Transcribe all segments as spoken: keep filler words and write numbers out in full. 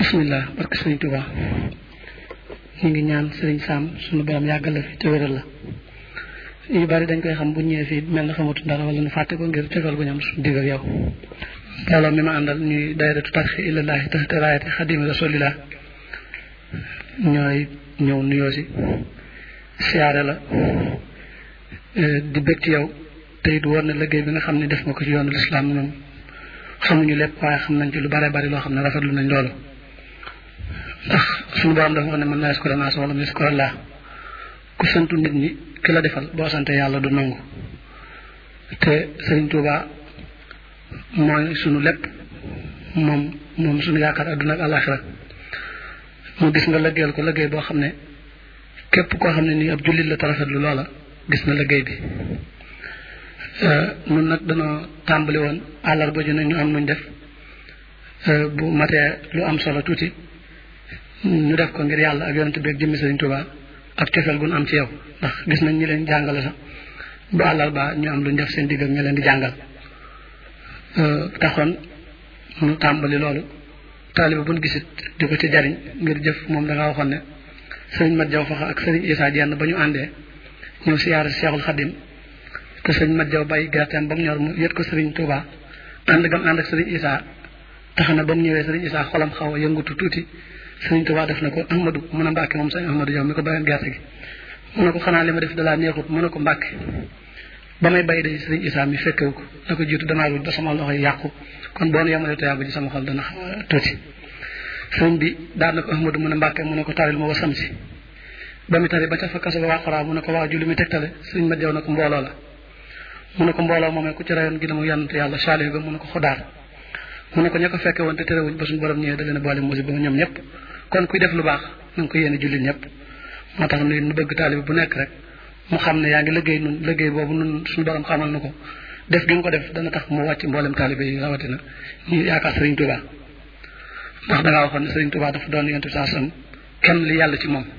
bismillah barke sëriñ Tuuba ñu ngi ñaan sëriñ Sam suñu borom yàggal la fi te wéral la yu bari dañ koy xam bu ñëwee fii mel na xamatu dara wala ñu fàtte ko ngir tegal gu ñam suñu digg ak yow mbooloo mi ma àndal ñuy dayratu tarxi ilallahi taxta raayati xadimi rasulillah ñooy ñëw nuyoo si siyaare la di bëgg ci yow te it war na liggéey bi nga xam ne def nga ko ci yoonu lislaam moom xamuñu lépp waaye xam nañ ci lu bare bari loo xam ne rafetlu nañ loolu ndax suñu borom dafa wax ne man naa yaskura naas wala yaskura Allah ku santu nit ñi ki la defal boo sante yàlla du nangu te Sëriñ Tuuba mooy sunu lépp moom moom suñu yaakaar adduna ak àllaaxira mu gis nga liggéeyal ko liggéey boo xam ne képp koo xam ne nii ab jullit la te rafetlu loola gis na liggéey bi nun nag danoo tàmbali woon àllarba ju ne ñu am nuñ def bu matee lu am solo tuuti ñu def ko ngir yàlla ak yonent bi ak jëmmi Sëriñ Tuuba ak cofeel gu nu am ci yow ndax gis nañ ñi leen jàngale sax bu àllarba ñu am luñ def seen digg ak ñi leen di jàngal taxoon ñu tàmbali loolu taaliba buñ gisit di ko ci jariñ ngir jëf moom da nga waxoon ne sëriñ Mat Jaw Faxa ak sëriñ Isaa Jenn ba ñu àndee ñëw siyaare Seexul Xadim te sëriñ Mat Jaw bàyyi gerteem ba mu ñor mu yët ko Sëriñ Tuuba ànd gam ànd ak sëriñ Isaa tax na ba mu ñëwee sëriñ Isaa xolam xaw a yëngutu tuuti Sëriñ Tuuba def na ko Ahmadu mu ne Mbàkke moom sëriñ Ahmadu Jaw mi ko bàyyoon gerte gi mu ne ko xanaa li ma def dalaa neexut mu ne ko Mbàkke ba may bay day sëriñ Isaa mi fekkewu ko la ko jiitu damaa ruuj ba sama loxo yi yàqu kon boo nu yemale toyaabu ji sama xol dana tuuti sëriñ bi daan na ko Ahmadu mu ne Mbàkke mu ne ko taril ma wasam si ba mu tari ba ca fa kaso ba wàqaraa mu ne ko waa ju li muy tegtale sëriñ Mat Jaw na ko mbooloo la mu ne ko mbooloo moomee ku ci rayoon gi na mu yonante yàlla saalihu ga mu ne ko xodaar mu ne ko ña ko fekke woon te terewuñ ba suñu borom ñëwee da leen a boole musiba ba ñoom ñëpp kon kuy def lu baax na nga ko yéene jullit ñëpp moo tax nu bëgg taalibe bu nekk rek mu xam ne yaa ngi liggéey nun liggéey boobu nun suñu borom xamal na ko def gi nga ko def dana tax mu wàcc mboolem taalibe yi rawatina ñu yaakaar Sëriñ Tuuba ndax dangaa waxoon ne Sëriñ Tuuba dafa doon yonent saa sam kenn li yàlla ci moom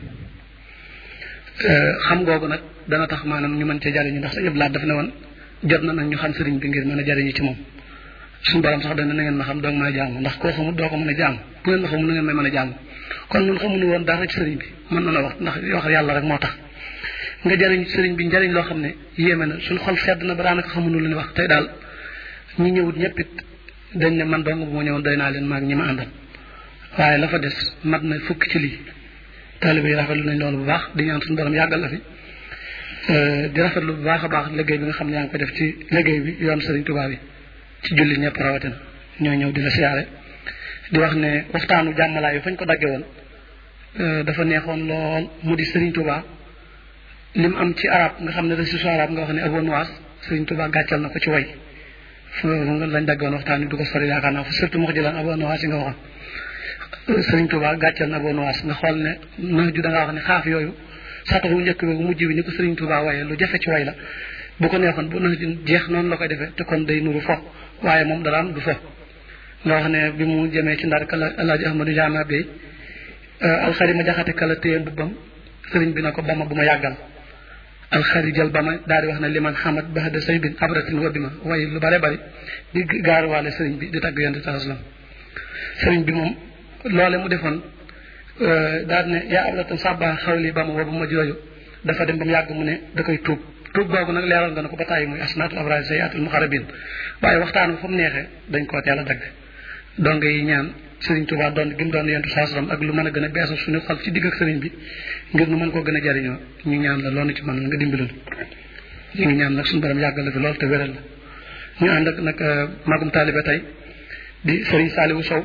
xam googu nag dana tax maanaam ñu mën cee jariñu ndax sa yëpp laat dafa ne woon jot na nag ñu xam sëriñ bi ngir mën a jariñu ci moom suñu borom sax dana na ngeen ma xam doog may jàng ndax koo xamul doo ko mën a jàng bu ngeen ma xamul na ngeen may mën a jàng kon ñun xamuñu woon dara ci sëriñ bi mën na la wax ndax wax yàlla rek moo tax nga jariñ ci sëriñ bi njariñ loo xam ne yéeme na suñu xol sedd na ba daanaka xamuñu lu ñu wax tey daal ñi ñëwut ñëpp it dañ ne man dong bu ma ñëwoon doy naa leen maag ñi ma àndal waaye la fa des mat na fukk ci lii taalibe yi rafetlu nañ loolu bu baax di ñaan suñu borom yàggal la fi di rafetlu bu baax a baax liggéey bi nga xam ne yaa ngi ko def ci liggéey bi yoon Sëriñ Tuuba bi ci jullit ñëpp rawatina ñoo ñëw di la siyaare di wax ne waxtaanu jàmmalaay yi fañ ko dagge woon dafa neexoon lool mu di Sëriñ Tuuba lim am ci arab nga xam ne restitution arab nga wax ne Abu Nuwas Sëriñ Tuuba gàccal na ko ci way fu lañ dagge woon waxtaan wi du ko sori yaakaar naa surtout mu jëlaan Abu Nuwas yi nga waxoon Sëriñ Tuuba gàccal na Abu Nuwas nga xool ne na ju da ngaa wax ne xaaf yooyu saatax wu njëkk bi bu mujj bi ni ko Sëriñ Tuuba waaye lu jafe ci way la bu ko neexoon bu na jeex noonu la koy defee te kon day nuru fo waaye moom daraam du fo nga wax ne bi mu jëmee ci ndar kala Alaaji Ahmadu Jaama Bey alxari ma jaxate kala téye mbubbam sëriñ bi na ko bama bu ma yàggal alxari jël ba ma daal di wax ne liman xamat baxda say bin abratin wa bi ma waaye lu bare bari di gaaruwaale sëriñ bi di tagg yonent saa sallam sëriñ bi moom loole mu defoon daal ne yaa abratan sàbba xawli ba ma wa bu ma jooju dafa dem ba mu yàgg mu ne da koy tuub tuub googu nag leeral nga ne ko ba tàyyi muy asnaatul abraar sayaatul muxarabin waaye waxtaan bi fu mu neexee dañ koo teel a dagg donc yi ñaan Sëriñ Tuuba doon gi mu doon yentu saasram ak lu mën a gën a beesal suñu xol ci digg ak sëriñ bi ngir nu mën koo gën a jariñoo ñu ñaan la loolu ci mën nga dimbalal ñu ngi ñaan nag suñu borom yàggal la fi loolu te wéral la ñu ànd ak nag magum taalibe tey di Sëriñ Saaliwu Sow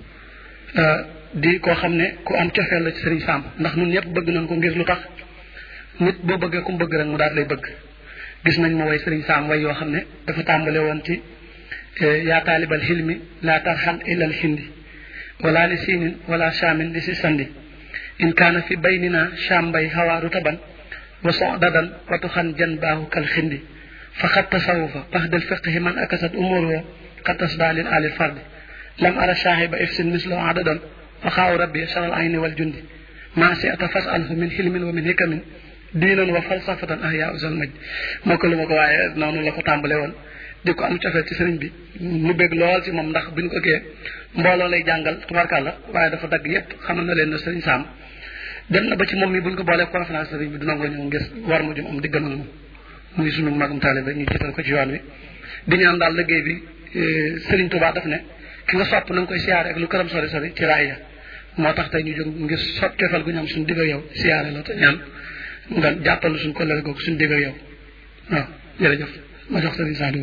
di koo xam ne ku am cofeel la ci Sëriñ Sam ndax ñun ñëpp bëgg nañ ko ngir lu tax nit boo bëggee ku mu bëgg rek mu daal lay bëgg gis nañ ma way Sëriñ Sam way yoo xam ne dafa tàmbale woon ci yaa taalibal xilmi laa tarxal ilal hindi wala li siinin wala shaamin li si sandi in kaana fi baynina shambay hawaaru taban wa sodadan watu xan jan baahu kal xindi fa xat tasawufa baxdal fiqhi man akasat umuruhu xat tasda lil alil fardi lam ara shaahiba ifsin mislo adadan fa xaaw rabbi saral ayni wal jundi maa si ata fas alhu min xilmin wa min hikamin diinan wa falsafatan ahya usal maj moo ko lu ma ko waaye noonu la ko tàmbale woon di ko am cofeel ci sëriñ bi mu bég lool ci moom ndax buñ ko kee mbooloo lay jàngal tubarkàlla waaye dafa dagg yépp xamal na leen ne sëriñ Sam dem na ba ci moom mi buñ ko boolee conférence sëriñ bi du nangoo ñëw ngir war mu jëm am diggam ak moom muy sunu magum taalibe ñu jiital ko ci yoon wi di ñaan daal liggéey bi sëriñ Touba daf ne ki nga sopp na nga koy siyaare ak lu këram sori sori ci raaya moo tax tey ñu jóg ngir sopp cofeel gu ñu am suñu digg ak yow siyaare la te ñaan nga jàppal suñu kollëre googu suñu digg ak yow waaw jërëjëf ma jox sëriñ Saliou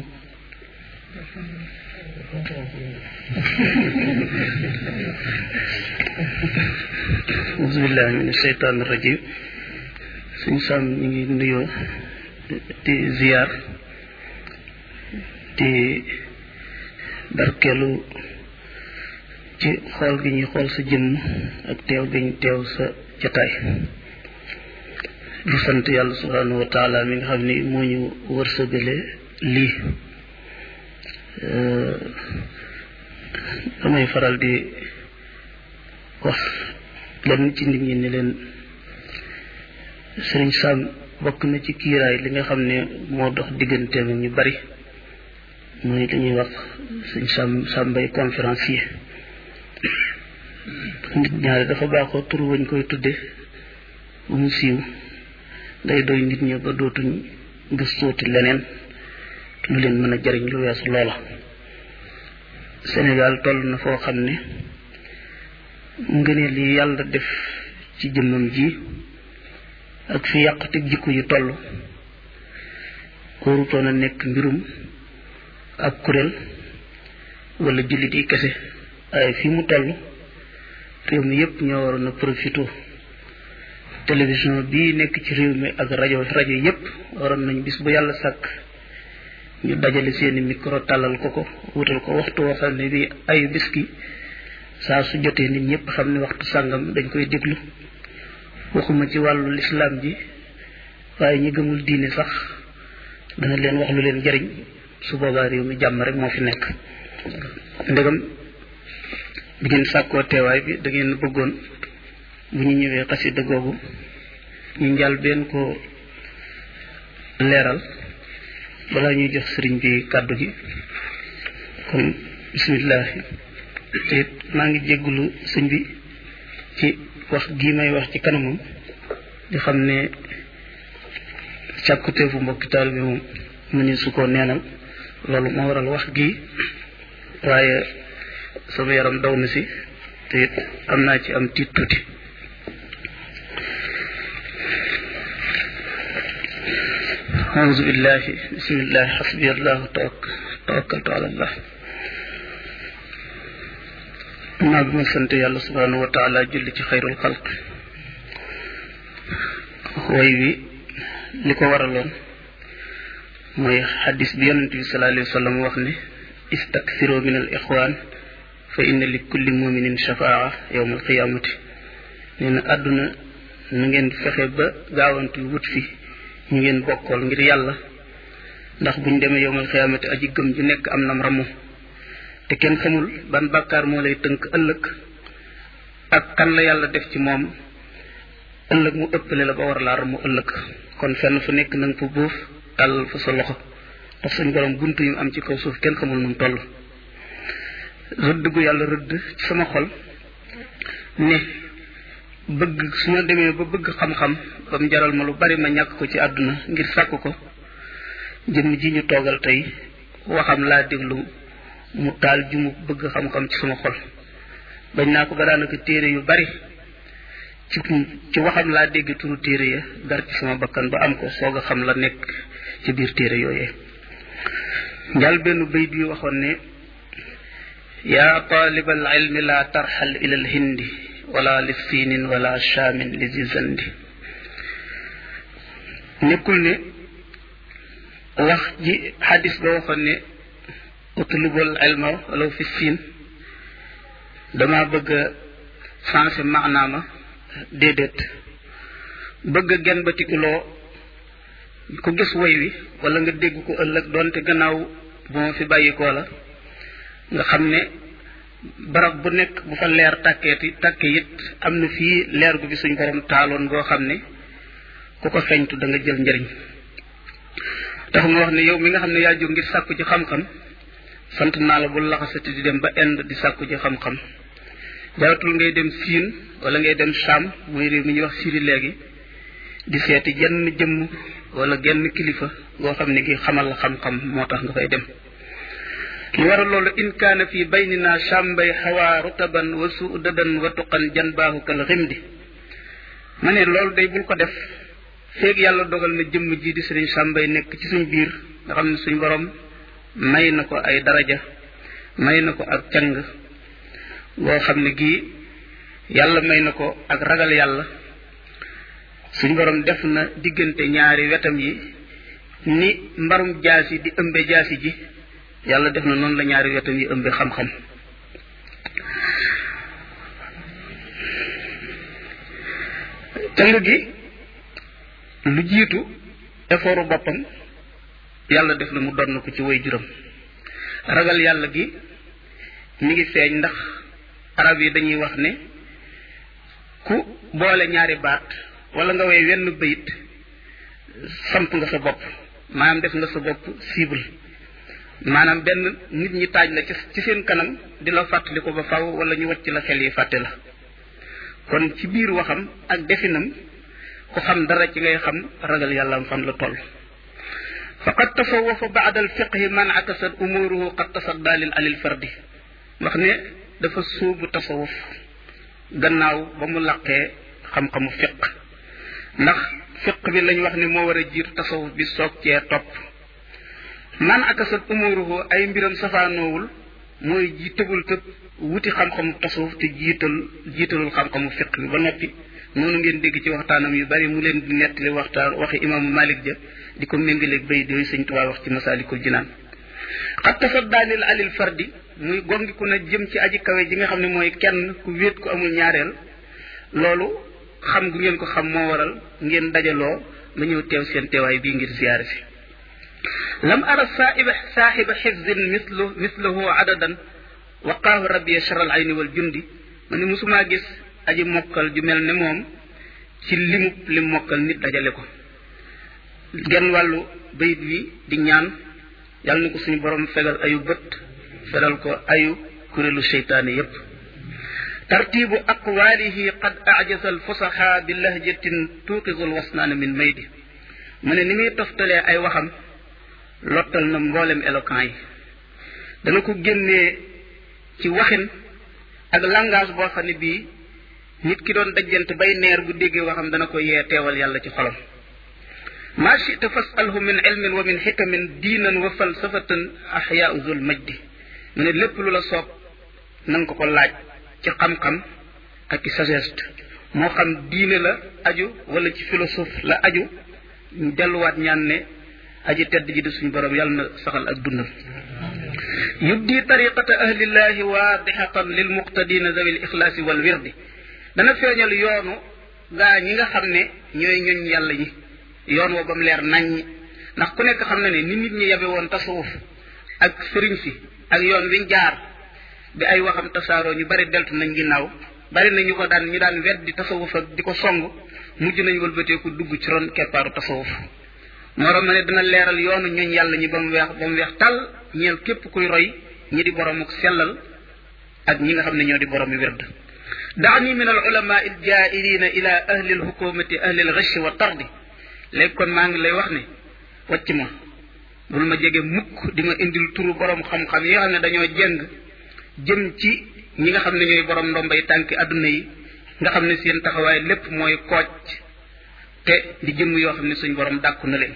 auzu billahi min asheytaan rajim suñu Sam ñu ngi nuyoo di ziyaar di barkeelu ci xool gi ñuy xool sa jëmm ak teew gi ñu teew sa jataay di sant yàlla subhanahu wa taala mi nga xam ni moo ñu wërsëgale lii damay faral di wax lenn ci nit ñi ne leen sëriñ Sam bokk na ci kiiraay li nga xam ne moo dox digganteem ñu bari mooy li ñuy wax sëriñ Sam Sambay conférencier nit ñaari dafa baaxoo tur wañ koy tudde bu mu siiw day doy nit ñi ba dootuñ gëstooti leneen lu leen mën a jariñ lu weesu loola Sénégal toll na foo xam ne ngëneel li yàlla def ci jëmmam ji ak fi yàqute jikko yi toll warutoon a nekk mbirum ab kuréel wala jullit yi kese ay fi mu toll réew mi yépp ñoo waroon a profité télévision bii nekk ci réew mi ak rajo rajo yépp waroon nañ bis bu yàlla sàkk ñu dajale seeni micro tàllal ko ko wutal ko waxtu woo xam ne bi ayu bis ki saa su jotee nit ñëpp xam ne waxtu sàngam dañ koy déglu waxuma ci wàllu lislaam ji waaye ñi gëmul diine sax dana leen wax lu leen jariñ su boobaa réew mi jàmm rek moo fi nekk ndegam bi ngeen sàkkoo teewaay bi da ngeen bëggoon bu ñu ñëwee xasida googu ñu njàll benn ko leeral balaa ñuy jox sëriñ bi kàddu gi kon bismillah te maa ngi jéggulu sëñ bi ci wax gii may wax ci kanamam di xam ne càkkuteefu mbokki taal bi moom mu ni su ko neenal loolu moo waral wax gii waaye sama yaram daw na si te it am naa ci am tiit tuuti auzu billahi bismillahi xasbi allahu tawakkaltu ala allah naa bi ma sant yàlla subhanahu wa taala julli ci xayrul xalq way wi li ko waraloon mooy xadis bi yonent bi sallallahu alayhi wa sallam wax ne istaksiru min al ixwaan fa inna li kulli muminin shafaa yowma alqiyamati nee na àdduna nu ngeen fexe ba gaawantu wut fi ñu ngeen bokkool ngir yàlla ndax buñ demee yowmal xiyaamati aji gëm ju nekk am nam ramu te kenn xamul ban bàkkaar moo lay tënk ëllëg ak kan la yàlla def ci moom ëllëg mu ëppale la ba war laa ramu ëllëg kon fenn fu nekk na nga fa buuf tàllal fa sa loxo ndax suñ borom buntu yi am ci kaw suuf kenn xamul nu mu toll rëdd gu yàlla rëdd ci sama xol ne bëgg su ma demee ba bëgg xam-xam ba mu jaral ma lu bari ma ñàkk ko ci àdduna ngir sàkk ko jëmm ji ñu toogal tey waxam laa déglu mu taal ju mu bëgg xam-xam ci sama xol bañ naa ko ba daanaka téere yu bari ci ci waxam laa dégg turu téere ya gar ci sama bakkan ba am ko soog a xam la nekk ci biir téere yooyee njal benn bayt bi waxoon ne yaa taalibal ilmi laa tarxal ilal hindi wala li siinin wala shaamin li zizandi nekkul ne wax ji xadis ba waxoon ne utlubul ilma wala fi siin dama bëgg a changé maanaama déedéet bëgg a gen batikuloo ku gis woy wi wala nga dégg ko ëllëg doonte gannaaw bu ma fi bàyyikoo la nga xam ne barab bu nekk bu fa leer tàkkeeti tàkke it am na fii leer gu bi suñ borom taaloon goo xam ne ku ko feeñtu da nga jël njëriñ tax mu wax ne yow mi nga xam ne yaa jóg ngir sàkku ci xam-xam sant naa la bu laxasati di dem ba Inde di sàkku ci xam-xam jaratul ngay dem Siin wala ngay dem Cham muy réew mi ñuy wax Syrie léegi di seeti jenn jëmm wala genn kilifa goo xam ne gi xamal la xam-xam moo tax nga fay dem li waral loolu in kaana fi baynina chambay xawaa rutaban wa suudadan wa tuqan janbaahu kal ximdi ma ne loolu day bul ko def feeg yàlla dogal na jëmm ji di sëriñ chambay nekk ci suñ biir nga xam ne suñ borom may na ko ay daraja may na ko ak càng boo xam ne gii yàlla may na ko ak ragal yàlla suñ borom def na diggante ñaari wetam yi ni mbarum jaasi di ëmbe jaasi ji yàlla def na noonu la ñaari wetam yi ëmbe xam-xam càng gi lu jiitu effortu boppam yàlla def na mu donn ko ci way juram ragal yàlla gi mi ngi feeñ ndax arab yi dañuy wax ne ku boole ñaari baat wala nga way wenn bayit samp nga sa bopp maanaam def nga sa bopp cible maanaam benn nit ñi taaj la ci seen kanam di la fàttali ko ba faw wala ñu wacc la xel yi fàtte la kon ci biir waxam ak definam ku xam dara ci ngay xam ragal yàlla am fan la toll faqad tasawafa ba'da al-fiqhi man akasat umuruhu qad tasadda lil alil fardi wax ne dafa sóobu tasawuf gannaaw ba mu laqee xam-xamu fiq ndax fiq bi lañ wax ne moo war a jiitu tasawuf bi soog cee topp man akasat umuruhu ay mbiram safaanoowul mooy ji tëbul tëb wuti xam-xamu tasawuf te jiital jiitalul xam-xamu fiq bi ba noppi noonu ngeen dégg ci waxtaanam yu bari mu leen di nettali waxtaan waxi imaamu Malik ja di ko méngaleeg bay yooyu Sëñ Tuubaa wax ci Masaalikul Jinaan xat tasaddaa lil alil fardi muy gongiku na jëm ci aji kawe ji nga xam ne mooy kenn ku wéet ku amul ñaareel loolu xam gu ngeen ko xam moo waral ngeen dajaloo nga ñëw teew seen teewaay bii ngir ziyaare si lam ara saahiba saahiba xifzin mislu mislahu adadan waqaahu rabbi sharal ayni wal jundi ma ne musumaa gis aji mokkal ju mel ne moom ci limub lim mokkal nit dajale ko genn wàllu bayit wi di ñaan yàlla na ko suñu borom fegal ayu bët fegal ko ayu kuréelu seytaane yépp tartibu aqwaalihi qad ajaza al fusaha bi lahjatin tuuqizu al wasnaana min maydi mu ne ni muy toftalee ay waxam lottal na mboolem éloquent yi dana ko génnee ci waxin ak langage boo xam ne bii nit ki doon dajjante bay neer bu déggee waxam dana ko yee teewal yàlla ci xolam ma chita fasalhu min ilmin wa min xikamin diinan wa falsafatan axyaau zul majdi mu ne lépp lu la soob na nga ko ko laaj ci xam-xam ak ci sagesse moo xam diine la aju wala ci philosophe la aju ñu delluwaat ñaan ne aji tedd ji di suñu borom yàlla na saxal ak dundam yubdi tariqata ahlillahi waadixatan lil muqtadina zawi l ixlaasi wal wirdi dana feeñal yoonu gaa ñi nga xam ne ñooy ñoñ yàlla ñi yoon woo ba mu leer naññi ndax ku nekk xam na ne ni nit ñi yabe woon tasawuf ak sëriñ si ak yoon wiñ jaar bi ay waxam tasaaroo ñu bari deltu nañ ginnaaw bari na ñu ko daan ñu daan weddi tasawuf ak di ko song mujj nañ wëlbateeku dugg ci ron keppaaru tasawuf morom na ne dana leeral yoonu ñoñ yàlla ñi ba mu weex ba mu weex tàll ñeel képp kuy roy ñi di borom ak sellal ak ñi nga xam ne ñoo di borom yi wird daani min al ulama al jaa'ilina ila ahli al hukumati ahli al ghash wa tardi léegi kon maa ngi lay wax ne wàcc ma bul ma jege mukk di ma indil turu borom xam-xam yi nga xam ne dañoo jëng jëm ci ñi nga xam ne ñooy borom ndombay tànki adduna yi nga xam ne seen taxawaay lépp mooy kooc te di jëm yoo xam ne suñ borom dàkku na leen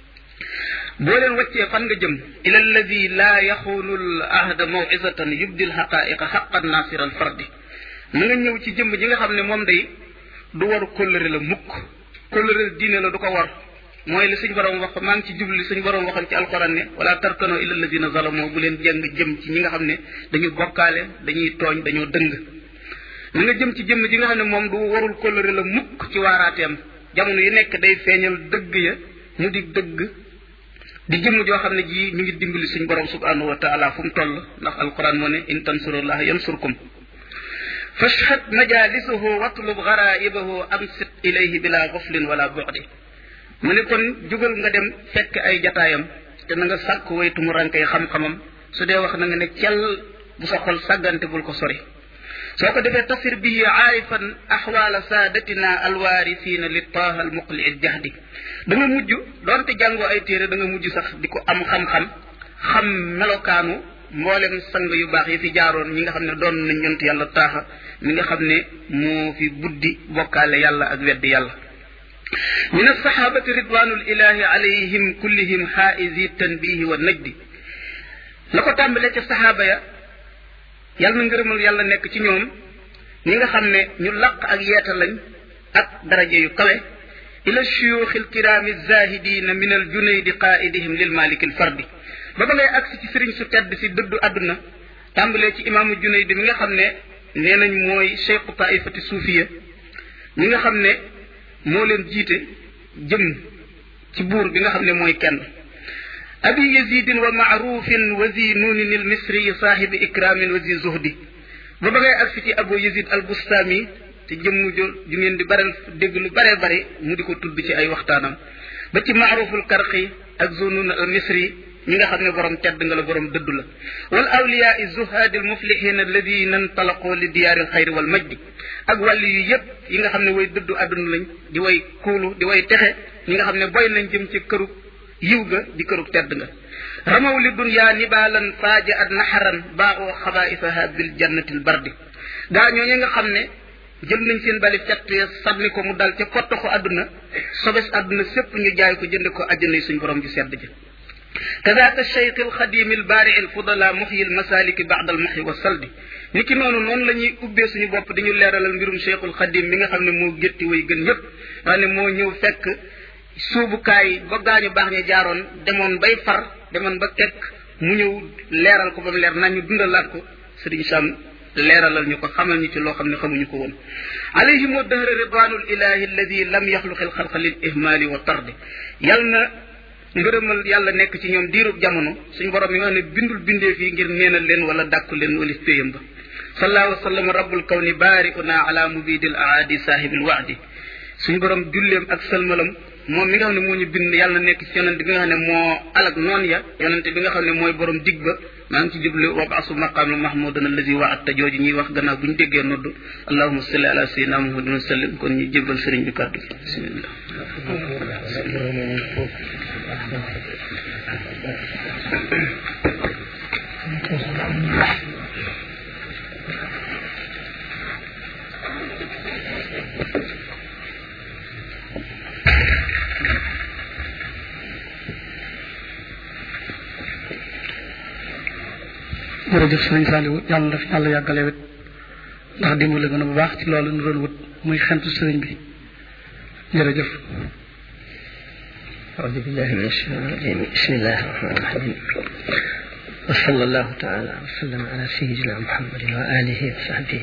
boo leen wàccee fan nga jëm ila alladi laa yaxuunu l ahda mawizatan yubdi l xaqaiqa xaqan nasir al fardi na nga ñëw ci jëmm ji nga xam ne moom day du waru kóllëre la mukk kóllëre diine la du ko war mooy li suñ borom wax maa ngi ci jubli suñ borom waxoon ci alquran ne wala tarkano ila alladina zalamu bu leen jëng jëm ci ñi nga xam ne dañu bokkaale dañuy tooñ dañoo dëng na nga jëm ci jëmm ji nga xam ne moom du warul kóllëre la mukk ci waaraateem jamono yi nekk day feeñal dëgg ya mu di dëgg di jëmm joo xam ne ji mi ngi dimbali suñ borom subhanahu wa taala fu mu toll ndax alquran moo ne in tansurullaha yansurkum fashhad majalisuhu watlub garaibahu amsit ilayhi bila goflin wala bu'di mu ne kon jugal nga dem fekk ay jataayam te na nga sàkk way tumurankay xam-xamam su dee wax na nga ne cell bu sa xol sàggante bul ko sori soo ko defee tasir bihi aarifan axwaala saadatina alwaarisiina li taaha al muqli al jahdi da nga mujj doonte jàngoo ay téere da nga mujj sax di ko am xam-xam xam melokaanu mboolem sang yu baax yi fi jaaroon ñi nga xam ne doon nañ ñont yàlla taaxa mi nga xam ne moo fi buddi bokkaale yàlla ak weddi yàlla min alsahabati ridwanul ilahi alayhim kullihim xaaisi tanbihi wa najdi la ko tàmbalee ca sahaaba ya yàlla na ngërëmal yàlla nekk ci ñoom ñi nga xam ne ñu laq ak yeeta lañ ak daraja yu kawe ila shuyuxi alkiraami zahidina min aljunaydi qaidihim lil malik alfardi ba ba ngay agsi ci sëriñ su tedd si dëddu àdduna tàmbalee ci imaamu junaydi mi nga xam ne nee nañ mooy cheikhu taifati suufiya mi nga xam ne moo leen jiite jëm ci buur bi nga xam ne mooy kenn abi yazidin wa maarufin wa zi nuunin il misri saahibi ikramin wa zi zuhdi ba ba ngay agsi ci abu yazid al bustami te jëmm jo ju ngeen di baral dégg lu bare bare mu di ko tudd ci ay waxtaanam ba ci maaruful karqi ak zunun al misri ñi nga xam ne borom tedd nga la borom dëddu la wal awliyaa zuhaadi al muflihin alladina intalaqoo li diyaari al xayri wal majdi ak wàlli yu yëpp yi nga xam ne way dëddu àdduna lañ di way kuulu di way texe ñi nga xam ne boy nañ jëm ci këru yiw ga di këru tedd nga ramaw li dunya nibaalan faaja at naxaran baaxoo xabaisaha bil jannati al bardi gaa ñooñu nga xam ne jël nañ seen bali fett ya sànni ko mu dal ca pottaxu àdduna sobes àdduna sépp ñu jaay ko jënd ko àjjana suñ borom ju sedd ji كذاك الشيخ الخديم البارع الفضلاء محيي المسالك بعد المحي والسلد niki noonu noonu la ñuy ubbee suñu bopp dañu leeralal mbirum cheikhul xadim mi nga xam ne moo gétti way gën ñëpp waa ne moo ñëw fekk suubukaay ba gaañu baax ña jaaroon demoon bay far demoon ba kekk mu ñëw leeral ko ba mu leer nañu dundalaat ko sëriñ Sam leeralal ñu ko xamal ñu ci loo xam ne xamuñu ko woon alayhim wa dahra ridwanul ilahi alladi lam yaxluqi alxalqa lil ihmali wa tardi yal na ngërëmal yàlla nekk ci ñoom diirub jamono suñu borom yi nga xam ne bindul bindee fii ngir neenal leen wala dàkku leen walif péyam ba sallallahu wa sallam rabbul kawni baari'una ala mubidil aadi saahibil waadi suñu borom julleem ak salmalam moom mi nga xam ne moo ñu bind yàlla nekk ci yonente bi nga xam ne moo alak noon ya yonente bi nga xam ne mooy borom dig ba maa ngi ci jublu wab'asu maqaama mahmudan allazi wa'adta jooju ñuy wax gannaaw bu ñu déggee nodd allahumma salli ala sayyidina muhammadin wa sallim kon ñu jébbal sëriñ bi kàddu bismillah jërëjëf sëñ Saliou yàlla daf yàlla yàggale wet ndax dimbali gën a bu baax ci loolu nu doon wut muy xentu sëriñ bi jërëjëf أعوذ بالله من الشيطان الرجيم بسم الله الرحمن الرحيم وصلى الله تعالى وسلم على سيدنا محمد وآله وصحبه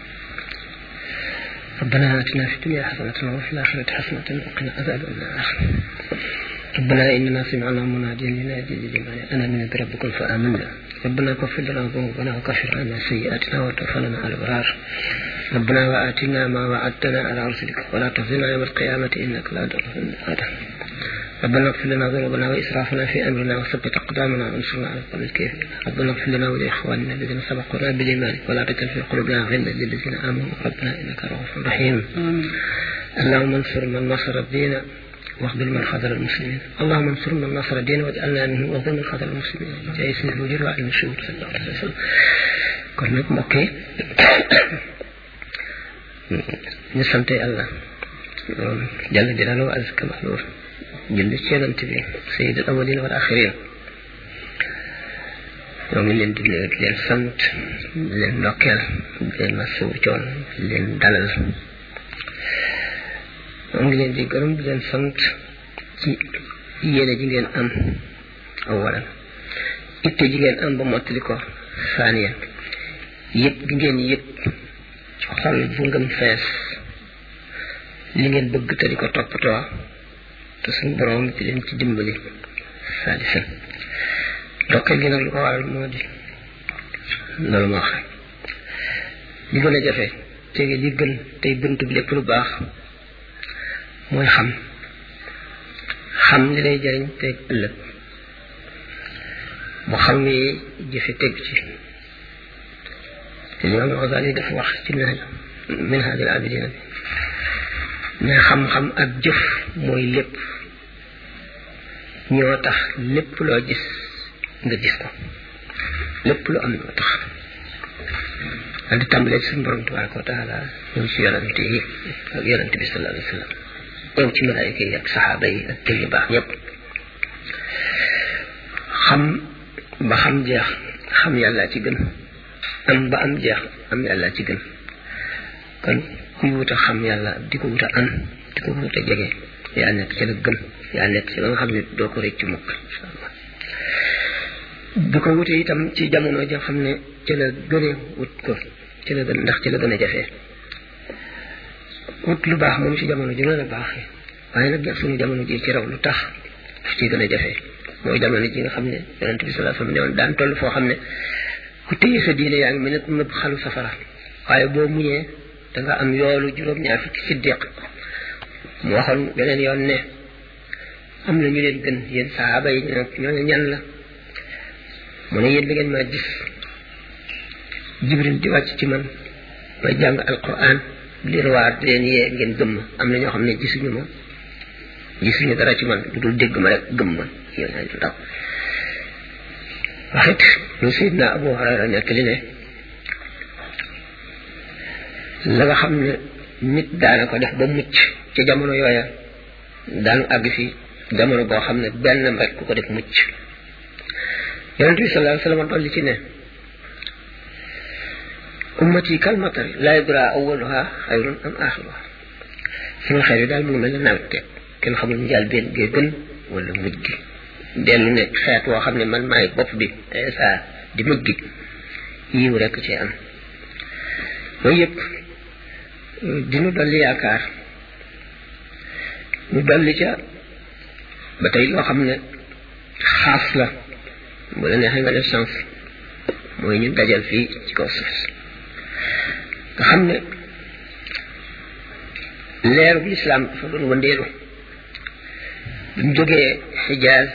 ربنا آتنا في الدنيا حسنة وفي الآخرة حسنة وقنا عذاب النار ربنا إننا سمعنا مناديا ينادي للإيمان أن آمنوا بربكم فآمنا ربنا اغفر لنا ذنوبنا وكفر عنا سيئاتنا وتوفنا مع الأبرار ربنا وآتنا ما وعدتنا على رسلك ولا تخزنا يوم القيامة إنك لا تخلف الميعاد ربنا اغفر لنا ذنوبنا وإسرافنا في أمرنا وثبت أقدامنا وانصرنا على القوم الكافرين ربنا اغفر لنا ولإخواننا الذين سبقونا بالإيمان ولا تجعل في قلوبنا غلا للذين آمنوا ربنا إنك رؤوف رحيم اللهم انصر من نصر الدين واخذل من خذل المسلمين اللهم انصر من نصر الدين واجعلنا منه واخذل من خذل المسلمين جاي سيد الوجود وعلم الشهود صلى الله عليه وسلم kon nag mbokk yi ñu sant yàlla jàll jalalu wa azka mahluur julli ci yonent bi sayyid al awwalin wal axirin ñoo ngi leen di leen sant di leen ndokkeel di leen masawu coon di leen dalal ñoo ngi leen di gërëm di leen sant ci yéene ji ngeen am awalan itte ji ngeen am ba mottali ko saaniyan yëpp gi ngeen yëpp xol bu ngëm fees li ngeen bëgg te di ko toppatoo te suñu borom di leen ci dimbali saalisan ndokkeel gi nag lu ko waral moo di loolu ma wax rek li gën a jafe tege li gën tey bunt bi lépp lu baax mooy xam xam li lay jëriñ teg ëllëg mu xam ni jëfe teg ci Imam Ghazali dafa wax ci Minhaj al-Abidin ne xam-xam ak jëf mooy lépp ñoo tax lépp loo gis nga gis ko lépp lu am ñoo tax daal di tàmbalee ci suñu borom tabaraka wa taala ñëw ci yonante yi ak yonante bi sallallahu alayhi wa sallam ñëw ci malaayika yi ak saxaaba yi ak tëj yu baax ñëpp xam ba xam jeex xam yàlla ci gën am ba am jeex am yàlla ci gën kon kuy wut a xam yàlla di ko wut a am di ko wut a jege yaa nekk ci la gën yaa nekk ci la nga xam ne doo ko rëcc mukk insha allah di ko wute itam ci jamono joo xam ne ci la gën a wut ko ci la gën ndax ci la gën a jafee wut lu baax moom ci jamono ji la baaxee waaye nag suñu jamono ji ci raw lu tax daf ci gën a jafee mooy jamono ji nga xam ne yonent bi sallallahu alayhi wasallam daan toll foo xam ne ku téye sa diine yaa ngi mel ne ku nëbb xalu safara waaye boo muñee da nga am yoolu juróom-ñaar fukki siddiq mu waxoon beneen yoon ne am na ñu leen gën yéen sahaaba yi ñoo ne ñan la mu ne yéen da ngeen maa gis jibril di wàcc ci man may jàng alquran di riwaar di leen yee ngeen gëm ma am na ñoo xam ne gisuñu ma gisuñu dara ci man lu dul dégg ma rek gëm ma yow naa ñu ndaw waxit ñu Seydina Abu Hurayra nekk li ne la nga xam ne nit daana ko def ba mucc ci jamono yooya daanu àgg fi jamono boo xam ne benn rek ku ko def mucc yonent bi sallallahu alayhi wasallam dolli ci ne ummati kal matari laa yadraa awwaluha xayrun am axiruha sama xeer yi daal mu ngi mel ne nawet te kenn xamul njaal benn gee gën wala mujj gi dellu ne xeet woo xam ne man maay bopp bi sa di mujj gi yiw rek ci am mooy yëpp dinu dolli yaakaar ñu dolli ca ba tey loo xam ne xaas la bu la neexee nga def chance mooy ñu dajal fii ci kaw suuf nga xam ne leeru bu lislaam dafa doon wëndeelu bi mu jógee Xijaaz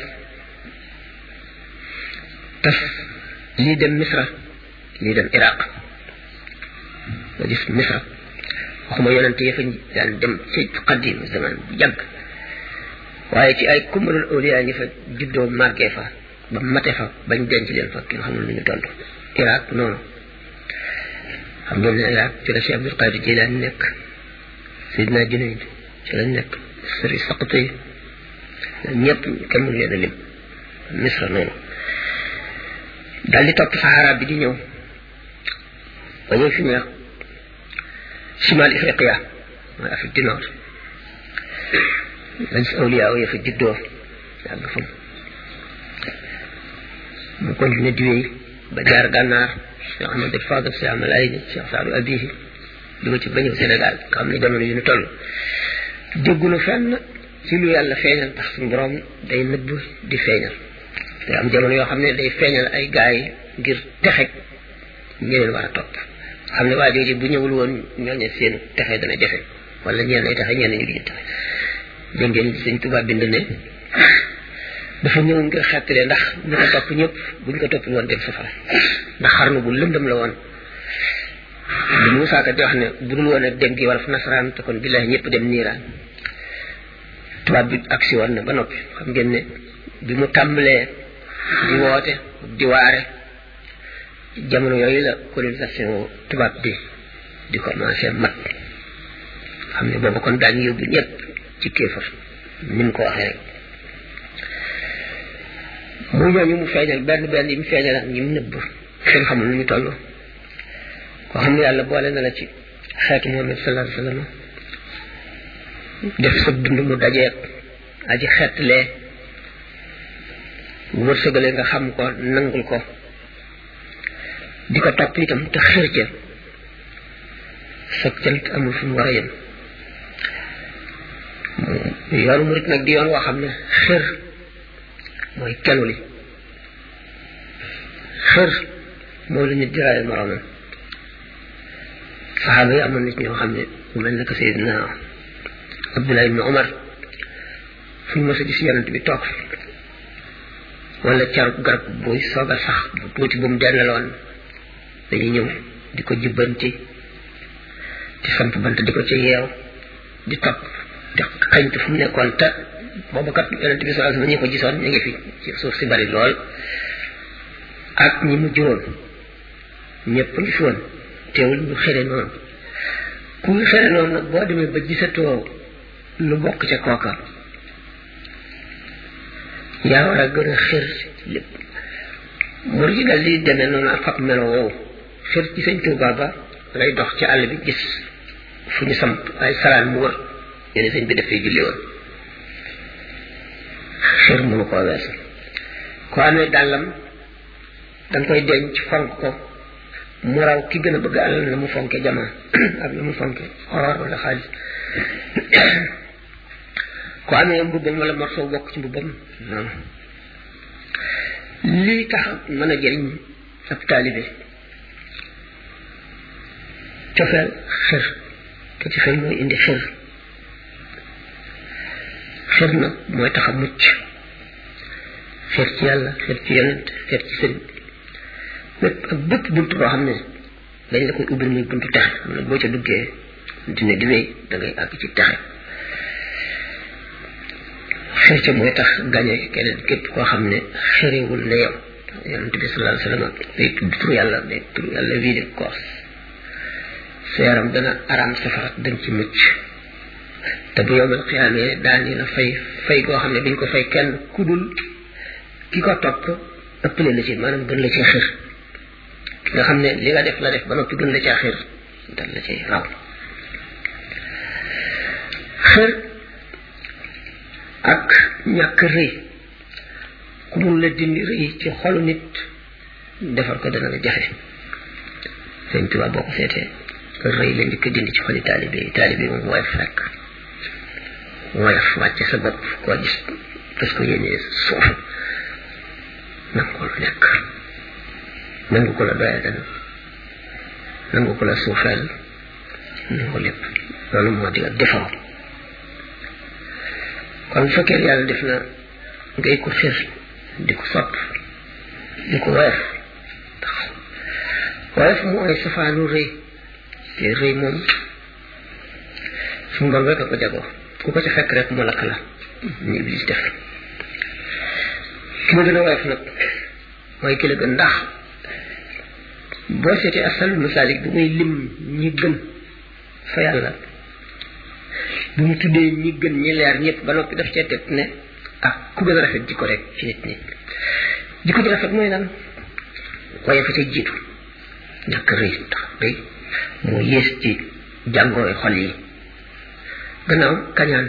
tas lii dem Misra lii dem Iraq nga gis Misra waxuma yonente yi fa daan dem ci qadim zaman bu yàgg waaye ci ay kumalul awliya ñi fa juddoo màggee fa ba mate fa bañ denc leen fa kenn xamul lu ñu tontu Iraq noonu xam ngeen ne Iraq ci la Cheikh Abdul Qadir Jilani nekk Sidna Junayd ci la nekk Sëri Saqati ñëpp kenn mënu leen a lim Misra noonu daal di topp Sahara bi di ñëw ba ñëw fi mu ne Shimal Ifriqiya mooy Afrique du Nord lañ si awliya ya fa juddoo yàgg fa mu continué di wéy ba jaar gànnaar Cheikh Ahmad al Fadil Cheikh Amal Ayni Cheikh Saadu Abihi dugg ci ba ñëw Sénégal nga xam ne jamono yu ñu toll déggunu fenn ci lu yàlla feeñal tax suñu borom day nëbb di feeñal te am jamono yoo xam ne day feeñal ay gaay ngir texeg ñeneen war a topp xam ne waa jooju bu ñëwul woon ñooñu seen texe dana jafe wala ñeen ay texe ñeen ñu duñu texe dégg ngeen Sëñ Tuubaa bind ne dafa ñëw ngir xettale ndax ñu ko topp ñëpp buñ ko topp woon dem safara ndax xarnu bu lëndëm la woon bi Muusaa Ka di wax ne bu dul woon ak dem gi war fa nasaraan te kon billahi ñëpp dem niiraan tubaab bi agsi woon na ba noppi xam ngeen ne bi mu tàmbalee di woote di waare jamono yooyu la colonisation tubaab bi di commencé mat xam ne boobu kon daañu yóbbu ñëpp ci kéefar ni mu ko waxee rek mu ñooñu mu feeñal benn benn yi mu feeñal ak ñi mu nëbb kenn xamul nu ñu toll koo xam ne yàlla boole na la ci xeetu Muhammad sallallahu alayhi wasallam def sa dund mu dajeeg aji xeetlee wërsëgale nga xam ko nangul ko di ko topp itam te xër ca sa cant amul fu mu war a yem yoonu murit nag di yoon woo xam ne xër mooy kenu li xër moo la nit diraaye moroomam saxaaba yi amoon nit ñoo xam ne mu mel ne que Seydina Abdullah ibn Umar fuñ mos a gis yonent bi toog wala caru garab buy soog a sax bu tuuti bu mu dellaloon dañuy ñëw di ko jubbanti di samp bant di ko ci yeew di topp di xañtu fu mu nekkoon te boobu kat yonent bi sallallahu alayhi wasallam ñi ko gisoon ñu ngi fi ci suuf si bari lool ak ñi mu juróon ñëpp ngi fi woon teewul ñu xere noonu ku ñu xere noonu nag boo demee ba gisatoo lu bokk ca kooka yaa war a gën a xër lépp mur ji dal di demee noonu ak fab melo woowu xër ci sëñ Tuubaa ba lay dox ci àll bi gis fu ñu samp ay salaan mu wër yéen sëñ bi dafay julli woon xër mënu koo weesu ko amee dàllam danga koy denc fonk ko mu raw ki gën a bëgg àll na mu fonke jamaa ak na mu fonke or wala xaalis ko amee mbubbam wala morceau bokk ci mbubbam noonu lii tax mën a jëriñ ab taalibe cofeel xër te ci xel mooy indi xër xër nag mooy tax a mucc xër ci yàlla xër ci yonent xër ci sëriñ lépp ak bépp bunt boo xam ne dañ la koy ubbil muy buntu texe mu ne boo ca duggee dina di wéy da ngay àgg ci texe xër ca mooy tax gañe keneen képp koo xam ne xëriwul ne yow yonent bi sallallahu alayhi wasallam day tudd tur yàlla day tur yàlla wii di koos sa yaram dana araam safara dañ ci mucc te bu yowmal xiyaamee daani la fay fay goo xam ne dañ ko fay kenn ku dul ki ko topp ëppale la ci maanaam gën la ci xër ki nga xam ne li nga def la def ba noppi gën la ci xër dal la ci raw xër ak ñàkk rëy ku mun la dindi rëy ci xolu nit defar ko dana la jafe sëñ Tuubaa boo ko seetee rëy la njëkk dindi ci xoli taalibe yi taalibe yi moom woyof rek woyof wàcce sa bopp koo gis parce que yéenee suuf nangu ko la nekk nangu ko la doyadal nangu ko la suufeel nangu lépp loolu moo di ak defaru kon fekkee yàlla def na ngay ko xër di ko sopp di ko woyof woyof mooy safaanu rëy te rëy moom suñu borom rek a ko jagoo ku ko ci fekk rek mu lakk la ñu Iblis def ki ma gën a woyof nag mooy ki la gën ndax boo seetee asal masaalik bu muy lim ñi gën fa yàlla bu mu tuddee ñi gën ñi leer ñëpp ba noppi daf cee teg ne ah ku gën a rafet jikko rek ci nit ñi jikko ji rafet mooy lan waaye fa ca jiitu ñàkk rëy ndax rëy moo yées ci jàngooy xol yi gannaaw kañaan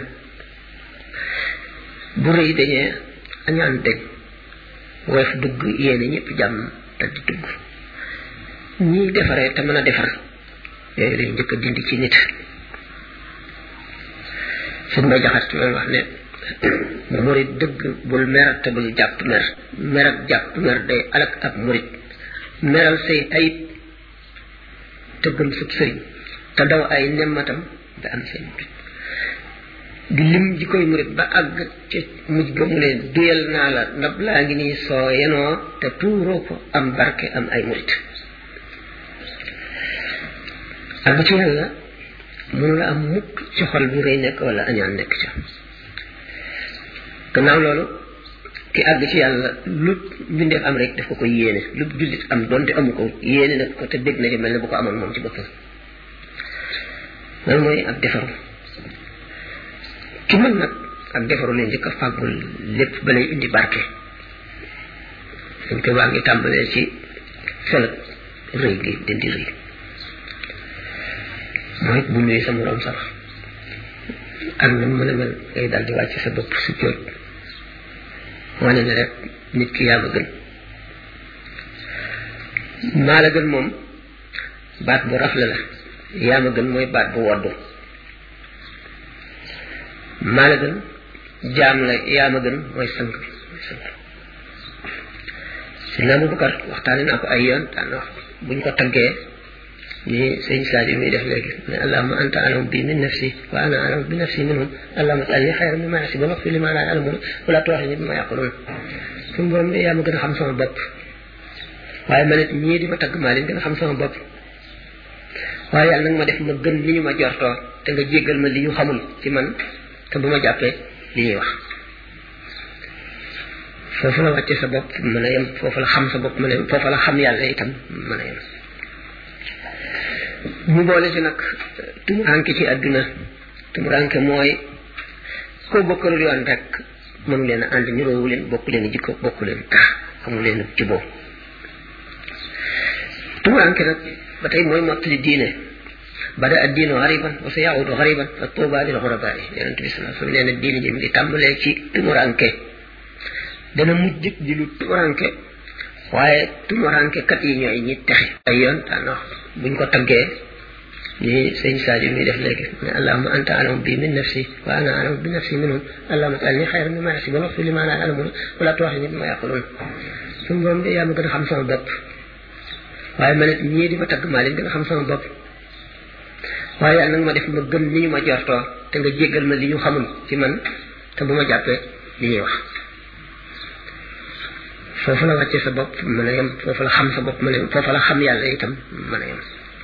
bu rëy dañee añaan dëgg woyof dugg yéene ñëpp jàmm te di dugg ñiy defaree te mën a defar yooyu lañ njëkk a dindi ci nit suñ may jaxat loolu wax ne murit dëgg bul mer te bul jàpp mer mer ak jàpp mer day alak ab murit meral say ayib te gëm sub sëriñ te daw ay nemmatam da am say murit di lim ji koy murit ba àgg ci mujj ga mu ne duyal naa la ndab laa ngi nii soo yenoo te tuuroo ko am barke am ay murit àgg ci yàlla mënu la am mukk ci xol bu rëy nekk wala añaan nekk ca gannaaw loolu ki àgg ci yàlla lu mbindeef am rek daf ko koy yéene lu jullit am donte amu ko yéene nag ko te dégg na ci mel ne bu ko amoon moom ci boppam loolu mooy ak defaru ki mën nag ak defaru leen njëkk a fàggul lépp ba lay indi barke dañ ko baa ngi tàmbalee ci felag rëy gi dindi rëy mooy bu nuyu sa moroom sax ak na mën a mel ngay daal di wàcc sa bopp su jóot wane ne rek nit ki yaa ma gën maa la gën moom baat bu rafle la yaa ma gën mooy baat bu woddu maa la gën jaam la yaa ma gën mooy sang mooy sang si naa Abubakar waxtaane naa ko ay yoon daan wax buñ ko taggee ni sëñ Sadio muy def léegi ne allahumma anta alam bi min nafsi wa ana alam bi nafsi minhum allahumma ij'alni khayran mimma yahsibun waghfir lima la ya'lamun wa la tu'akhidhni bima yaqulun suñu borom yaa ma gën a xam sama bopp waaye ma nit ñii di ma tagg maa leen gën a xam sama bopp waaye yàlla nag ma def ma gën li ñu ma jortoo te nga jéggal ma li ñu xamul ci man te bu ma jàppee li ñuy wax foofu la wàcce sa bopp mën a yem foofu la xam sa bopp mën a yem foofu la xam yàlla itam mën a yem ñu boole ci nag tumuranke ci àdduna tumuranke mooy koo bokkalul yoon rek mënu leen a ànd ñu roowu leen bokk leen jikko bokk leen tax xamu leen juboo tumuranke nag ba tey mooy mottali diine bada ad-diinu ghariban wa sayaudu ghariban fa tuuba lil ghurabaa yonent bi sallallahu alayhi wa sallam nee na diine ji mi ngi tàmbalee ci tumuranke dana mujj di lu tumuranke waaye tumuranke kat yi ñooy ñi texe ay yoon daana buñ ko taggee ni sëñ Sadio muy def léegi ne allahumma anta alam bi min nafsi wa ana alam bi nafsi minhum allahumma ij'alni khayran mimma yahsibun waghfir lima la ya'lamun wa la tu'akhidhni bima yaqulun suñu borom yaa ma gën a xam sama bopp waaye ma nit ñii di ma tagg maa leen gën a xam sama bopp waaye yàlla nag ma def ma gën li ñu ma jortoo te nga jéggal ma li ñu xamul ci man te bu ma jàppee li ñuy wax foofu la wàcce sa bopp mën a yem foofu la xam sa bopp mën a yem foofu la xam yàlla itam mën a yem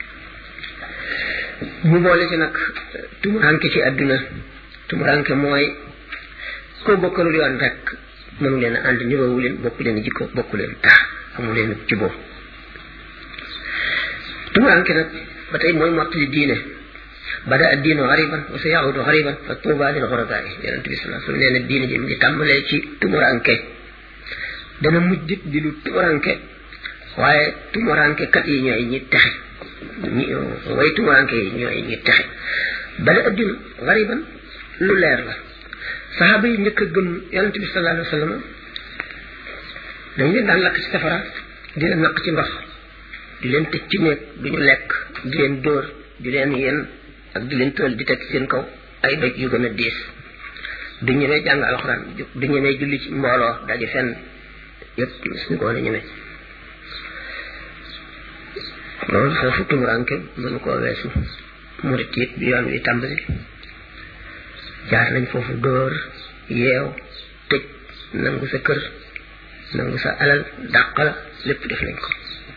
ñu boole ci nag tumuranke ci àdduna tumuranke mooy koo bokkalul yoon rek mënu leen a ànd ñu roowu leen bokk leen jikko bokk leen tax xamu leen juboo tumuranke nag ba tey mooy mottali diine bada ad-diinu ghariban wa sayaudu ghariban fa tuuba lil ghurabaa yonent bi sallallahu alayhi wa sallam nee na diine ji mi ngi tàmbalee ci tumuranke dana mujj di lu tumuranke waaye tumuranke kat yi ñooy ñi texe ñi way tumuranke yi ñooy ñi texe bada ad-diinu ghariban lu leer la saxaaba yi njëkk a gëm yonent bi sallallahu alayhi wa sallam dañ leen daan lakk ci safara di leen naq ci ndox di leen tëj ci néeg du ñu lekk di leen dóor di leen yen ak di leen tool di teg seen kaw ay doj yu gën a diis du ñemee jàng alxuraan du ñemee julli ci mbooloo daje fenn yëpp suñu ko la ñemee loolu foofu tumuranke mënu koo weesu murit it bi yoon wi tàmbali jaar nañ foofu dóor yeew tëj nangu sa kër nangu sa alal dàq la lépp def nañ ko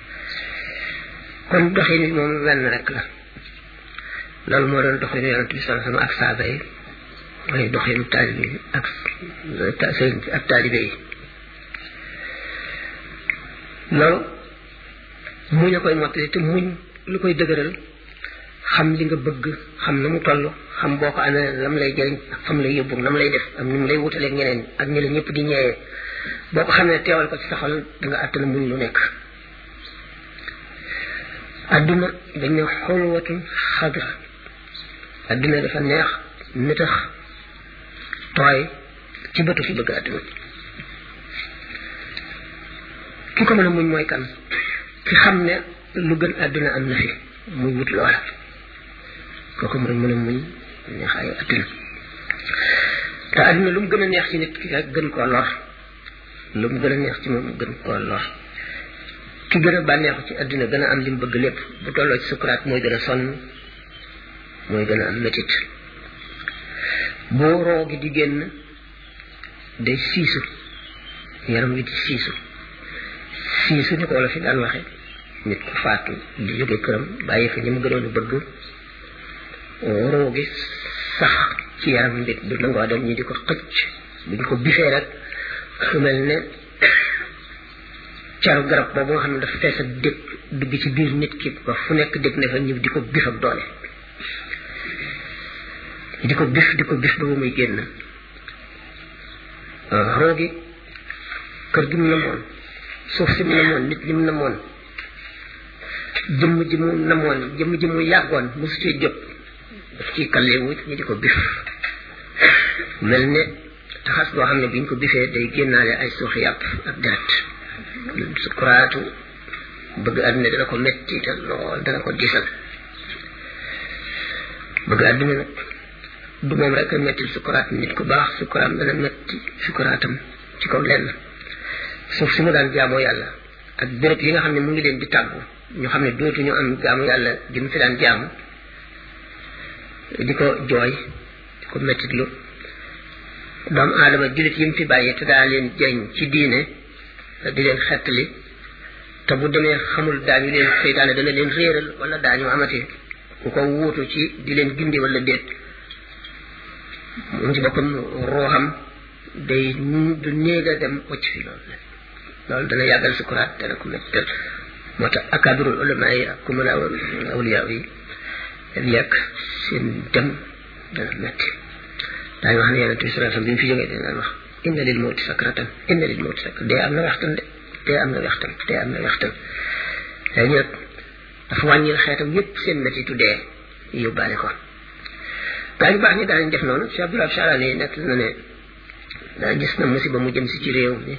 kon doxin bi moom wenn rek la loolu moo doon doxinu yonent bi sallallahu alayhi wasallam ak saaba yi mooy doxinu taalibe yi ak sëriñ ak taalibe yi loolu muñ a koy mottali te muñ lu koy dëgëral xam li nga bëgg xam na mu toll xam boo ko amee lam lay jëriñ ak fam lay yóbbu nam lay def ak ni mu lay wutaleeg ñeneen ak ñi la ñëpp di ñeewee boo ko xamee teewal ko ci sa xol da nga àttana muñ lu nekk adduna dañ ne xulwatun xadra adduna dafa neex nitax tooy ci bëtu fi bëgg adduna ki ko mën a muñ mooy kan ki xam ne lu gën adduna am na fi muy wut loola kooku mooy mën a muñ neexaayu adduna te adduna lu mu gën a neex ci nit ki rek gën koo lor lu mu gën a neex ci moom gën koo lor ki gën a bànneexu ci adduna gën a am li mu bëgg lépp bu tolloo ci sukuraat mooy gën a sonn mooy gën a am métit boo roo gi di génn day siisu yaram wi di siisu siisu ni ko wala fi daan waxe nit ku faatu di jóge këram bàyyi fa ñi mu gënoon a bëgg roo gi sax ci yaram nit du nangoo dem ñi di ko xëcc buñ ko bifee rek fu mel ne caru garab boobu nga xam ne dafa fees ak dëkk dugg ci biir nit ki ba fu nekk dëkk ne fa ñëw di ko bif ak doole di ko bif di ko bif ba muy génn roogi kër gi mu namoon suuf si mu namoon nit li mu namoon jëmm ji mu namoon jëmm ji mu yàggoon mosu cee jóg daf ciy kalleewu ñi di ko bif mel ne taxas boo xam ne biñ ko bifee day génnaale ay suuxi yàpp ak deret sukuraatu bëgg àdduna dana ko metti te lool dana ko diisal bëgg àdduna nag du moom rek a metti sukuraat nit ku baax sukuraam dana metti sukuraatam ci kaw lenn suuf si mu daan jaamoo yàlla ak béréb yi nga xam ne mu ngi leen di tàggu ñu xam ne dootuñu am jaamu yàlla gi mu fi daan jaamu di ko jooy di ko mettitlu doomu aadama jullit yi mu fi bàyyi te daa leen jëriñ ci diine di leen xettali te bu demee xamul daañu leen seytaane dana leen réeral wala daañu amati ku ko wuutu ci di leen gindi wala déet moom ci boppam ruuxam day du néeg a dem wacc fi loolu loolu dana yàggal sukuraat dana ko mettal moo tax akabirul ulama yi ak ku mën a awliya yi yekk seen dem dana metti daañu wax ne yonente bi sallallahu alayhi wasallam bi mu fi jógee dana wax inna lil mawti sakratan inna lil mawti sakratan dee am na waxtan de dee am na waxtan dee am na waxtan léegi nag dafa wàññil xeetam yépp seen mettitu dee yóbbaale ko gaa ñu baax ñi daañu def noonu Cheikh Abdoulaye Charani nekk na ne daa gis na musiba mu jëm si ci réew mi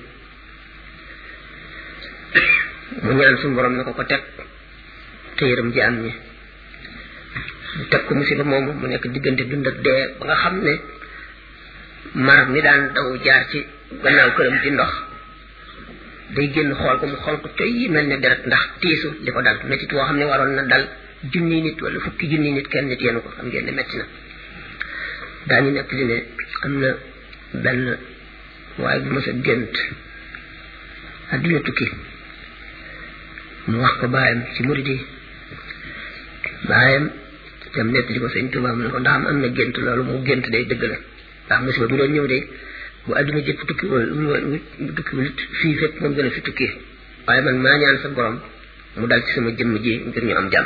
mu ñaan suñu borom na ko ko teg te yërëm jaam ñi mu teg ko musiba moomu mu nekk diggante dund ak dee ba nga xam ne mar mi daan daw jaar ci gannaaw këram ci ndox day génn xool ko mu xool ko coy yi mel ne deret ndax tiisu li ko dal métit woo xam ne waroon na dal junni nit wala fukki junni nit kenn nit yenu ko xam ngeen ne métti na daañu nekk li ne am na benn waaye bu mës a gént adduna tukki mu wax ko baayam ci murid yi baayam dem nekk li ko sëñ Tuubaa mu ne ko ndax am na gént loolu mu gént day dëgg la ndax musiba bu doon ñëw de bu adduna jëpp tukki wala tukki wala fii fépp moom gën a fi tukki waaye man maa ñaan sa borom mu dal ci sama jëmm ji ngir ñu am jàmm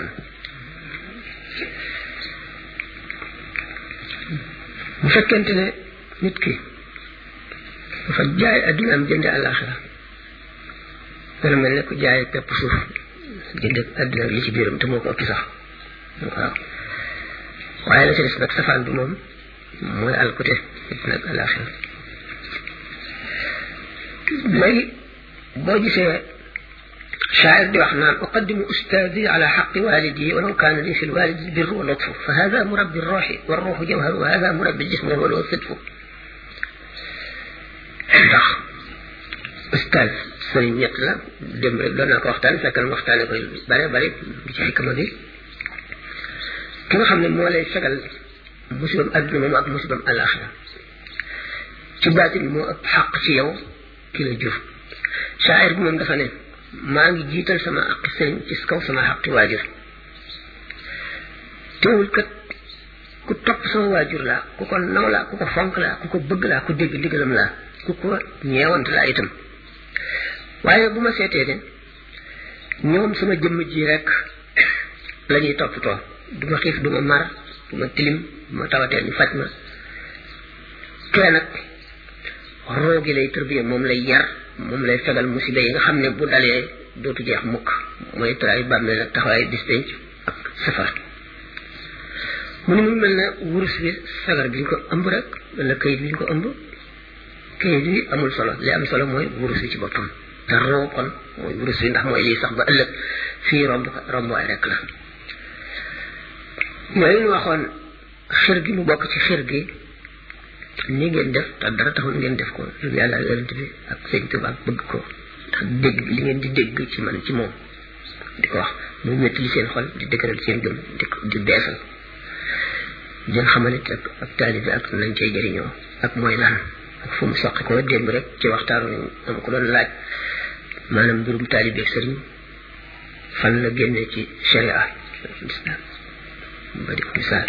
bu fekkente ne nit ki dafa jaay adduna am jënde àllaaxira dana mel ne ku jaay pepp suuf jënde adduna li ci biiram te moo ko ëpp sax waaw waaye la ci des nag safaan bi moom mooy alkute nit nag àllaaxira léegi boo gisee شاعر دي وحنا أقدم أستاذي على حق والدي ولو كان لي في الوالد البر واللطف فهذا مربي الروح والروح جوهر وهذا مربي الجسم وهو الصدف ndax ustaz sëriñ ñett la dem rek doon naa ko waxtaan fekkal waxtaane koy bare bare ci xikma bi ki nga xam ne moo lay fegal musibam adduna moom ak musibam alaxira ci baatin moo ëpp xaq ci yow ki la jur shaa'ir bi moom dafa ne maa ngi jiital sama aqi sëriñ ci kaw sama xaqi waajur teewul kat ku topp sama waajur laa ku ko naw laa ku ko fonk laa ku ko bëgg laa ku dégg ndigalam laa ku ko ñeewant laa itam waaye bu ma seetee ne ñoom sama jëmm ji rek la ñuy toppatoo du ma xiif du ma mar du ma tilim du ma tawatee ñu faj ma kee nag roogi lay tërbiye moom lay yar moom lay fegal musiba yi nga xam ne bu dalee dootu jeex mukk mooy tëraayu bàmmeel ak taxawaay bis penc ak safar mu ne mu mel ne wurus bi sagar bi ñu ko ëmb rek wala kayit bi ñu ko ëmb kayit bi amul solo li am solo mooy wurus bi ci boppam te roo kon mooy wurus bi ndax mooy lii sax ba ëllëg fii romb rombaay rek la mooy ñu waxoon xir gi mu bokk ci xir gi ni ngeen def te dara taxul ngeen def ko lu yàlla yonent bi ak sëñ Tuubaa bëgg ko ak dégg li ngeen di dégg ci man ci moom di ko wax muy métti li seen xol di dëgëral seen gëm di di beesal di xamalit ak ak taalibi ak nañ cay jëriñoo ak mooy lan ak fu mu soqi ko démb rek ci waxtaanu ni am ko doon laaj maanaam mbirum taalibi ak sëriñ fan la génnee ci sharia islam ba di ko misaal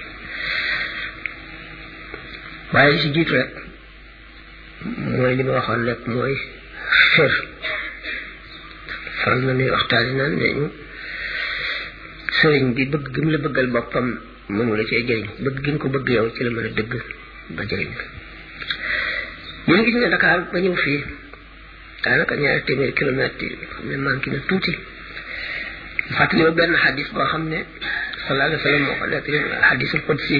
waaye li si jiitu rek mooy li ma waxoon rek mooy xër faral na nuy waxtaani naan ne ñu sëriñ bi bëgg gi mu la bëggal boppam mënu la cee jëriñ bëgg gi nga ko bëgg yow ci la mën a dëgg ba jëriñ la ñu gis ne Dakar ba ñëw fii daanaka ñaari téeméeri kilomètres yi xam ne manqué na tuuti fàttali ma benn xadis boo xam ne sallallahu alayhi wa sallam moo ko nekk xadisul qudsi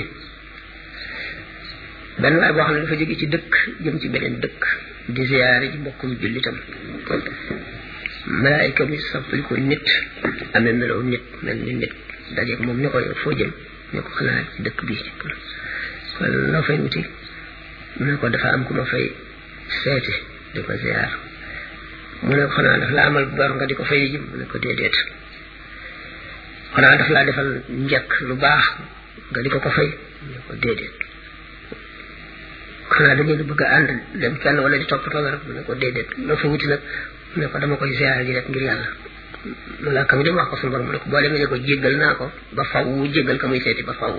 benn waay boo xam ne dafa jóge ci dëkk jëm ci beneen dëkk di ziyaare ji mbokkum jullitam malaayika mi soppali ko nit amee meloo nit mel ni nit dajeeg moom ne ko yow foo jëm ne ko xanaa ci dëkk bi kon loo fay wuti mu ne ko dafa am ku ma fay seeti di ko ziyaar mu ne xanaa daf la amal bor nga di ko fay ji mu ne ko déedéet xanaa daf laa defal njëkk lu baax nga di ko ko fay mu ne ko déedéet xanaa da ngeen bëgg a ànd dem fenn wala di toppatoo rek mu ne ko déedéet loo fa wuti nag mu ne ko dama koy ziyaare ji rek ngir yàlla malaaka mi dem wax ko suñu borom mu ne ko boo demee ne ko jéggal naa ko ba faw jéggal ka muy seeti ba faw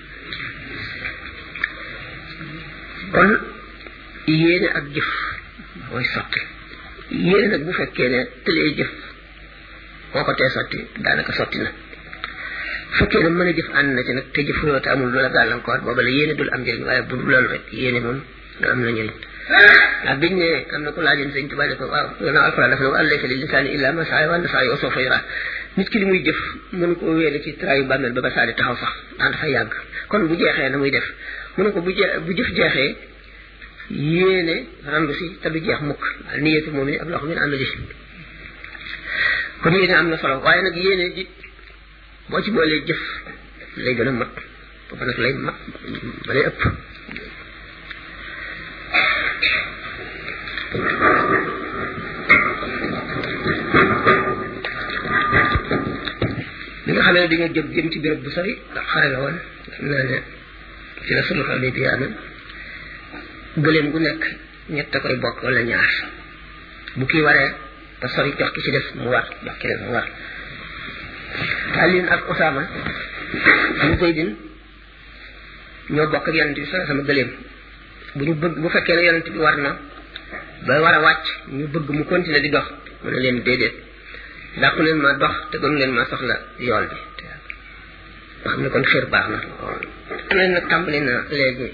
kon yéene ak jëf mooy sotti yéene nag bu fekkee ne tëlee jëf boo ko tee sotti daanaka sotti na fekkee ne mën a jëf ànd na ci nag te jëfuloo te amul loola gàllankoor booba la yéene dul am njëriñ waaye bu dul loolu rek yéene moom da am na njëriñ ndax biñ ne am na ko laajoon sëñ Tuubaa ne ko waaw gannaaw alxuraan dafa ne wa laysa lil insaani illaa maa saa wa anna sa'yahu sawfa yuraa nit ki li muy jëf mën ko wéele ci trayu bàmmeel ba ba saa di taxaw sax ndax dafa yàgg kon bu jeexee na muy def mu ne ko bu jeex bu jëf jeexee yéene randu si te du jeex mukk niyatu moom ni ak loxo min amali kon yéene am na solo waaye nag yéene ji boo ci boolee jëf lay gën a mat booba nag lay mat ba lay ëpp li nga xamee ne dañoo jëm jëm ci béréb bu sori ndax xare la woon naa ne ci la sulh Hudaybiya am gëléem gu nekk ñett a koy bokk wala ñaar bu kii waree te sori jox ki ci def mu war jox keneen mu war Aliin ak Usaama ñu Zaydin ñoo bokk ak yonent bi sa sama gëléem bu ñu bëgg bu fekkee ne yonent bi war na ba war a wàcc ñu bëgg mu continuer di dox mu ne leen déedéet dàqu leen ma dox te gënu leen ma soxla yool bi nga xam ne kon xir baax na leen nag tàmbali na léegi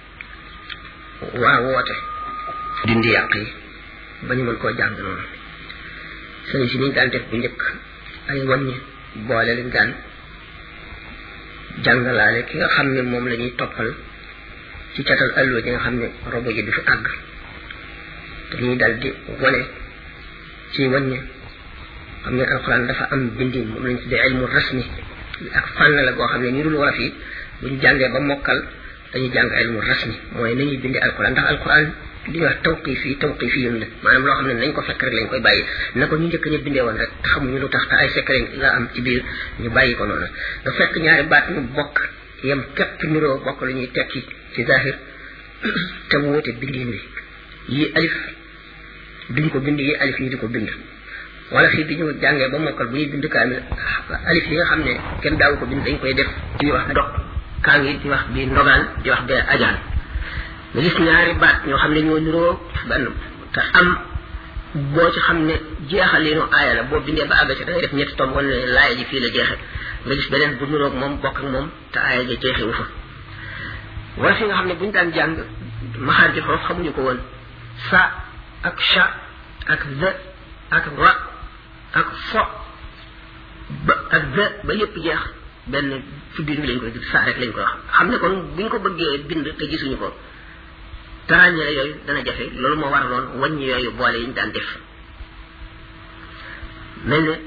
waa woote dindi yàq yi ba ñu mën koo jàng noonu sëriñ si niñ daan def bu njëkk ay wàññi boole lañ daan jàngalaale ki nga xam ne moom la ñuy toppal ci catal alluwa ji nga xam ne robo ji du fi àgg dañuy dal di wane ci wàññi xam ne alxuraan dafa am bindin moom lañ tuddee ilmu rasmi ak fànn la goo xam ne ñu dul wolof yi buñ jàngee ba mokkal dañuy jàng ilmu rasmi mooy nañuy bindee alxuraan ndax alxuraan li ñuy wax tawqiif yi tawqiif yi la maanaam loo xam ne nañ ko fekk rek lañ koy bàyyi na ko ñu njëkk ñu bindee woon rek xamuñu lu tax te ay secret la am ci biir ñu bàyyi ko noonu nga fekk ñaari baat ñu bokk yem képp niroo bokk lu ñuy tekki ci zahir te mu wute bindin bi yi alif duñ ko bind yi alif ñu di ko bind wala fii bi ñu jàngee ba mokkal bu ñuy bind kaamil alif yi nga xam ne kenn daawu ko bind dañ koy def di wax dog kaa ngi di wax bi ndogaan di wax bee ajaan nga gis ñaari baat ñoo xam ne ñoo niroo benn te am boo ci xam ne jeexalinu aaya la boo bindee ba àgg ci da ngay def ñetti tomb wala ne laaya ji fii la jeexe nga gis beneen bu niroog moom bokk ak moom te aaya ji jeexewu fa wala fi nga xam ne buñu daan jàng maxaar ji foofu xamuñu ko woon sa ak sha ak z ak ra ak fo ba ak z ba yépp jeex benn ci biir bi lañ koy sa rek lañ koy wax xam ne kon buñ ko bëggee bind te gisuñu ko tarañere yooyu dana jafe loolu moo waraloon wàññi yooyu boole yi ñu daan def mel ne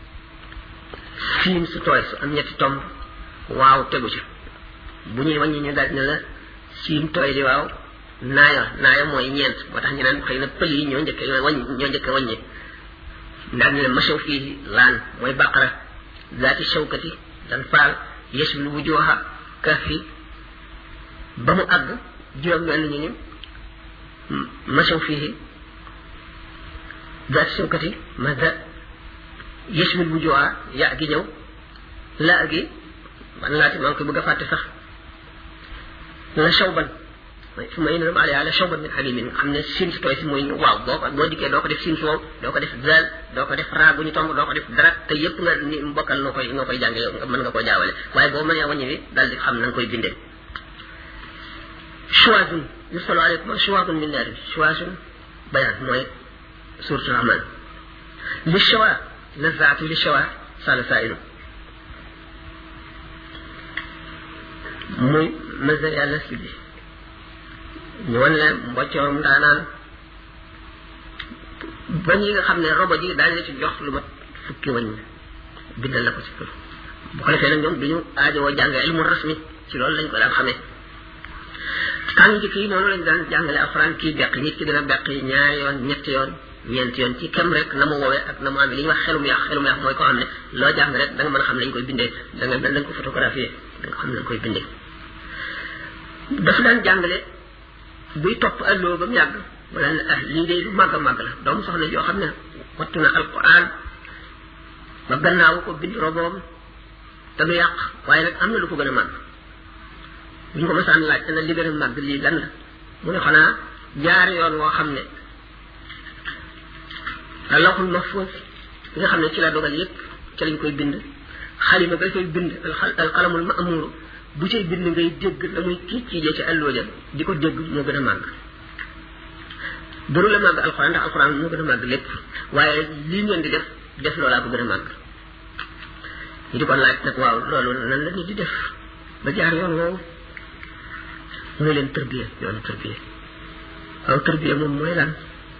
fiim su tooy su am ñetti tomb waaw tegu ci bu ñuy wàññi ñu daal ne la siim tooy di waaw naaya naaya mooy ñeent moo tax ñu naan xëy na pël yi ñoo njëkke wàññi ñoo njëkke wàññi daal ne la machaw fii laan mooy baqara zaati shawkati dan faal yashmil wujuha kafi ba mu àgg juróom benn ñu ni machaw fii zaati shawkati mazda yashmil wujuha ya gi ñëw la gi man laati maa ngi koy bëgg a fàtte sax la shawban fu ma yéene baale yàlla shawban min halimin xam ne siin si tooy si mooy waaw boo ko boo dikkee doo ko def siin si wow doo ko def zal doo ko def raa bu ñu tomb doo ko def dara te yépp nga ni mbokkal noo koy noo koy jànge yow mën nga koo jaawale waaye boo mënee wàññi bi daal di xam na nga koy bindee chuwazun yursalo aleykum chuwazun min naari chuwazun bayaan mooy suratul rahman li chawa nazaatu li chawa sala sainu muy mazal yàlla si bi ñu wan leen mboccoorum daanaan bañ yi nga xam ne robo ji daañu la ci jox lu mat fukki wañ bindal la ko ci kër bu ko defee nag ñoom duñu aajowoo jàng ilmu rasmi ci loolu lañ ko daan xamee tàng njëkk yi noonu lañ daan jàngale alxuraan kii beq nit ki dina beq ñaari yoon ñetti yoon ñeenti yoon ci kem rek na mu woowee ak na mu amee li ñuy wax xelum yàq xelum yàq mooy koo xam ne loo jàng rek da nga mën a xam lañ koy bindee da nga da nga ko photographier da nga xam lañ koy bindee dafa daan jàngale buy topp alloo ba mu yàgg wala ne ah lii de lu màgg a màgg la doomu soxna yoo xam ne wattu na alquran ba gannaaw ko bind roboom te du yàq waaye nag am na lu ko gën a màgg bu ñu ko masaan laaj te na li gën a màgg lii lan la mu ne xanaa jaar yoon woo xam ne lawhul mahfuz nga xam ne ci la dogal yépp ci lañ koy bind xalima ba koy bind al qalamul ma'mur bu cay bind ngay dégg la muy kii ciijee ci allooja di ko dégg moo gën a màgg duru la màgg alxuraan ndax alxuraan moo gën a màgg lépp waaye lii ngeen di def def loolaa ko gën a màgg ñu di ko laaj nag waaw loolu nan la nit di def ba jaar yoon woowu mu ne leen tërbiya yoonu tërbiya waaw tërbiya moom mooy lan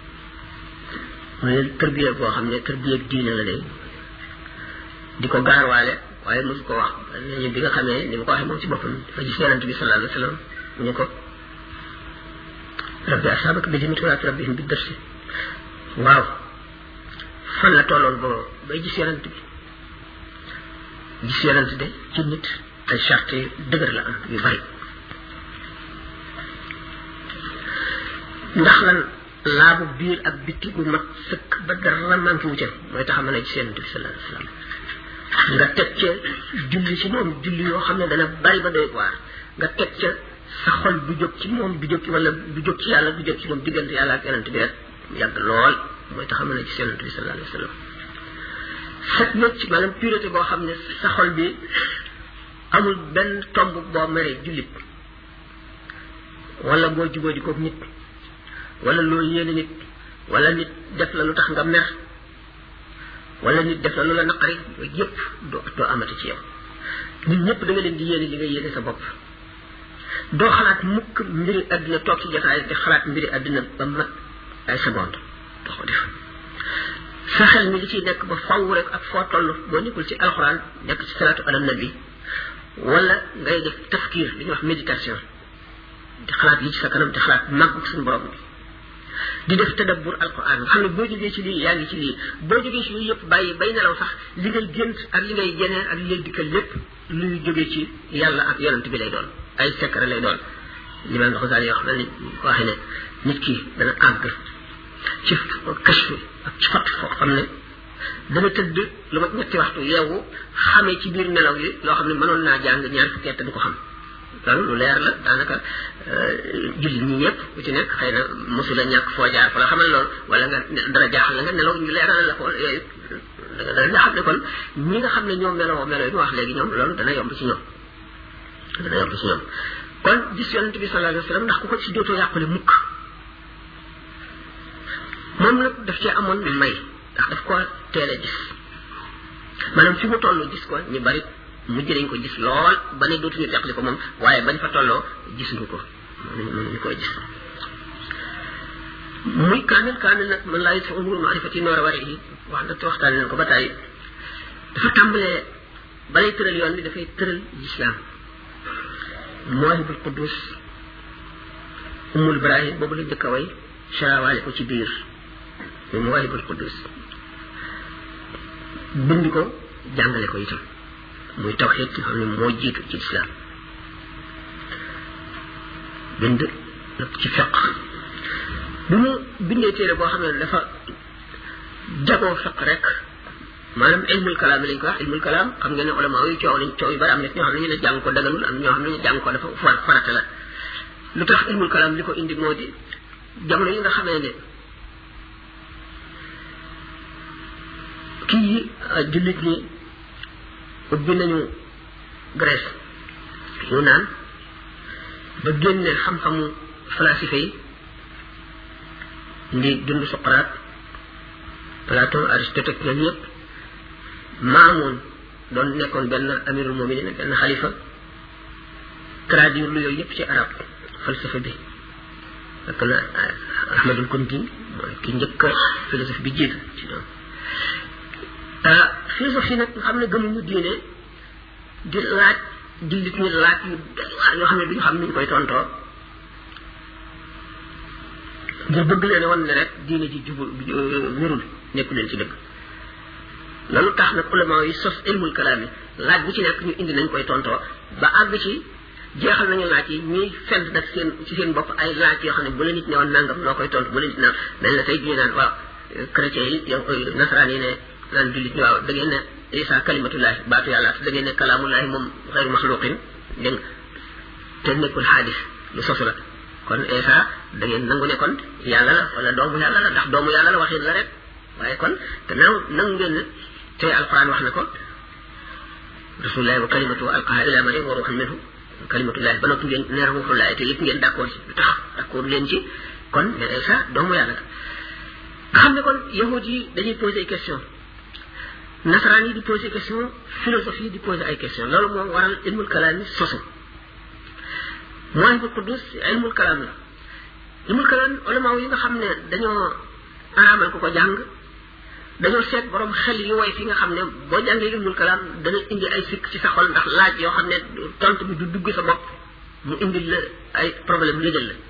mu ne tërbiya boo xam ne tërbiya diine la day di ko gaarwaale waaye mosu ko wax ñu bi nga xamee ni mu ko waxee moom ci boppam dafa gis yonent bi sallallahu alayhi wa sallam mu ne ko rabbi asabaka bi jimit wala rabbihim bi dërsi waaw fan la tolloon boo bay gis yonent bi gis yonent de ci nit ay charte yu dëgër la am yu bari ndax lan laabu biir ak bitti gu mat sëkk ba dara manqué wu ca mooy tax a mën a gis yonent bi sallallahu alayhi wa sallam nga teg ca julli ci moom julli yoo xam ne dana bari ba doy waar nga teg ca sa xol du jóg ci moom du jóg ci wala du jóg ci yàlla du jóg ci moom diggante yàlla ak yonent bi rek yàgg lool mooy tax a mën a gis yonent bi sallallahu alayhi wa sallam set wecc maanaam pureté boo xam ne sa xol bi amul benn tomb boo meree jullit wala boo jubóo di ko nit wala loo yéene nit wala nit def la lu tax nga mer wala nit def la lu la naqari yooyu yëpp doo doo amati ci yow nit ñëpp da nga leen di yéene li nga yéene sa bopp doo xalaat mukk mbiri àddina toog ci jotaay di xalaat mbiri àddina ba mat ay seconde doo ko def sa xel mi li ciy nekk ba faw rek ak foo toll boo nekkul ci alxuraan nekk ci salaatu ala nabi wala ngay def tafkir li ñuy wax méditation di xalaat li ci sa kanam di xalaat màggu suñu borom bi di def tadabbur alquran nga xam ne boo jógee ci lii yaa ngi ci lii boo jógee ci lii yëpp bàyyi bay nelaw sax li ngay gént ak li ngay jeneen ak li ngay dikkal lépp luy jógee ci yàlla ak yonent bi lay doon ay secret lay doon limaam Xasaali wax na ni waxee ne nit ki dana àgg ci kashf ak ci fat foo xam ne dana tëdd lu mat ñetti waxtu yeewu xamee ci biir nelaw yi loo xam ne mënoon naa jàng ñaar fukki at du ko xam loolu lu leer la daanaka jullit ñi ñëpp ku ci nekk xëy na mosula ñàkk foo jaar fa la xamal loolu wala nga dara jaaxal la nga nelaw ñu leeral la ko yooyu nga xam ne kon ñi nga xam ne ñoom meloo melo yi ñu wax léegi ñoom loolu dana yomb ci ñoom dana yomb ci ñoom kon gis yonent bi sallallahu alayhi wa sallam ndax ku ko ci dootoo yàqule mukk moom nag daf cee amoon may ndax daf ko teel a gis maanaam fi mu toll gis ko ñu bari mujj nañ ko gis lool ba ne dootuñu teqli ko moom waaye bañ fa tolloo gisuñu ko mënuñu koy gis muy kaamil kaamil nag man laa yit umuru maarifati noor a wari yi wax na te waxtaane nañ ko ba tàyyi dafa tàmbalee balay tëral yoon bi dafay tëral lislaam Mawahibul Quddus Ummul Ibrahim boobu la njëkk a way sarawaale ko ci biir muy Mawahibul Quddus bind ko jàngale ko itam muy tawxiid nga xam ne moo jiitu ci islam bind nag ci fiq bi mu bindee téere boo xam ne dafa jagoo fiq rek maanaam ilmul kalaam lañ ko wax ilmul kalaam xam ngeen ne ulama yu coow lañ coow yu bari am na ñoo xam ne ñu ne jàng ko daganul am ñoo xam ne ñu jàng ko dafa farata la lu tax ilmul kalaam li ko indi moo di jamono yi nga xamee ne kii jullit ñi ubbi nañu Grèce ñu naan ba génne xam-xamu falasife yi ndi dund Socrate Platon Aristote ak ñoom ñëpp Maamoun doon nekkoon benn amirul muminin benn xalifa traduire lu yooyu yëpp ci arab falsafe bi ak na Ahmadul Kunti mooy ki njëkk philosophe bi jiitu ci ñoom ah philosophie nag nga xam ne gëmuñu diine di laaj jullit ñi laaj yu yoo xam ne duñu xam ni ñu koy tontoo ngir bëgg leen wan ne rek diine ji jubul wérul nekku leen ci dëgg loolu tax nag ulama yi sos ilmul kalaam yi laaj bu ci nekk ñu indi nañ koy tontoo ba àgg ci jeexal nañu laaj yi ñuy fent nag seen ci seen bopp ay laaj yoo xam ne bu la nit ne woon nangam noo koy tontu bu la nit naan dañ la tey ñu naan waaw chrétien yi yow nasaraan yi ne naan jullit ñi waaw da ngeen ne isa kalimatullahi baatu yàlla da ngeen ne kalaamullahi moom xayru maxluqin dégg nga te nekkul xaadis lu sosu la kon isa da ngeen nangu ne kon yàlla la wala doomu yàlla la ndax doomu yàlla la waxin la rek waaye kon gannaaw nangu ngeen ne te alquran wax na ko rasulullahi wa kalimatu alqaha ila maryam wa ruuxan minhu kalimatullahi ba noppi ngeen ne ruuxullahi te yëpp ngeen d'accord ci lu tax d'accord leen ci kon ne isa doomu yàlla la nga xam ne kon yahud yi dañuy poser ay question nasaraan yi di poser question philosophie yi di poser ay question loolu moo waral ilmul kalaam yi sosu mooy bu Quddus ilmul kalaam la ilmul kalaam ulama yi nga xam ne dañoo araamal ko ko jàng dañoo seet borom xel yu way fi nga xam ne boo jàngee ilmul kalaam dana indi ay sikk ci sa xol ndax laaj yoo xam ne tontu bi du dugg sa bopp mu indi la ay problème lëjal la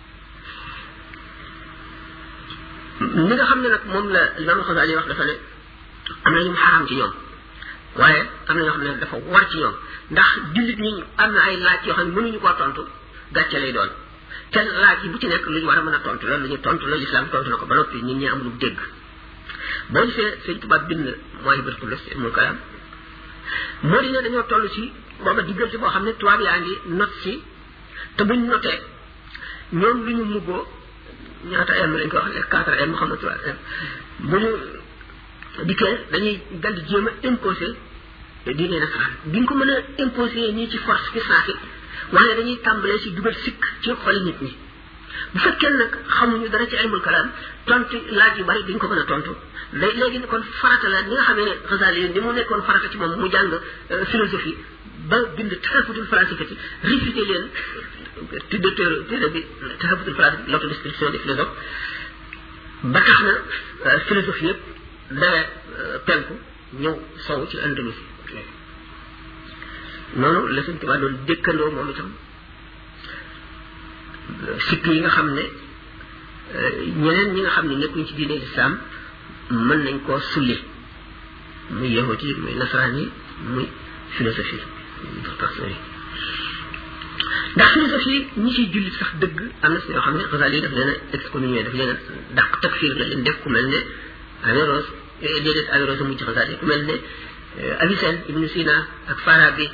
li nga xam ne nag moom la Imam Xasaali wax dafa ne am na ñu xaraam ci ñoom waaye am na ñoo xam ne dafa war ci ñoom ndax jullit ñi am na ay laaj yoo xam ne mënuñu koo tontu gàcce lay doon te laaj yi bu ci nekk lu ñu war a mën a tontu loolu lu ñu tontu la lislaam tontu na ko ba noppi nit ñi am lu dégg boo gisee sëñ tubaab bind mooy bët kulus ilmul kalaam moo di ne dañoo toll ci booba diggante boo xam ne tubaab yaa ngi not si te buñ notee ñoom lu ñu muggoo ñaata m lañ ko wax ne quatre m xam na trois m bu ñu dikkee dañuy dal di jéem a imposer diine nasaraan duñ ko mën a imposer nii ci force fi saasi waaye dañuy tàmbalee ci dugal sikk ci xoli nit ñi bu fekkee nag xamuñu dara ci ilmul kalaam tontu laaj yu bari duñ ko mën a tontu day léegi kon farata la ni nga xamee ne Xasaali yi ni mu nekkoon farata ci moom mu jàng philosophie ba bind taxafutul falsafati réfuté leen tudde téere téere bi taxafutul falsafati l'autodescription des philosophes ba tax na philosophie yëpp dawee penku ñëw sow ci Andalus noonu la Sëñ Tuubaa doon dëkkandoo moom itam sikk yi nga xam ne ñeneen ñi nga xam ne nekkuñ ci diine lislaam mën nañ koo sulli muy yahut yi muy nasaraan yi muy philosophie ndax philosophie ñi ciy jullit sax dëgg am na si ñoo xam ne Xasaali yi daf leen a excommunié daf leen a dàq takfir la leen def ku mel ne Averroès déedéet Averroès a mujj Xasaali ku mel ne Avicenne Ibn Sina ak Farabi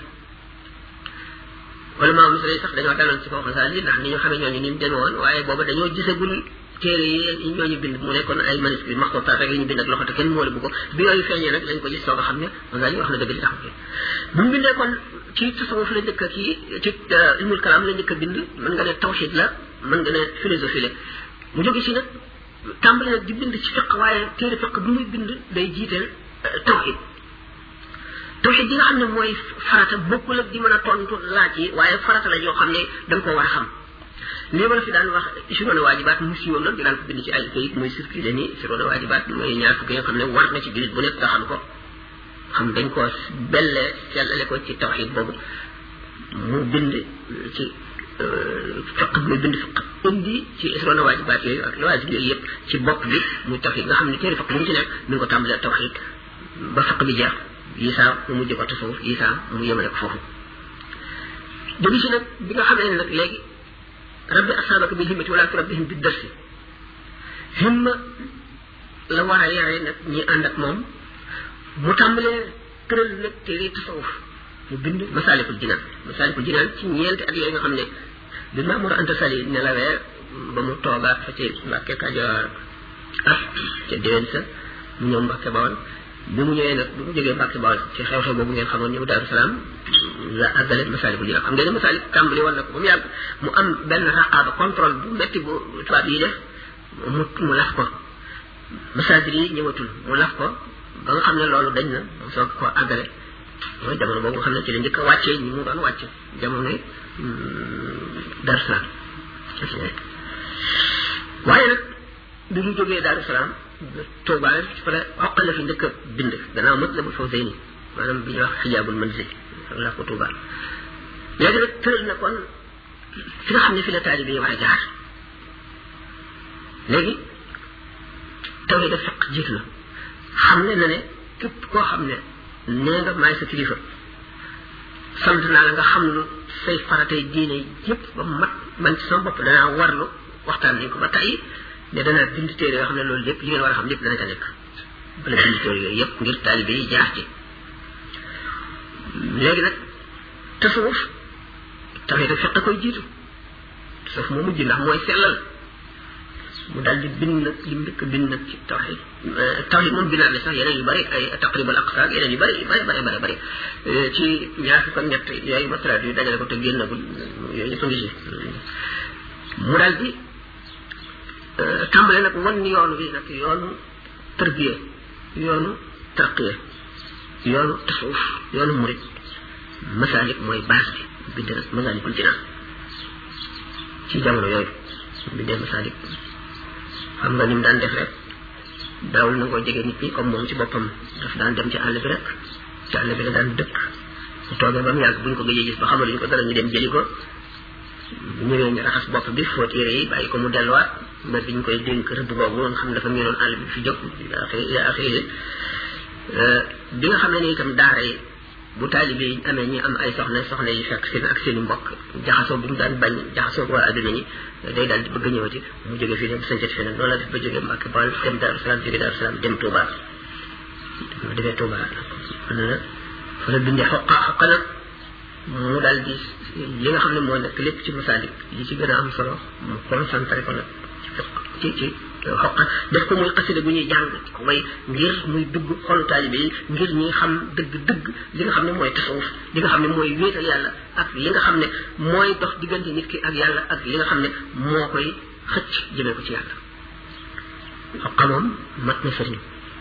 wala maa misra yi sax dañoo daloon ci kaw Xasaali ndax ni ñu xamee ñooñu ni mu demee woon waaye booba dañoo gisagul téere yi ñooñu bind mu nekkoon ay manuscrits maxtootaat rek yi ñu bind ak loxo te kenn moole bu ko bi yooyu feeñee nag lañ ko gis soog a xam ne Xasaali wax na dëgg li tax bu mu bindee kon ci tasawuf la njëkk a kii ci ilmul kalaam la njëkk a bind mën nga ne tawxid la mën nga ne philosophie la mu jóge si nag tàmbali nag di bind ci fiq waaye téere fiq bi muy bind day jiiteel tawxid tawxid yi nga xam ne mooy farata bokkul ak di mën a tontu laaj yi waaye farata la yoo xam ne da nga ko war a xam lii ma la fi daan wax ishiroona waajibaat mu siiwoon nag di daan ko bind ci ay kayit muy circulé ni ishiroona waajibaat mooy ñaar fukki nga xam ne war na ci jullit bu nekk nga xam ko xam dañ ko bellee sellale ko ci tawxid boobu mu bind ci fiq muy bind fiq indi ci ishiroona waajibaat yooyu ak waajib yooyu yëpp ci bopp bi muy tawxid nga xam ne téere fiq bu mu ci nekk mi ngi ko tàmbalee tawxid ba fiq bi jeex yisaa mu mujj ko tasawuf yisaa mu yemale ko foofu jógi si nag bi nga xamee ne nag léegi rabbi asaabaka bil himmati wala turabbihim bi darsi himma la war a yare nag ñi ànd ak moom mu tàmbalee tëral nag téere tasawuf mu bind masaalikul jinaan masaalikul jinaan ci ñeenti at yooyu nga xam ne bi Mamour Anta Sali nelawee ba mu toogaat fa ci Mbàkke Kajoor ah ca déwén sa mu ñëw Mbàkke Bawol bi mu ñëwee nag bi mu jógee Mbàkke Bawol ci xew-xew boobu ngeen xamoon ñëw Daaru Salaam la àggale masaalikul jinaan xam ngeen ne masaalik tàmbali woon na ko ba mu yàgg mu am benn raqaaba contrôle bu métti bu tubaab yi def mu mu laf ko masaadir yi ñëwatul mu laf ko ba nga xam ne loolu dañ na mu soog ko àggale mooy jamono boobu nga xam ne ci la njëkk a wàccee ñi mu doon wàcce jamono yi Daaru Salaam waaye nag bi mu jógee Daaru Salaam Tuubaa pare xoqal la fi njëkk a bind gannaaw Matlabul Fawzayni maanaam bi ñuy wax xijaabul manzil la ko Tuubaa léegi nag tëral na kon fi nga xam ne fi la taalibe yi war a jaar léegi tawhid da fiq jiitu na xam ne na ne képp koo xam ne nee nga maay sa kilifa sant naa la nga xam ne say faratay diine yëpp ba mat man ci sama bopp danaa warlu waxtaan nañ ko ba tey ne danaa bind téere yoo xam ne loolu lépp li ngeen war a xam lépp dana ca nekk bala bind téere yooyu yëpp ngir taalibe yi jaar ci léegi nag tasawuf tawhid da fiq koy jiitu tasawuf moo mujj ndax mooy sellal mu daal di bind nag li mu njëkk bind nag ci tawhid tawhid moom bindaat na sax yeneen yu bëri ay taqrib al aqsa yeneen yu bëri yu bëri bëri bëri bëri ci ñaar fukk ak ñett yooyu matériel yu dajale ko te génnagul yooyu ñëpp a ngi ci mu daal di tàmbale nag wan yoonu bi nag yoonu tërbiye yoonu tarqiye yoonu tasawuf yoonu murid masalik mooy base bi bind nag masalikul jinaan ci jamono yooyu bindee masalik xam nga ni mu daan def rek daawul na koo jege nit ñi comme moom ci boppam daf daan dem ci àll bi rek ci àll bi la daan dëkk bu toogee ba mu yàgg buñ ko gëjee gis ba xamaluñ ko dara ñu dem jëli ko bu ñëwee ñu raxas bopp bi fóot yére yi bàyyi ko mu delluwaat ba biñ koy dénk rëbb boobu nga xam dafa miinoon àll bi fi jóg axiri bi nga xam ne ni itam daara yi bu taalibe yi amee ñi am ay soxna soxna yi fekk seen ak seen i mbokk jaxasoo bu mu daan bañ jaxasoo waa adduna ñi day daal di bëgg ñëwati mu jóge fii dem sañcati feneen loolu la def ba jóge Mbàkke Bawol dem Daaru Salaam jóge Daaru Salaam dem Touba mu demee Touba na fa la bindee xoqa xoqa nag mu daal di li nga xam ne moo nekk lépp ci masaalik li ci gën a am solo mu concentré ko nag ci ci xoqa def ko muy xasida bu ñuy jàng ko way ngir muy dugg xolu taalibe yi ngir ñi xam dëgg dëgg li nga xam ne mooy tasawuf li nga xam ne mooy wéetal yàlla ak li nga xam ne mooy dox diggante nit ki ak yàlla ak li nga xam ne moo koy xëcc jëmee ko ci yàlla xoqa moom mat na sëriñ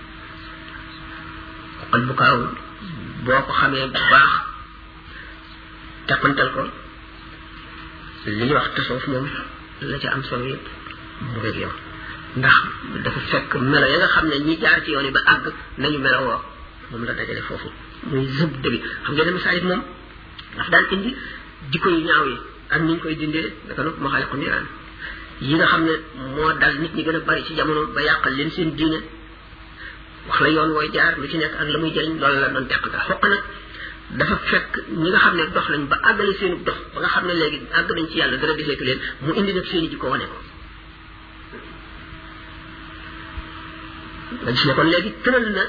xoqal bu kaaw boo ko xamee bu baax tàppantal ko li ñuy wax tasawuf moom la ca am solo yëpp mu ngi yow ndax dafa fekk melo ya nga xam ne ñi jaar ci yoon yi ba àgg nañu melo woo moom la dajale foofu muy zub bi xam ngeen ne masaalik moom daf daan indi jikko yu ñaaw yi ak ni ñu koy dindee naka nag maxaaliqu niraan yi nga xam ne moo dal nit ñi gën a bari ci jamono ba yàqal leen seen diine wax la yoon wooy jaar lu ci nekk ak la muy jëriñ loolu la doon teq daa xoq nag dafa fekk ñi nga xam ne dox nañ ba àggale seenu dox ba nga xam ne léegi àgg nañ ci yàlla dara deseetu leen mu indi nag seeni jikko wane ko nga gis ne kon léegi tëral na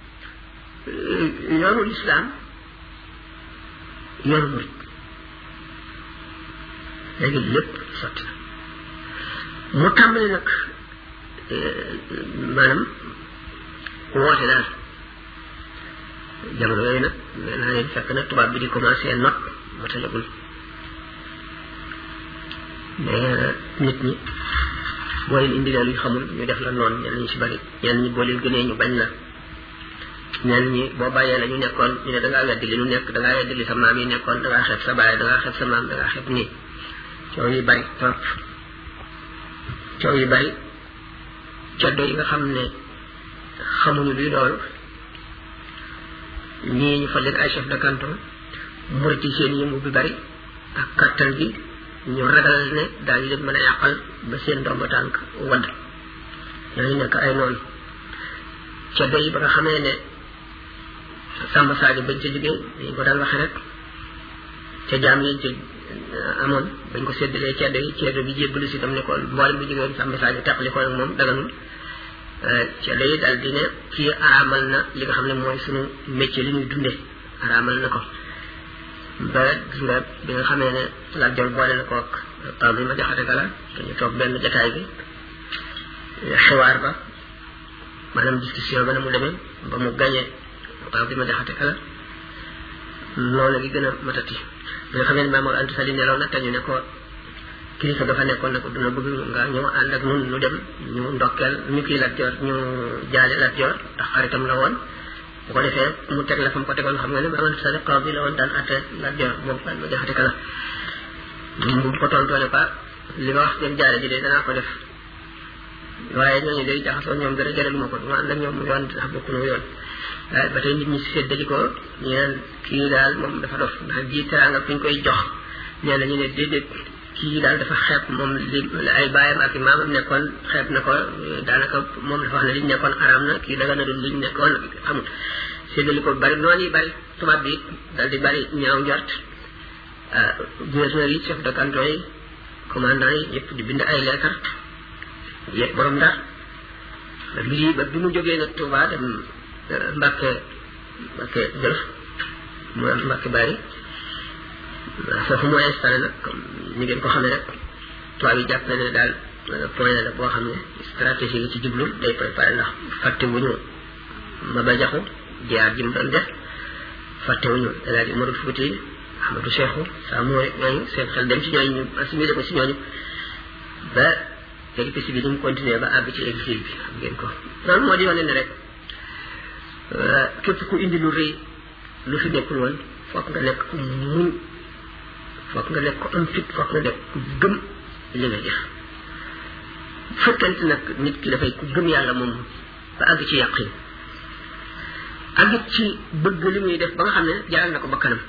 yoonu lislaam yoonu murid léegi lépp sotti na mu tàmbali nag maanaam woote daal jamono yooyu nag nee naa leen fekk na tubaab bi di commencé not matalagul mais nit ñi boo leen indi luñ xamul ñu def la noonu ñenn ñi si bari ñenn ñi boo leen gënee ñu bañ la ñenn ñi boo bàyyee la ñu nekkoon ñu ne da ngaa weddi li ñu nekk da ngaa weddi li sa maam yi nekkoon da ngaa xeeb sa baay da ngaa xeeb sa maam da ngaa xeeb nii coow yi bari trop coow yi bari ceddo yi nga xam ne xamuñu luy loolu ñii ñu fa leen ay chef de canton murit yi seen yëngu bi bari ak kattan gi ñu ragal ne daal di leen mën a yàqal ba seen ndomba tànk wadd ñooñu nekk ay noonu ceddo yi ba nga xamee ne Samba Sadio bañ ca jógee dañ ko daan waxe rek ca jaam yi ci amoon bañ ko séddalee ceddo yi ceddo bi jébbalu si tam ne ko mboolem bi jógee Samba Sadio teqali ko nag moom daganul ceddo yi daal di ne kii araamal na li nga xam ne mooy suñu métier li ñuy dundee araamal na ko ba gis nga bi nga xamee ne Lat Joor boole na ko ak taw bi ma jaxate kala dañu toog benn jataay bi xiwaar ba maanaam discussion ba na mu demee ba mu gañee taw bi ma jaxate kala loolu gi gën a matati bi nga xamee ne Maam Mor Anta Sali nelaw na te ñu ne ko kilifa dafa nekkoon ne ko duna bëgg nga ñëw ànd ak nun nu dem ñu ndokkeel ñu kii Lat Joor ñu jaale Lat Joor ndax xaritam la woon bu ko defee mu teg la fa mu ko tegoon xam nga ne Maam Anta Sali xaw bi la woon daan atte Lat Joor moom ma jaxate kala bu ko tontoo ne pas li ma wax seen jaare ji de danaa ko def waaye ñooñu day jaxasoo ñoom dara jaraluma ko duma ànd ak ñoom yoon ndax bokkunu yoon waaye ba tey nit ñi séddali ko ñu neen kii daal moom dafa dof ndax ji teraanga fi ñu koy jox ñeen ñu ne déedéet kii daal dafa xeeb moom li ay baayam ak i maamam nekkoon xeeb na ko daanaka moom dafa wax ne liñ nekkoon araam na kii daga na dul liñ nekkoon xamul séddali ko bari noonu yi bari tubaab bi dal di bari ñaaw njort gouverneur yi chef de canton yi commandant yi yëpp di bind ay leetar yëpp borom Ndar ba lii ba bi mu jógee nag Touba dem Mbàkke Mbàkke Jolof mu am Mbàkke Bari foofu mu installé nag comme ni ngeen ko xamee rek tubaab yi jàpp na ne daal point la boo xam ne stratégie yi ci jublu day préparé ndax fàtte wuñu Maba Jaxu jaar ji mu doon def fàtte wuñu El Hadji Umarul Fuuti Ahmadou Cheikhou saa mooy ñooñu seen xel dem ci ñooñu ñu assimilé ko si ñooñu ba péripétie bi ni mu continué ba àgg ci exil bi xam ngeen ko loolu moo di wane ne rek képp ku indi lu rëy lu fi nekkul woon foog nga nekk ku muñ foog nga nekk ko am fit foog nga nekk ku gëm li nga def fekkente nag nit ki dafay ku gëm yàlla moom ba àgg ci yàqin àgg ci bëgg li muy def ba nga xam ne jaral na ko ba kanam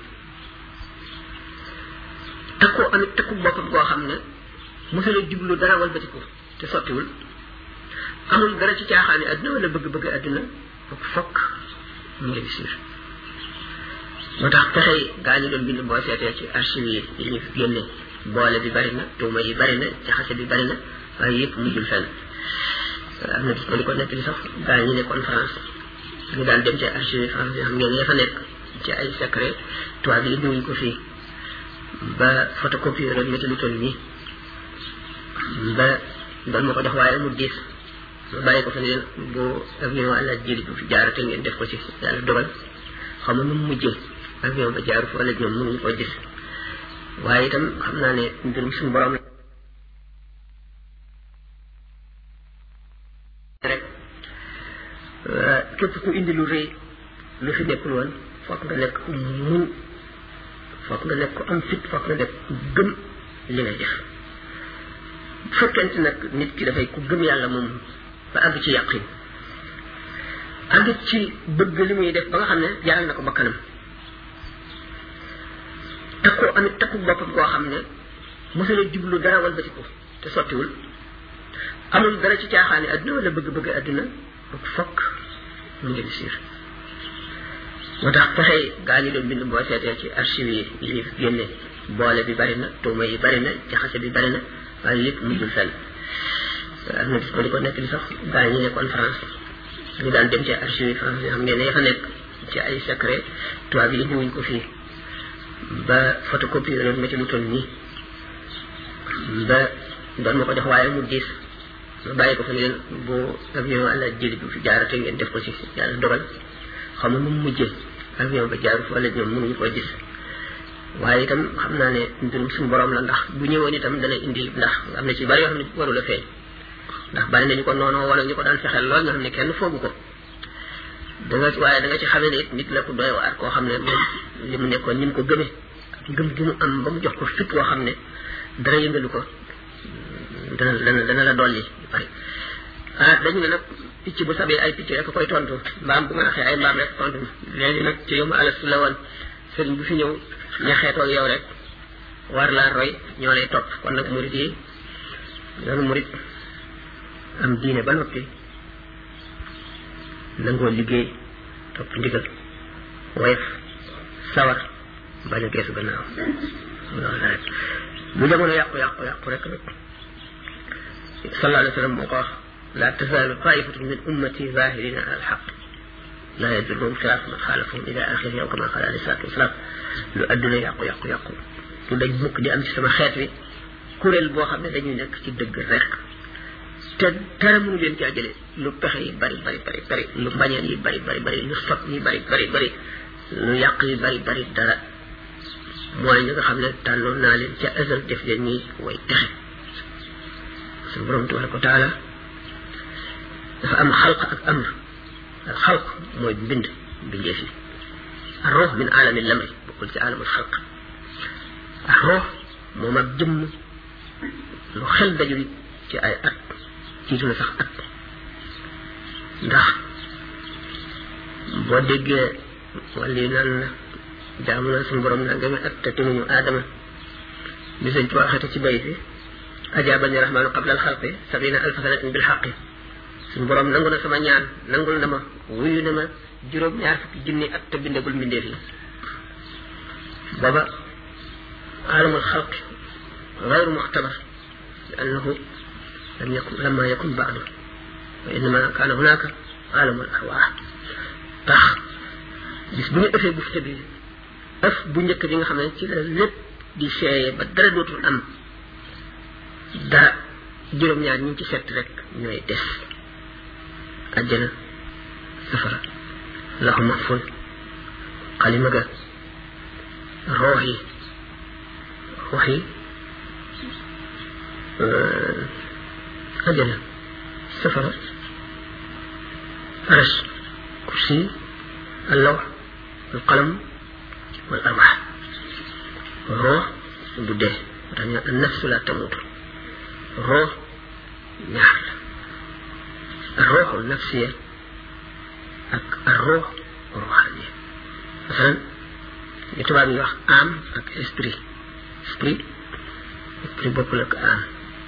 takku amit takku boppam boo xam ne mosula jublu dara walbatiku te sottiwul amul dara ci caaxaani àdduna wala bëgg-bëgg àdduna ak fokk mu réussir moo tax pexey gaa ñu doon bind boo seetee ci archive yi yi ñu fi génne boole bi bari na tuuma yi bari na jaxase bi bari na waaye yëpp mujjul fenn am na gis ma di ko nekk li sax gaa ñu nekkoon France ñu daan dem ci archive yi France yi xam ngeen ya fa nekk ci ay secret tubaab yi indiwuñ ko fii ba photocopie rek métti lu toll nii ba doon ma ko jox waaye mu diis ma bàyyi ko fa ne leen bu avion àlla jëli bu fi jaarate ngeen def ko ci yàlla dogal xam nga nu mu mujjee avion ba jaaru fa wala ñoom mënuñu ko gis waaye itam xam naa ne mbirum suñu borom rek képp ku indi lu rëy lu fi nekkul woon foog nga nekk ku muñ foog nga nekk ko am fit foog nga nekk ku gëm li nga def bu fekkente nag nit ki dafay ku gëm yàlla moom ba àgg ci yàqin àgg ci bëgg li muy def ba nga xam ne jaral na ko ba kanam takku amit takku boppam koo xam ne mosula jublu dara walbatiku te sottiwul amul dara ci caaxaani àdduna wala bëgg-bëgg àdduna ak fokk mu réussir moo tax pexey gaa ñu doon bind boo seetee ci archive yi yi ñu fi génne boole bi bari na tuuma yi bari na jaxase bi bari na waaye yëpp mujjul fenn am na gis ma di ko nekk li sax gaa ñu nekkoon France ñu daan dem ci archive yi France yi xam ngeen ne ya fa nekk ci ay secret tubaab yi indiwuñ ko fii ba photocopie rek métti lu toll nii ba doon ma ko jox waaye mu diis ma bàyyi ko fa ne leen bu avion àlla jëli bu fi jaarate ngeen def ko ci yàlla dogal xam nga nu mu mujjee avion ba jaaru fa wala ñoom mënuñu ko gis waaye itam xam naa ne mbirum suñu borom la ndax bu ñëwoon itam dana indi ndax am na ci bari yoo xam ne warul a feeñ ndax bari nañu ko noonu wala ñu ko daan fexeel lool nga xam ne kenn foogu ko da nga waaye da nga ci xamee ne it nit la ku doy waar koo xam ne moom li mu nekkoon ni mu ko gëmee ak ngëm gi mu am ba mu jox ko fit woo xam ne dara yëngalu ko dana dana dana la dolli bari ah dañu ne nag picc bu sabee ay picc rek koy tontu mbaam bu nga waxee ay mbaam rek tontu léegi nag ci yow ma alastu la woon sëriñ bu fi ñëw ña xeetoog yow rek war laa roy ñoo lay topp kon nag murit yi yoonu murit am diine ba noppi nangoo liggéey topp ndigal woyof sawar bañ a geesu gannaaw loolu la rek bu jamono yàqu yàqu yàqu rek rek sallallahu alayhi wa sallam moo ko wax la tazaalu taifatu min ummati zahirina ala alxaq la yadurruhum xilaafu man xaalafahum ila axiri yow kama qaala alayhi salaatu wasalaam lu adduna yàqu yàqu yàqu lu dañ mukk di am ci sama xeet wi kuréel boo xam ne dañuy nekk ci dëgg rek te dara mënu leen caa jële lu pexe yi bari bari bari bari lu mbañeel yi bari bari bari lu sot yi bari bari bari lu yàq yi bari bari dara mooy ñi nga xam ne tànnoon naa leen ca azal def leen ñi way texe suñu borom tabaraka wa taala dafa am xalq ak amr al xalq mooy mbind mbindeef yi ar ruux min aalami lamri bokkul ci aalamul xalq ar ruux moom ak jëmm lu xel dajul ci ay at jiitu na sax at ndax boo déggee wala yi naan la jaamu na suñu borom naa ngami at te timuñu aadama li sëñ ci waxate ci bayit bi ajaabani rahmaanu qabla alxalqi sabina alfa sanatin bil xaqi suñu borom nangu na sama ñaan nangul na ma wuyu na ma juróom ñaar fukki junni at te bindagul mbindeef yi booba عالم الخلق غير مختبر لأنه لم يكن لما يكن بعده وإنما كان هناك عالم الأرواح tax bis bu ñu ëffee bufte bi ëf bu njëkk bi nga xam ne ci la lépp di seeyee ba dara dootul am dara juróom-ñaar ñi ci set rek ñooy des àjjana safara lahu mahful xalima ga roox yi roox yi àjjana safara arash kursi اللوح القلم والأرواح الروح بده يعني النفس لا تموت الروح نحل الروح النفسية الروح الروحانية مثلا يتبع من واحد عام أك إسبري إسبري إسبري بوبلك عام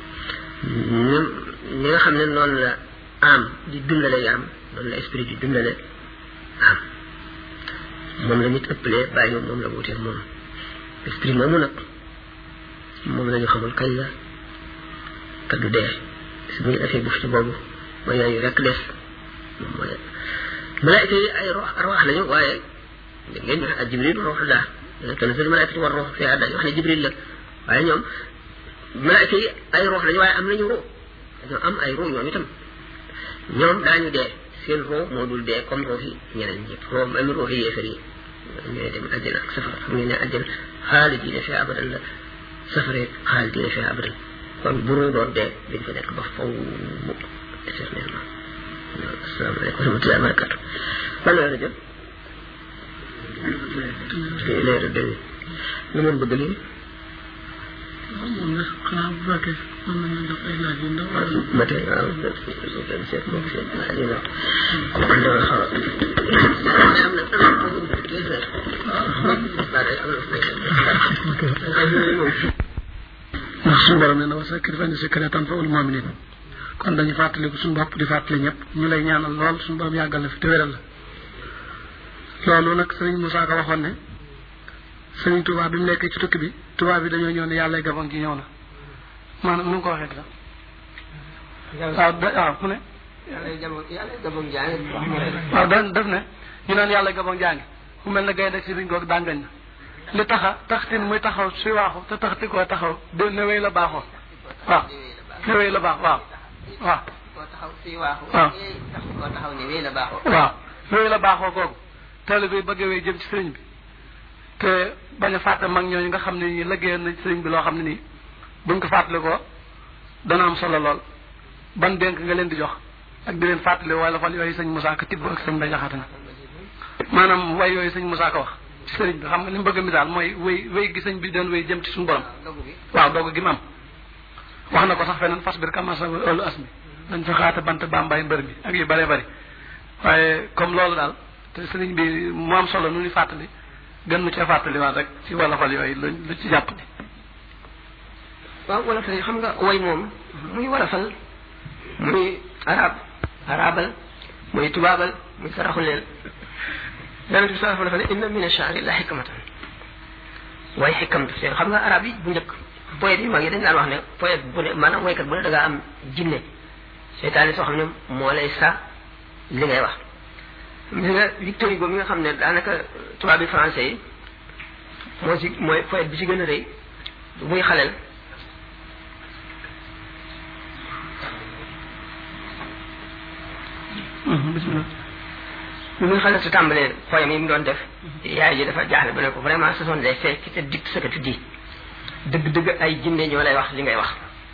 نيغا خامن نون لا عام دي دندالé yam non la esprit di dundalé am moom la nit ëppalee bàyyi moom moom la wutee moom esprit moomu nag moom la ñu xamul kañ la te du dee si bu ñu defee buf ci boobu mooy yooyu rek des moom mooy malaayka yi ay rox arwaax lañu waaye da ngeen wax ak jibril rox la dana tanazzalu malaayikatu war rox fiha dañu wax ne jibril la waaye ñoom malaayka yi ay rox lañu waaye am nañu ruux dañoo am ay ruux ñoom itam ñoom daañu dee seen roo moo dul dee comme roo yi ñeneen ñëpp roo même roo yi yéefar yi ñooy dem àjjana ak safara xam ngeen ne àjjana xaalidina fiha abadan la safara xaalidina fiha abadan kon bu roo doon dee dañ fa nekk ba faw éternellement asalaamaaleykum wa rahmatullahi wa barakatu ban la jëm leeru dëgg lu moom bëgg lii moom nag xanaa bu fekkee mën nañu def ay laaj yu ndaw ba tey waaw benn seet moom seet laaj yu ndaw kon dama xaw a am na ndax suñu borom nee na wa zakkir fa inna zikraa tanfa'ul mu'miniin kon dañu fàttaliku suñu bopp di fàttali ñëpp ñu lay ñaanal lool suñu borom yàggal la fi te wéral la loolu nag sëriñ Moussa Ka waxoon ne sëriñ Touba bi mu nekkee ci tukki bi Touba bi dañoo ñëw ne yàlla gabon gi ñëw na maanaam nu mu ko waxee sax waaw da waaw mu ne yàlla gabon jaangi waaw da def ne ñu naan yàlla gabon jaangi mu mel ne gaynde si biñ goog dàngañ na li taxa taxtin muy taxaw si waaxu te taxti koo taxaw de ne wéy la baaxoo waaw ne wéy la baax waaw waaw koo taxaw si waaxu waaw koo taxaw ne wéy la baaxoo waaw wéy la baaxoo googu teel bi bëgg wéy jëm ci sëriñ bi te bañ a fàtte mag ñooñu nga xam ne nii liggéeyal na sëriñ bi loo xam ne nii buñ ko fàttali ko dana am solo lool ban dénk nga leen di jox ak di leen fàttali wala fal yooyu sëñ Moussa Ka tibb ak sëñ Mbaye Jaxate na maanaam way yooyu sëñ Moussa Ka wax ci sëriñ bi xam nga li mu bëgg a misaal mooy wéy wéy gi sëñ bi doon wéy jëm ci suñu borom waaw doog gi mu am wax na ko sax feneen fas bir kamasa olu as mi dañ fa xaata bant bambay mbër mi ak yu bëree bëri waaye comme loolu daal te sëriñ bi mu am solo nu ñu fàttali gën mu cee fàttaliwaat rek ci wala fal yooyu lu lu ci jàpp ni waaw wala fal xam nga way moom muy wala fal muy arab arabal muy tubaabal muy saraxuleel yonent bi sallallahu alayhi wa sallam inna min ash-sha'ri la hikmatan way xikam daf seen xam nga arab yi bu njëkk poète yu mag yi dañ daan wax ne poète bu ne maanaam waykat bu ne da ngaa am jinne seytaane soo xam ne moo lay sa li ngay wax gis nga Victor Hugo mi nga xam ne daanaka tubaab bi français yi moo ci mooy poète bi ci gën a rëy muy xaleel bismillah bi muy xaleel su tàmbalee poème yi mu doon def yaay ji dafa jaaxle ba ne ko vraiment ce sont des faits qui te dictent ce que tu dis dëgg-dëgg ay jinne ñoo lay wax li ngay wax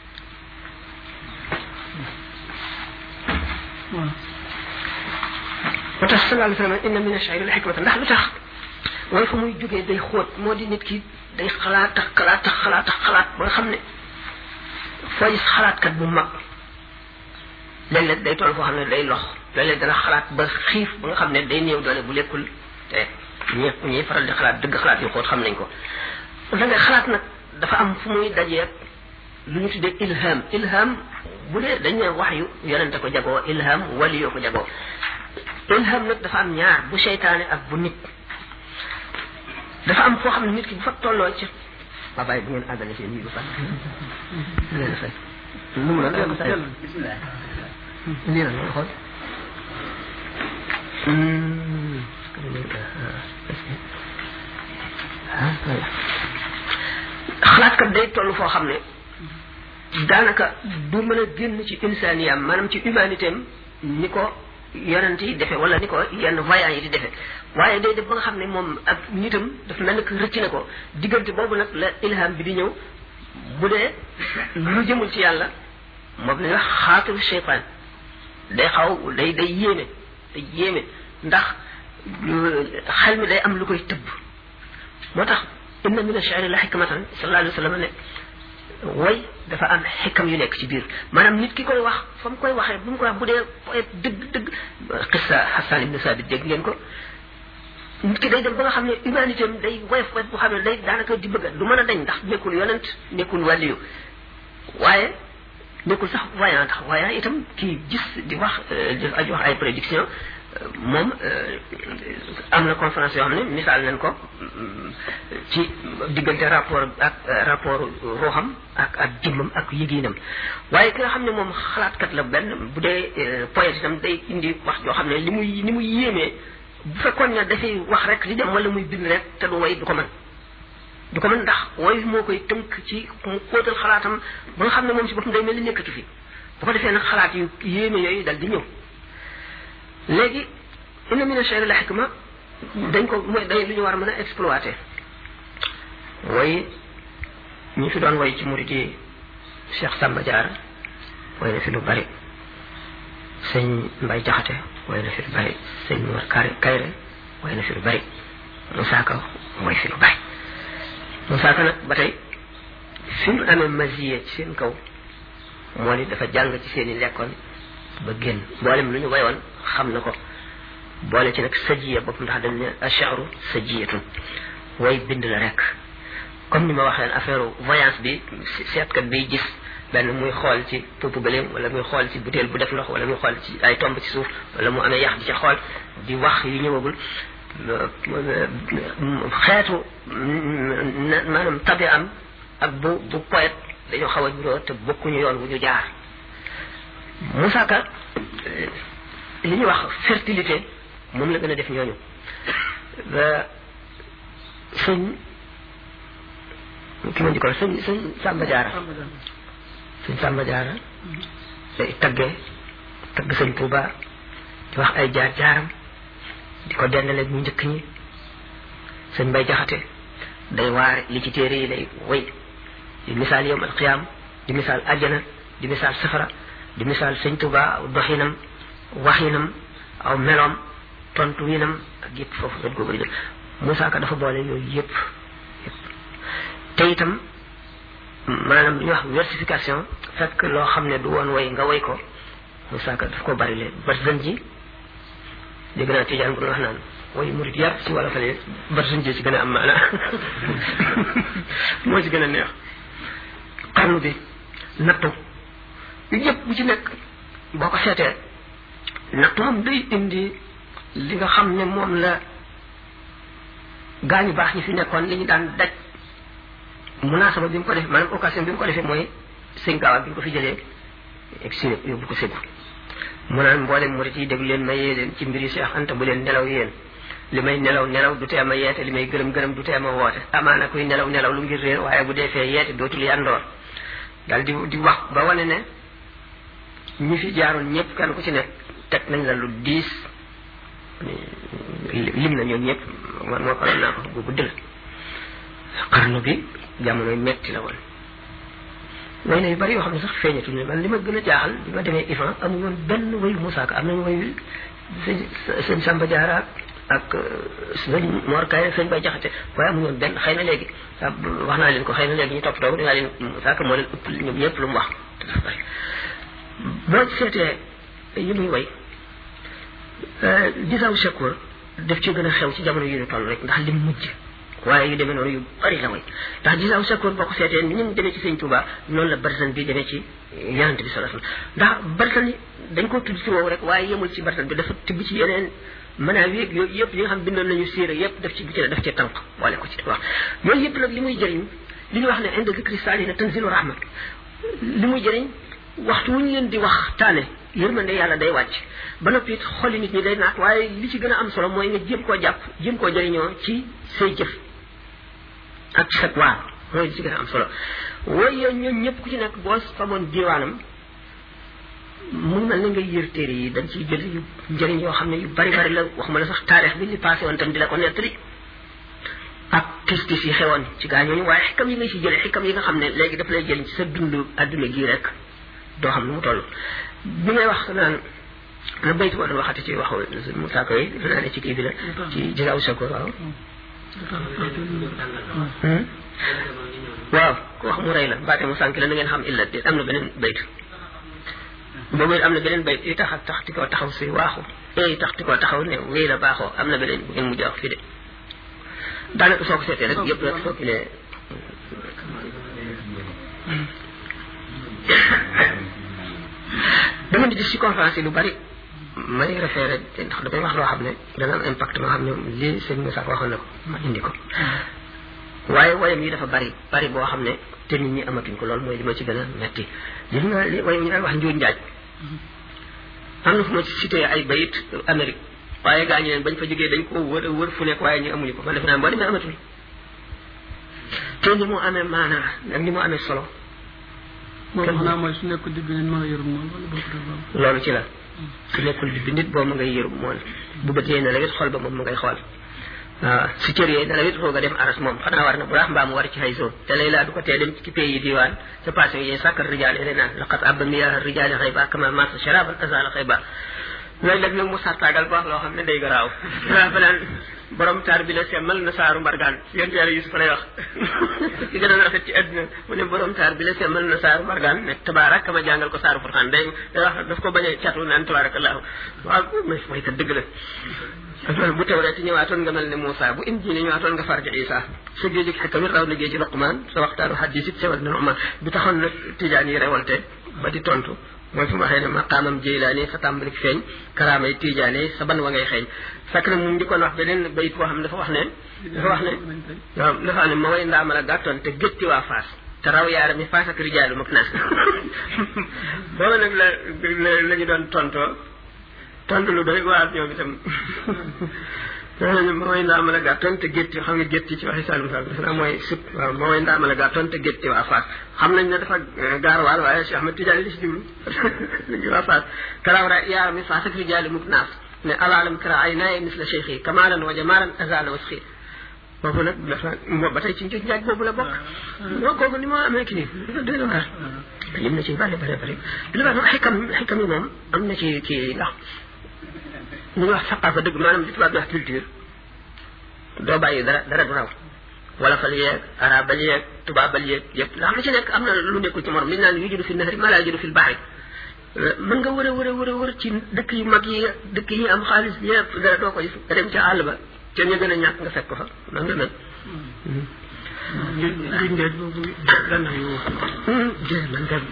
moo tax sallallahu alayhi wa sallam inna min ash-sha'ri la hikmatan ndax lu tax wala fa muy jógee day xóot moo di nit ki day xalaat ak xalaat ak xalaat ak xalaat ba nga xam ne foo gis xalaatkat bu mag léeg-léeg day toll foo xam ne day lox léeg-léeg dana xalaat ba xiif ba nga xam ne day néew doole bu lekkul te ñëpp ñuy faral di xalaat dëgg xalaat yu xóot xam nañ ko da ngay xalaat nag dafa am fu muy dajee lu ñu tuddee ilham ilham bu dee dañ ne wax yu yonente ko jagoo ilham wali yoo ko jagoo ilham nag dafa am ñaar bu seytaane ak bu nit dafa am foo xam ne nit ki bu fa tolloo ci ba bàyyi bu ngeen àggale seen yi bu sax leen fay lu mu la ko say bismillah lii la nga xool xalaatkat day toll foo xam ne daanaka du mën a génn ci insaniyam maanaam ci humanité am ni ko yonent yi defe wala ni ko yenn voyants yi di defe waaye day def ba nga xam ne moom ak nitam dafa mel ni que rëcc na ko diggante boobu nag la ilham bi di ñëw bu dee lu jëmul ci yàlla moom la wax xaatiru cheytaan day xaw day day yéeme day yéeme ndax xel mi day am lu koy tëbb moo tax inna min ash-shi'ri la hikmatan sallallahu alayhi wa sallam ne way dafa am xikam yu nekk ci biir maanaam nit ki koy wax fa mu koy waxee bu mu koy wax bu dee poète dëgg dëgg xissa Hassan ibn Sabit dégg ngeen ko nit ki day dem ba nga xam ne humanité am day woyof woyof bu xam ne day daanaka di bëgg du mën a dañ ndax nekkul yonent nekkul wàlliyu waaye nekkul sax voyant tax voyant itam kii gis di wax di aju wax ay prédiction moom am na conférence yoo xam ne misaal nañ ko ci diggante rapport ak rapport ruuxam ak ak jëmmam ak yëgiinam waaye ki nga xam ne moom xalaatkat la benn bu dee poète itam day indi wax joo xam ne li muy ni muy yéemee bu fekkoon ne dafay wax rek di dem wala muy bind rek te du way du ko mën du ko mën ndax way moo koy tënk ci mu kóotal xalaatam ba nga xam ne moom si boppam day mel ni nekkatu fi bu ko defee nag xalaat yu yéeme yooyu dal di ñëw léegi inna min ash-shi'ri la hikma dañ ko mooy day lu ñu war a mën a exploiter way ñi fi doon way ci murid yi Cheikh Samba Diarra way na fi lu bari sëñ Mbay Jaxate way na fi lu bari sëñ Mor Kare Kayre way na fi lu bari Moussa Ka way fi lu bari Moussa Ka nag ba tey fi mu amee masiye ci seen kaw moo ni dafa jàng ci seen i lekkoon ba génn mboolem lu ñu wayoon xam na ko boole ci nag sajiya bopp ndax dañ ne ash'ru sajiyatun way bind la rek comme ni ma waxee affaire voyance bi seetkat biy gis benn muy xool ci puupu bëleem wala muy xool ci butéel bu def ndox wala muy xool ci ay tomb ci suuf wala mu amee yax di ca xool di wax yu ñëwagul xeetu maanaam tabi am ak bu bu poète dañoo xaw a juróo te bokkuñu yoon wu ñu jaar Moussa Ka li ñuy wax fertilité moom la gën a def ñooñu sëñ ki ma njëkkoon sëñ sëñ Samba Diarra sëñ Samba Diarra day taggee tagg sëñ Touba di wax ay jaar jaaram di ko dendaleeg ñu njëkk ñi sëñ Mbay Jaxate day waare li ci téere yi lay way di misaal yawm al qiyaam di misaal àjjana di misaal safara di misaal sëñ Touba aw doxinam waxinam aw meloom tontu winam ak yëpp foofu dañ ko bëri jël Moussa Ka dafa boole yooyu yëpp yëpp te itam maanaam li ñuy wax versification fekk loo xam ne du woon way nga way ko Moussa Ka daf ko bari leen barzan ji dégg naa Tijaan bu ñu wax naan way murid yar ci wala fale barzan ji ci gën a am maana moo ci gën a neex xarnu bi nattu yëpp bu ci nekk boo ko seetee nattu am day indi li nga xam ne moom la gaañu baax ñi fi nekkoon li ñu daan daj munaasaba bi mu ko def maanaam occasion bi mu ko defee mooy sëñ Gaawa bi mu ko fi jëlee exilé yóbbu ko Ségou mu naan mboolem murit yi déglu leen ma yee leen ci mbiri Cheikh Anta bu leen nelaw yéen li may nelaw nelaw du tee ma yeete li may gërëm gërëm du tee ma woote amaana kuy nelaw nelaw lu ngir réer waaye bu dee fee yeete dootul yandoor daal di di wax ba wane ne ñi fi jaaroon ñëpp kenn ku ci nekk teg nañ la lu diis lim na ñoom ñëpp man moo ko naa ko bu gudd la xarnu bi jamonoy metti la woon way na yu bari yoo xam ne sax feeñatuñu man li ma gën a jaaxal bi ma demee Ifan amu woon benn wayu Moussa Ka am nañu wayu sëñ sëñ Samba Diarra ak sëñ Mor Kaye sëñ Bay Jaxate waaye amu woon benn xëy na léegi wax naa leen ko xëy na léegi ñu toppatoo dinaa leen Moussa Ka moo leen ëpp ñoom ñëpp lu mu wax te dafa bari boo seetee yi muy way gisaaw Shakur daf ci gën a xew ci jamono yi ñu toll rek ndax lim mujj waaye yu demee noonu yu bari la way ndax gisaaw sakkoor boo ko seetee ni mu demee ci sëñ Touba noonu la barsan bi demee ci yonent bi sallallahu alayhi wasallam ndax barsan yi dañ ko tudd ci woowu rek waaye yemul ci barsan bi dafa tibb ci yeneen maanaam yéeg yooyu yëpp yi nga xam bindoon nañu siira yëpp daf ci bu ci daf ci tànk wala ko ci wax yooyu yëpp nag li muy jëriñ li ñu wax ne inda zikri saalihiina tanzilu rahmat li muy jëriñ waxtu wu ñu leen di wax taane yërmande yàlla day wàcc ba noppi it xoli nit ñi day naat waaye li ci gën a am solo mooy nga jéem koo jàpp jéem koo jëriñoo ci say jëf ak ci sa waar mooy li ci gën a am solo waaye ñoom ñëpp ku ci nekk boo famoon diwaanam mu mel ne ngay yër téere yi dañ ciy jël yu njëriñ yoo xam ne yu bari bari la waxuma la sax taarix bi li passé woon tam di la ko nettali ak tis-tis yi xewoon ci gaa ñooñu waaye xikam yi nga si jëlee xikam yi nga xam ne léegi daf lay jël ci sa dund adduna gii rek doo xam nu mu toll bi ngay wax naan na baytu boo doon waxati ci waxu mu saako yi defe naa ne ci kii bi la ci jëgaaw sako waaw waaw ku wax mu rey la mbaate mu sànki la na ngeen xam illa déet am na beneen baytu boobu am na beneen bayt yi tax ak tax ti koo taxaw si waaxu yi tax ti koo taxaw ne wéy la baaxoo am na beneen bu ngeen mujj wax fii de daanaka soo ko seetee rek yëpp rek soo ki ne dama di gis ci conférence yi lu bari may référé ndax damay wax loo xam ne dana am impact moo xam ne lii sëñ Moussa waxoon na ko ma indi ko waaye wayam yi dafa bari bari boo xam ne te nit ñi amatuñ ko loolu mooy li ma ci gën a metti li nga li wayam ñu daan wax njuuj njaaj am na fu ma ci cité ay bayit Amérique waaye gaa ñi leen bañ fa jógee dañ ko wër wër fu nekk waaye ñu amuñu ko man def naa boo demee amatul te ni mu amee maanaa ak ni mu amee solo moom xanaa mooy su nekkul digg nit mën a yërëm moom wala bokk loolu ci la su nekkul digg nit boo ma ngay yërëm moom bu bët yee na la wet xool ba moom ma ngay xool waaw su cër yee na la wet xool nga dem aras moom xanaa war na bu laax mbaa mu war ci xay zone te lay laa du ko tee dem ci pays yi diwaan sa passé yi sàkkar rijaal yi naan laqad abba miyaa rijaali xayba kama masa sharaban azala xayba léeg-léeg nag mu sartaagal ba wax loo xam ne day garaaw waa fanaan borom taar bi la semmal na saaru mbargaan yéen yàlla Yusufa lay wax ci gën a rafet ci àdduna mu ne borom taar bi la semmal na saaru mbargaan ne tabaarak ma jàngal ko saaru furxaan day day wax daf ko bañ a catu naan tabaarakallaahu waaw mooy kat dëgg la loolu bu tawreet ñëwaatoon nga mel ne Moussa bu injiil ñëwaatoon nga farja Isa sa géejug xikam it raw na géeji Luqmaan sa waxtaanu hadiis it sewal na Nu'maan bi taxoon nag tijaan yi rewolte ba di tontu mooy fi mu waxee ne maqaamam Jeylaani sa tàmbali feeñ karaamay Tijaani sa ban wa ngay xeeñ fekk na mu njëkkoon wax beneen bayit boo xam ne dafa wax ne dafa wax ne waaw dafa wax ne ma way ndaama la gàttoon te gétti waa Faas te raw yaara mi Faas ak rijaalu mag naas booba nag la la ñu doon tontoo tontu lu doy waar ñoom itam ma way ndaama la gàttoon te gétti xam nga gétti ci waxi Saalum Saalum dafa naa mooy sut waaw ma way ndaama la gàttoon te gétti waa Faas xam nañ ne dafa gaarwaal waaye Cheikh Ahmed Tidiane li si jublu waa Faas karaw ra yaara mi Faas ak rijaalu mag naas ne alaalam kara ay naaye misla cheikh yi kamaalan wa jamaalan azala wasxi boobu nag dafa ba tey ci njuuj njaaj boobu la bokk moo kooku ni moo amee ki nii dafa doy na waar lim na ci bari bari bari li ma xikam xikam yi moom am na ci kii ndax lu ñuy wax saqaafa dëgg maanaam li tubaab di wax culture doo bàyyi dara dara du raw wala fal yeeg arabal yeeg tubaabal yeeg yëpp ndax lu ci nekk am na lu nekkul ci morom li naan yujudu fi nahri ma laa yujudu fi l-bahri mën nga wër a wër a wër a wër ci dëkk yu mag yi dëkk yi am xaalis yëpp dara doo ko gis nga dem ca àll ba ca ñu gën a ñàkk nga fekk ko fa man nga mel njuuj njaaj boobu gànna yu man nga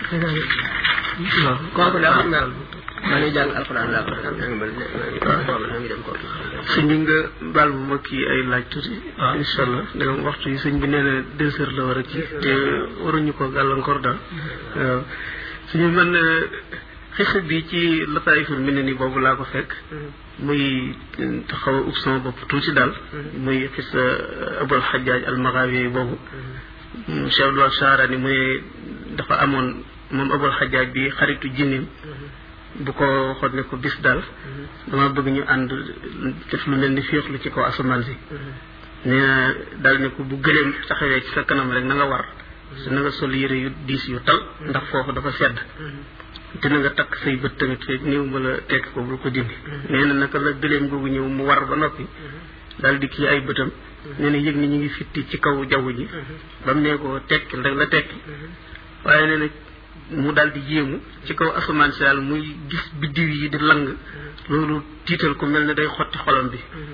waaw kooku daa xam nga maa ngi jàng alxuraan laa ko xam nga mel ne ngi dem ko sëñ bi nga baal bu ma kii ay laaj tuuti incha allah danga waxtu yi sëñ bi nee na deux heures la war a kii te waruñu ko gàllankoor daal waaw suñu man xisa bi ci lataayiful mel ni boobu laa ko fekk muy xaw a ub sama bopp tuuti daal muy xisa abul xajaaj almaxaawi boobu Cheikh Abdul Saarani mu ne dafa amoon moom abul xajaaj bi xaritu jinnim bu ko xool ne ko bis daal dama bëgg ñu ànd def lu mel ni féexlu ci kaw asamaan si nee na daal ne ko bu gëleem taxawee ci sa kanam rek na nga war su na nga sol yére yu diis yu tal ndax foofu dafa sedd te na nga takk say bët tamit feeg néew ba la tekk ko bul ko dindi nee na naka la gëleem googu ñëw mu war ba noppi daal di kii ay bëtam nee na yëg ni ñu ngi fitti ci kaw jaww ji ba mu nee ko tekki rek la tekki waaye nee na mu daal di yéemu ci kaw asamaan si daal muy gis biddiw yi di lang loolu tiital ko mel ne day xotti xolam bi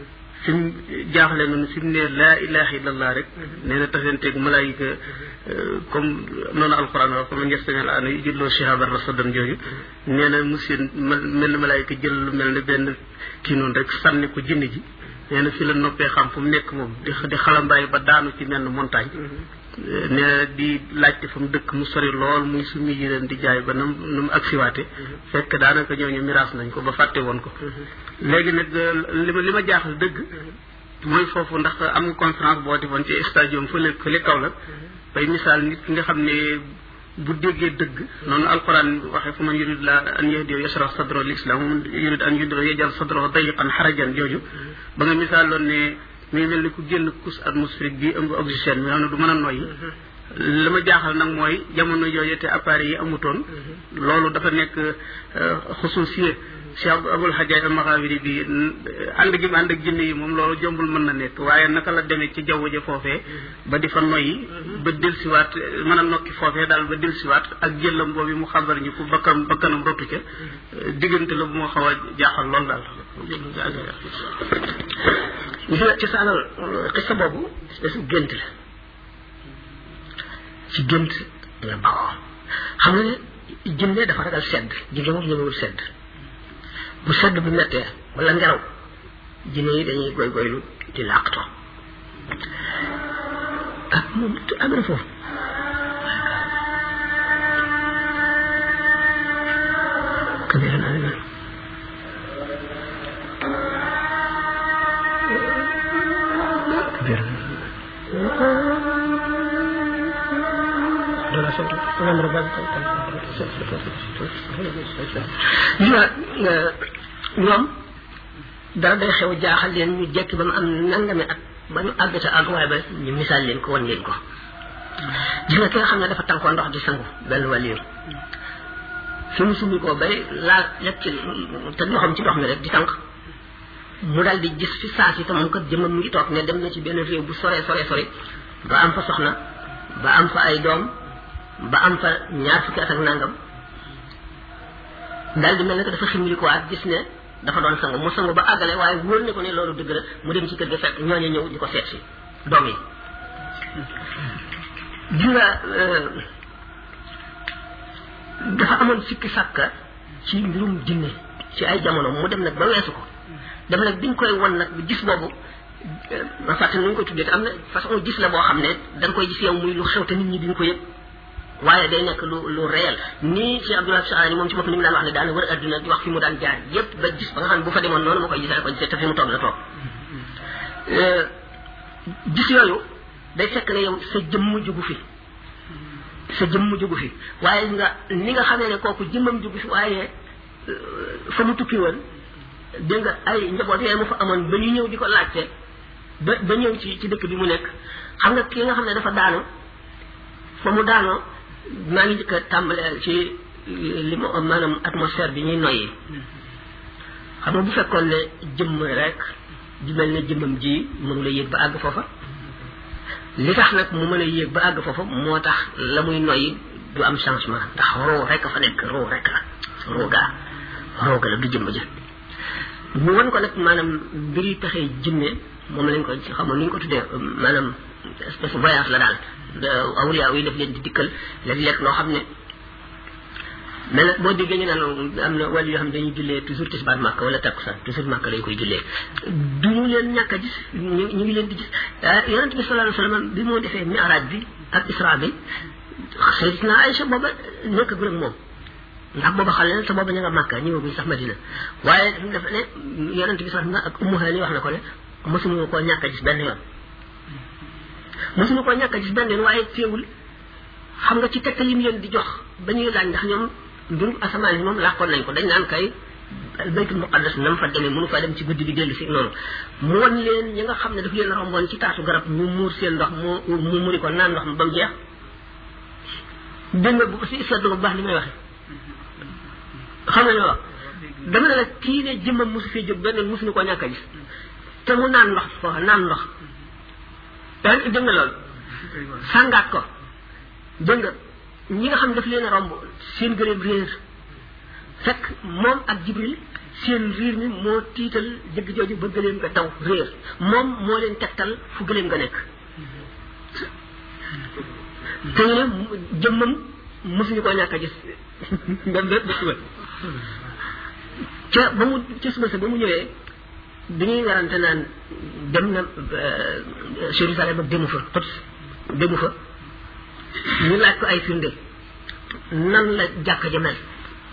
fi mu jaaxle noonu fi mu ne laa ilaha illallah rek nee na tasanteeg malaayika comme noonu alquran wax comme njëstamel ana yu julloo shihaban rasadan jooju nee na monsieur mel na malaayika jël lu mel ne benn kii noonu rek sànni ko jinne ji nee na fi la noppee xam fu mu nekk moom di di xalambaay ba daanu ci menn montagne nee na di laajte fa mu dëkk mu sori lool muy summi yi leen di jaay ba nam nu mu agsiwaate fekk daanaka ñooñu miraas nañ ko ba fàtte woon ko léegi nag li ma li ma jaaxal dëgg mooy foofu ndax am nga conférence boo defoon ci stadium fële fële kaw la bay misaal nit ki nga xam ne bu déggee dëgg noonu alquran waxee fu man yurid la an yahdiya yashrah sadro l islam man yurid an yudra yajal sadro dayiqan xarajan jooju ba nga misaal loon ne muy mel ni ku génn couche atmosphérique bi ëmb oxygène mi nga xam ne du mën a noyyi la ma jaaxal nag mooy jamono yooyu te appareil yi amutoon loolu dafa nekk xususiye Cheikh Abul Hajjaj al-Maghawiri bi ànd gi mu ànd ak jinne yi moom loolu jombul mën na nekk waaye naka la demee ci jaww ja foofee ba di fa noyyi ba delsiwaat mën a nokki foofee daal ba delsiwaat ak jëllam boobu mu xabar ñu ko bakkan bakkanam rotu ca diggante la bu ma xaw a jaaxal lool daal ci sa alal xista boobu espèce bu gént la ci gént la bawoo xam nga ne jinne dafa ragal sedd jinne moom ñëmewul sedd bu sedd bu mettee wala ngelaw jinne yi dañuy goy goylu di làqto ah moom am na foofu kabira naa leen kabira dala sant ngam rabal ñoom dara day xew jaaxal leen ñu jekki ba mu am nangami at ba ñu àgg ca àgguwaay ba ñu misaal leen ko wan leen ko gis nga ki nga xam ne dafa tànkoo ndox di sangu benn wàlliir fi mu summi koo bay laal yegg ci te loxoom ci ndox mi rek di tànk mu daal di gis fi saa si te moom kat jëmmam mu ngi toog ne dem na ci benn réew bu sore sore sore ba am fa soxna ba am fa ay doom ba am fa ñaar fukki at ak nangam daal di mel ne que dafa ximli ko waat gis ne dafa doon sangu mu sangu ba àggale waaye wóor ne ko ne loolu dëgg la mu dem ci kër ga fekk ñooñu ñëw di ko seet si doom yi di nga dafa amoon sikki sàkka ci mbirum jinne ci ay jamono mu dem nag ba weesu ko dem nag biñ koy won nag gis boobu ma fàtte nu ñu koy tuddee te am na façon gis la boo xam ne da nga koy gis yow muy lu xew te nit ñi duñ ko yëg waaye day nekk lu lu réel nii Cheikh Abdoulaye Saani moom ci bopp ni mu daan wax ne daan wër adduna di wax fi mu daan jaar yépp ba gis ba nga xam ne bu fa demoon noonu ma koy gisee ko gisee te fi mu toog la toog gis yooyu day fekk ne yow sa jëmm jugu fi sa jëmm jugu fi waaye nga ni nga xamee ne kooku jëmmam jugu fi waaye fa mu tukki woon dégg nga ay njaboot yooyu mu fa amoon ba ñu ñëw di ko laajte ba ba ñëw ci ci dëkk bi mu nekk xam nga ki nga xam ne dafa daanu fa mu daanoo maa ngi njëkk a tàmbale ci li ma maanaam atmosphère bi ñuy noyyi xam nga bu fekkoon ne jëmm rek di mel ne jëmmam ji mënu la yéeg ba àgg foofa li tax nag mu mën a yéeg ba àgg foofa moo tax la muy noyyi du am changement ndax roo rek fa nekk roo rek la roogaa rooga la du jëmm ja ñu wan ko nag maanaam mbiri pexee jinne moom lañ ko xamoon ni ñu ko tuddee maanaam espèce voyage la daal awliya yi def leen di dikkal léeg-léeg loo xam ne mais nag boo déggee ñu naan am na wàll yoo xam ne dañuy jullee toujours tisbaar màkk wala takkusaan toujours màkk lañ koy jullee du ñu leen ñàkk a gis ñu ñu ngi leen di gis yonent bi sallallahu alayhi wa sallam bi moo defee mi'raaj bi ak isra bi Sayyidatuna Aïcha booba nekk gu ak moom ndax booba xale na te booba ña nga màkk ñëwaguñ sax Madina waaye dafa ne yonent bi sallallahu alayhi wa sallam ak Ummu Hani wax na ko ne mosuñu koo ñàkk a gis benn yoon mosuñu koo ñàkk a gis benn yoon waaye teewul xam nga ci tegtal yi mu leen di jox ba ñuy laaj ndax ñoom mbirum asamaan yi moom làkkoon nañ ko dañ naan kay baytul muqaddas nam fa demee mënu fa dem ci guddi gi dellu si noonu mu won leen ñi nga xam ne daf leen romboon ci taatu garab ñu muur seen ndox mu mu muri ko naan ndox ba mu jeex dégg nga bu si seetlu bu baax li may waxe xam nga li ma wax dama ne la kii ne jëmmam mosu fee jóg benn mosuñu koo ñàkk a gis te mu naan ndox foofa naan ndox yaa ngi dégg nga loolu sàngaat ko dégg nga ñi nga xam daf leen a romb seen gëléem réer fekk moom ak Jibril seen riir mi moo tiital jëgg jooju ba gëléem nga daw réer moom moo leen tegtal fu gëléem nga nekk te ñu ne jëmmam mosuñu koo ñàkk a gis même bépp ba suba ca ba mu ca suba sa ba mu ñëwee bi ñuy werante naan dem na Jérusalem ak demu fa Quds demu fa ñu laaj ko ay firnde nan la jàkka ja mel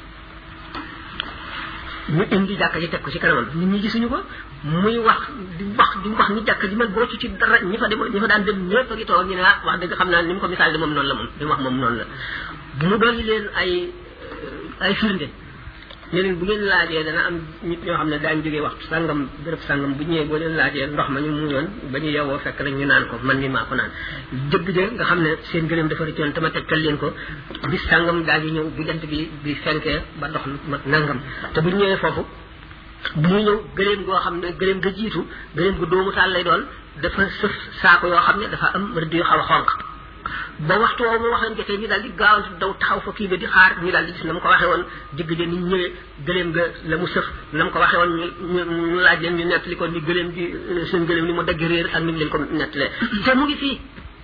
ñu indi jàkka ji teg ko ci kanamam nit ñi gisuñu ko muy wax di wax di wax ni jàkka ji mel boo ci ci dara ñi fa demoon ñi fa daan dem ñëpp a ngi toog ñu ne ah wax dëgg xam naa ni mu ko misaal de moom noonu la moom li mu wax moom noonu la bu mu dolli leen ay ay firnde ne leen bu ngeen laajee dana am nit ñoo xam ne daañu jógee waxtu sàngam béréb sàngam bu ñëwee boo leen laajee ndox ma ñu muuyoon ba ñu yewoo fekk rek ñu naan ko man mi maa ko naan jëgg ja nga xam ne seen gëléem dafa rëccoon te ma tegtal leen ko bis sàngam daal di ñëw bu jant bi bi fenkee ba ndox ma nangam te bu ñu ñëwee foofu bu ñu ñëw gëléem goo xam ne gëléem ga jiitu gëléem gu doomu taal lay doon dafa sëf saako yoo xam ne dafa am rëdd yu xaw a xonq ba waxtu woowu mu wax leen jotee ñu daal di gaawantu daw taxaw fa kii ba di xaar ñu daal di gis na mu ko waxee woon jëgg ja ni ñëwee gëléem ga la mu sëf na mu ko waxee woon ñu ñu laaj leen ñu nettali ko ni gëléem bi seen gëléem ni mu dagg réer ak ni mu leen ko nettalee te mu ngi fii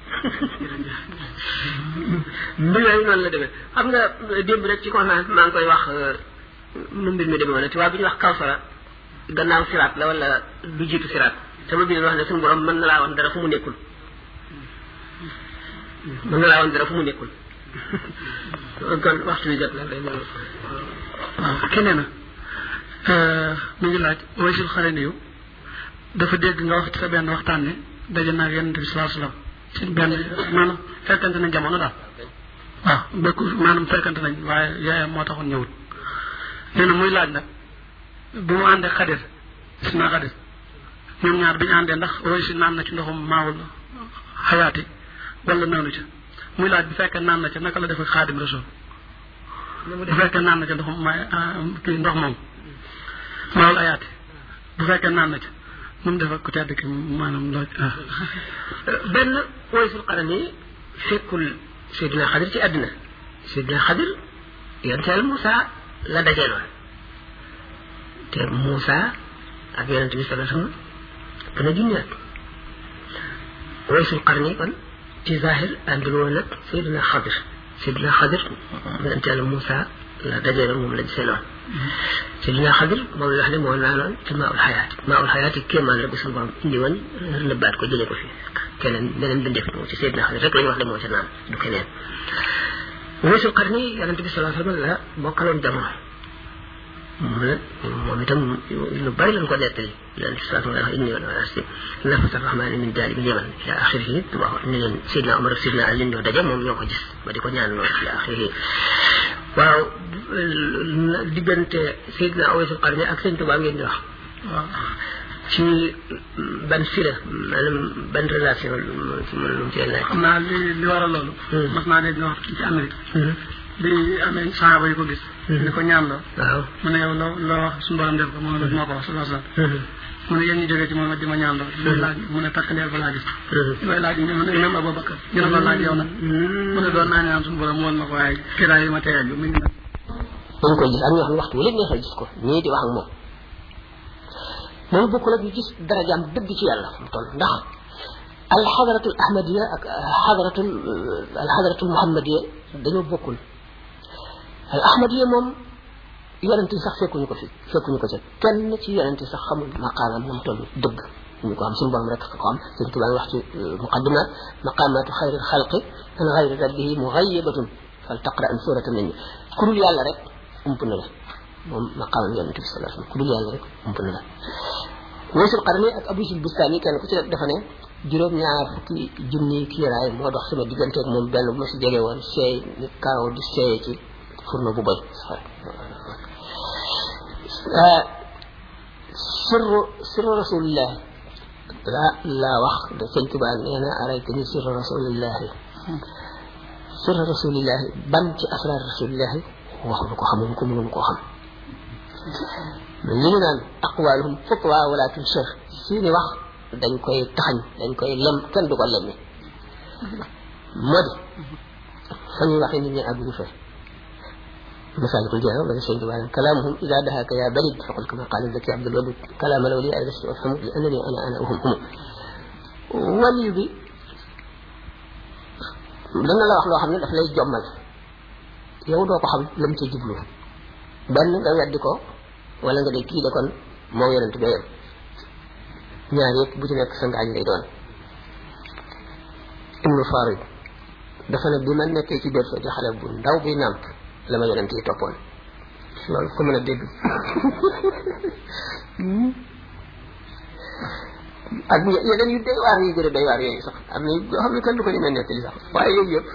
mbir yooyu noonu la demee xam nga démb rek ci conférence maa ngi koy wax nu mbir mi demee woon tubaab bi ñu wax kawsara gannaaw siraat la wala lu jiitu siraat sama bi wax ne suñu borom mën na laa woon dara fu mu nekkul mën na laa woon dara fu mu nekkul kon waxtu bi jot la day ñëw waaw keneen na mu ngi laaj Waysul Qarni yu dafa dégg nga wax ci sa benn waxtaan ne daje naa ak Yonent bi sallallahu alayhi wasallam ci benn maanaam fekkante nañ jamono daal waaw békku maanaam fekkante nañ waaye yaayam moo taxoon ñëwut nee na muy laaj nag bi mu àndee Xadir gis naa Xadir ñoom ñaar bi ñu àndee ndax Waysul naan na ci ndoxum maawul xayaati wala naanu ca muy laaj bu fekkee naan na ca naka la def ak Xaadim Rasul bu fekkee naan na ca ndox may kii ndox moom maawul ayaati bu fekkee naan na ca nu mu def ak ku tedd ki maanaam loo benn Waysul Qarni fekkul Seydina Xadir ci àddina Seydina Xadir yonent Yàlla Moussa la dajeeloon te Moussa ak yonent bi sallallahu alayhi wasallam gën a junniwaat Waysul Qarni kon ci zahir àndul woon ak Seydina Xadir Seydina Xadir yonent Yàlla Moussa la dajeeloon moom lañ seeloon Seydina Xadir moom la wax ne moo naanoon ci maaul xayaati maaul xayaati kéemaan la bu suñu borom indi woon nëbbaat ko jëlee ko fi keneen beneen bi def ci Seydina Xadir rek la ñu wax ne moo ca naan du keneen Waysul Qarni yonent bi sallallahu alayhi wasallam la bokkaloon jamono mu ne moom itam lu bari lañ ko nettali yonent bi sallallahu alayhi wasallam inni wala asi nafasa rahmani min daali bi yaman ila axirihi wax ne leen Seydina Omar ak Seydina Ali ñoo daje moom ñoo ko gis ba di ko ñaan loolu ila axirihi waaw diggante Seydina Waysul Qarni ak Sëñ Tuubaa ngeen di wax waaw ci ban fila maanaam ban relation ci mën lu mu cee laaj xam naa li li waral loolu mas naa dégg nga wax ci Amérique bi amee saxaaba yi ko gis ni ko ñaan la waaw mu ne yow loo loo wax suñu borom def ko mu ne la moo ko wax sallallahu alayhi wasallam mu ne yéen ñu jógee ci moom di ma ñaan la loolu laaj mu ne takk leer ba laa gis way laaj mu ne même Abubakar ñu ne ko laaj yow nag mu ne doon naa ñaan suñu borom woon ma ko waaye kiraay yi ma teeyal bi mu ngi nag dañ koy gis am ñoo xam ne waxtu wu leen neexal gis ko ñii di wax ak moom moom bokkul ak ñu gis darajaam dëgg ci yàlla mu toll ndax alxadaratul ahmadiya ak xadaratul alxadaratul muhammadiya dañoo bokkul al ahmadiya moom yonent yi sax fekkuñu ko fi fekkuñu ko ci kenn ci yonent yi sax xamul maqaamam na mu toll dëgg ñu ko am suñu borom rek ko am Sëñ Tuubaa wax ci muqaddimat maqaamatu xayril xalqi an xayri rabbihi mughayyabatun fal taqra an suratan nañ ku dul yàlla rek ump na la moom maqaamam yonent bi sallallahu alayhi wasallam ku dul yàlla rek ump na la Waysul Qarni ak Abu Sil Bustani kenn ku ci dafa ne juróom ñaar fukki junni kiiraay moo dox sama diggante ak moom benn bu ma si jege woon seey ni kaaw di seey ci furno bu boy sirru sirru rasulillah la la wax da Sëñ Tuubaa nee na araytani sirru rasulillah sirru rasulillah ban ci asrar rasulillah waxuñu ko xamuñu ko mënuñu ko xam li ñu naan aqwaluhum fatwa wala tunshar seeni wax dañ koy taxañ dañ koy lem kenn du ko lemmi moo di fa ñuy waxee nit ñi àgguñu fa مسالك الجهة ولا شيء ولا كلامهم إذا دهاك يا بلد فقل كما قال الذكي عبد الودود كلام الأولياء لست أفهم لأنني أنا أنا أهم هم ولي بي لأن الله أخلو حمد الأفلاي جمال يودو قحم لم تجبلو بل nga weddi ko wala nga de kii de kon moo yonent ba yem ñaar yëpp bu ci nekk sa ngaañ lay doon ibnu farid dafa ne bi ma nekkee ci berso di xale bu ndaw buy nàmp la ma yonent yi toppoon loolu ko mën a dégg ak yeneen yu doy waar yi gën a doy waar yooyu sax am na yoo xam ne kenn du ko ñemee nettali sax waaye yooyu yëpp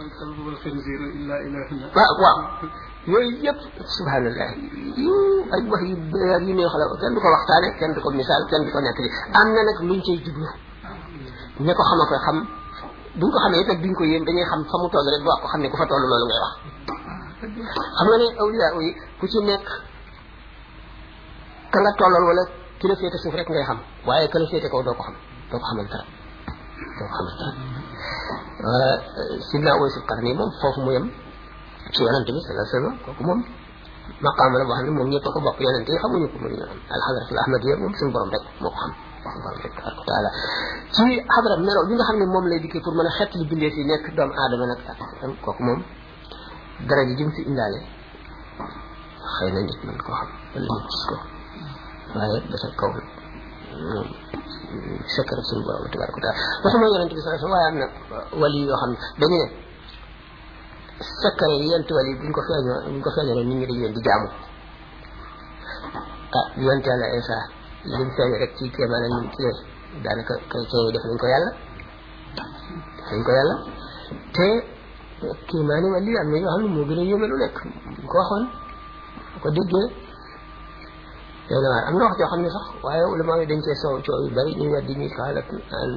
waaw waaw yooyu yëpp subhanallah yu ay wax yu beer yu neex la kenn du ko waxtaane kenn du ko misaal kenn du ko nettali am na nag luñ cay jublu ña ko xama koy xam buñ ko xamee itam duñ ko yéem dañuy xam fa mu toll rek wax ko xam ne ku fa toll loolu ngay wax xam nga ne awliya yi ku ci nekk ka nga tollal wala ki la féete suuf rek ngay xam waaye ka la féete kaw doo ko xam doo ko xamal dara doo ko xamal dara sidna Uwaysul Qarni moom foofu mu yem ci yonent bi sallallahu alayhi wasallam kooku moom maqaama la boo xam ne moom ñëpp a ko bokk yonent yi xamuñu ko muy alxadratul ahmadiyya moom suñu borom rek moo ko xam suñu borom rek tabaraka taala ci xadra melo bi nga xam ne moom lay dikkee pour mën a xett li bindee fi nekk doomu aadama nag ak kooku moom dara ji jëm fi indaale xëy na nit mën koo xam wala nit gis ko waaye dafa kaw secret suñu borom tabaraka taala waxuma yonent bi sallallahu alayhi wasallam waaye am na wali yoo xam ne dañu ne secret yi yent wali buñ ko feeñoo buñ ko feeñoo nit ñi dañ leen di jaamu ah yonent Yàlla Isa lim feeñ rek ci kéemaan ak ñun ci daanaka chrétien yi def nañ ko yàlla def nañ ko yàlla te kéemaani wali am na yoo xam ne moo gën a yéeme lu nekk buñ ko waxoon ko déggee yéen a am na wax joo xam ne sax waaye ulama yi dañ cee soow coow yu bari ñu weddi ñuy xaalat an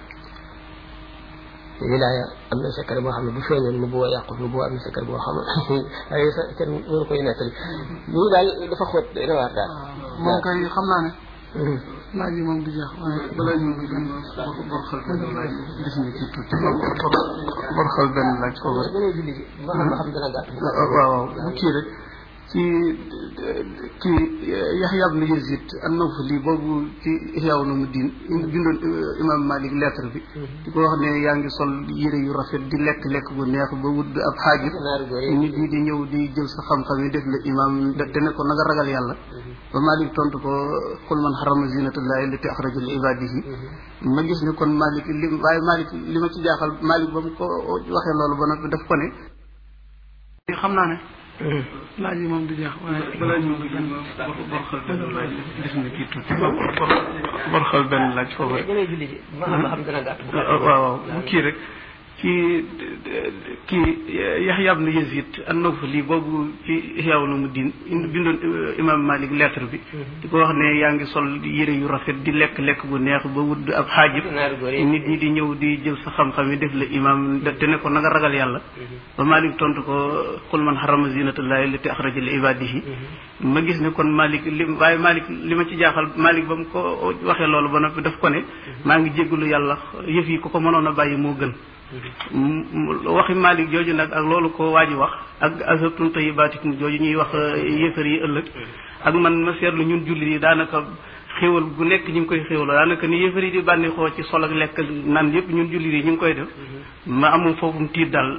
wilaaya am na secret boo xam ne bu feeñoon nu bu wa yàqu nu bu am na secret boo xam ne ay sa kenn mënu koy nettali lii daal dafa xóot dana waar daal moom kay xam naa ne laaj yi moom du jeex waaye balaa ñu ngi gën bor xal benn laaj gis nga ci tuuti bor xal benn laaj foofu rek dana julli ji ba xam ba xam dana gàtt waaw waaw bu kii rek ci kii Yaxya ibn Yazid an-Nawfali boobu ci Ihya Ulumuddin bindoon imam Malik lettre bi di ko wax ne yaa ngi sol yére yu rafet di lekk lekk bu neex ba wut ab xaajib nit ñi di ñëw di jël sa xam-xam yi def la imam te ne ko na nga ragal yàlla ba Malik tontu ko qul man harrama zinatallahi allati akhraja li ibadihi ma gis ne kon Malik li waaye Malik li ma ci jaaxal Malik ba mu ko waxee loolu ba noppi daf ko ne xam naa ne laaj yi moom du jeex waaye balaa ñu ngi gën bor xal benn laaj gis nga ci tuuti bor xal benn laaj foofu rek dangay julli ji ba xam ba xam dana gàtt waaw waaw bu kii rek ci kii Yaxya ibn Yazid an-Nawfali boobu ci Ihya Ulumuddin bindoon imam Malik lettre bi di ko wax ne yaa ngi sol yére yu rafet di lekk lekk bu neex ba wut ab xaajib nit ñi di ñëw di jël sa xam-xam yi def la imam te ne ko na nga ragal yàlla ba Malik tontu ko qul man harrama zinatallahi allati akhraja li ibadihi ma gis ne kon Malik li waaye Malik li ma ci jaaxal Malik ba mu ko waxee loolu ba noppi daf ko ne maa ngi jéggalu yàlla yëf yi ko ko mënoon a bàyyi moo gën waxi Malik jooju nag ak loolu ko waaji wax ak azabtum tayyibatikum jooju ñuy wax yéefar yi ëllëg ak man ma seetlu ñun jullit yi daanaka xéewal gu nekk ñu ngi koy xéewal daanaka ni yéefar yi di bànneexoo ci sol ak lekk nan yëpp ñun jullit yi ñu ngi koy def ma amul foofu mu tiit daal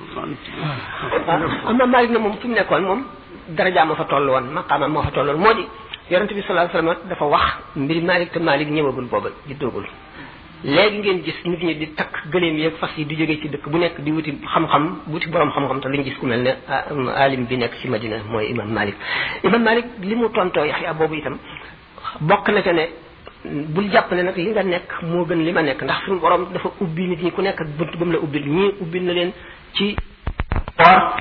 am na Malik na moom fi mu nekkoon moom daraja ma fa toll woon maqaama moo fa tolloon moo di yonent bi sallallahu alayhi wasallam dafa wax mbiri Malik te Malik ñëwagul booba juddoogul léegi ngeen gis nit ñi di takk gëléem yeeg fas yi di jógee ci dëkk bu nekk di wuti xam-xam wuti borom xam-xam te liñ gis ku mel ne alim bi nekk ci Madina mooy imam Malik imam Malik li mu tontoo Yaxya boobu itam bokk na ca ne bul jàpp ne nag li nga nekk moo gën li ma nekk ndax suñu borom dafa ubbi nit ñi ku nekk ak bunt ba mu la ubbil ñii ubbil na leen ci or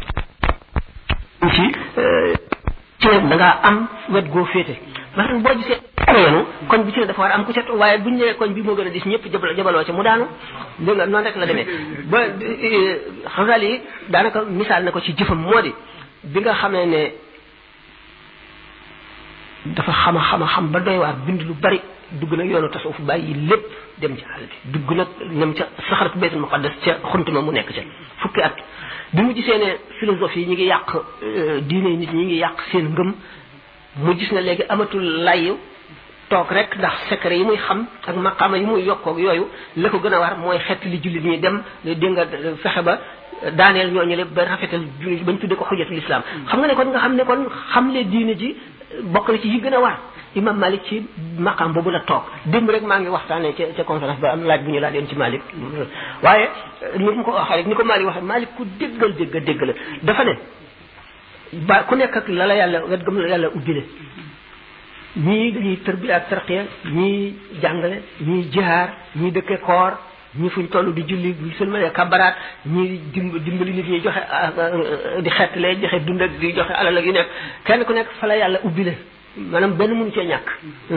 ci ci da ngaa am wet goo féete maanaam boo gisee yoonu koñ bi ci ne dafa war a am ku set waaye buñ ñëwee koñ bi moo gën a dis ñëpp jabal jabaloo ca mu daanu dégg nga noonu rek la demee ba xasal yi daanaka misaal na ko ci jëfam moo di bi nga xamee ne dafa xama xama xam ba doy waar bind lu bari dugg nag yoonu tasawuf bàyyi lépp dem ci àll bi dugg nag ñam ca saxarat baytul muqaddas ca xuntuma mu nekk ca fukki at bi mu gisee ne philosophie yi ñi ngi yàq diine nit ñi ngi yàq seen ngëm mu gis ne léegi amatul layu toog rek ndax secret yi muy xam ak maqaama yi muy yokkoog yooyu la ko gën a war mooy xett li jullit ñi dem dégg nga fexe ba daaneel ñooñu le ba rafetal jullit bañ tudde ko xujjatul islam xam nga ne kon nga xam ne kon xamle diine ji bokk na ci yi gën a war imam Malik ci maqaam boobu la toog démb rek maa ngi waxtaanee ca ca conférence ba am laaj bu ñu laa doon ci Malik waaye ni mu ko waxee rek ni ko Malik waxee Malik ku déggal dégg dégg la dafa ne ba ku nekk ak la la yàlla wet gëm la yàlla ubbile ñii dañuy tërbi ak tarqiya ñii jàngale ñii jihaar ñii dëkke koor ñii fuñ toll di julli bu sëlmalee kabaraat ñii dimbali nit ñi joxe di xettalee joxe dund ak di joxe alal ak yu nekk kenn ku nekk fa la yàlla ubbile maanaam benn mënu cee ñàkk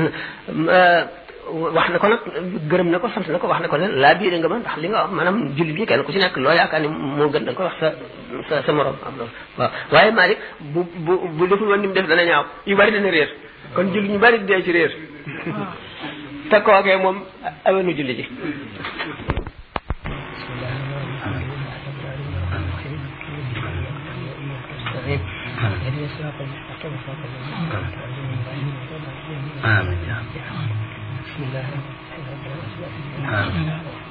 wax na ko nag gërëm na ko sant na ko wax na ko ne laa biire nga ma ndax li nga wax maanaam julli bi kenn ku ci nekk loo yaakaar ni moo gën da nga ko wax sa sa sa morom am loolu waaw waaye Malick bu bu bu deful woon ni mu def dana ñaaw yu bari dana réer kon julli ñu bari dee ci réer te kookee moom awenu julli ji آمين يا رب بسم الله آمين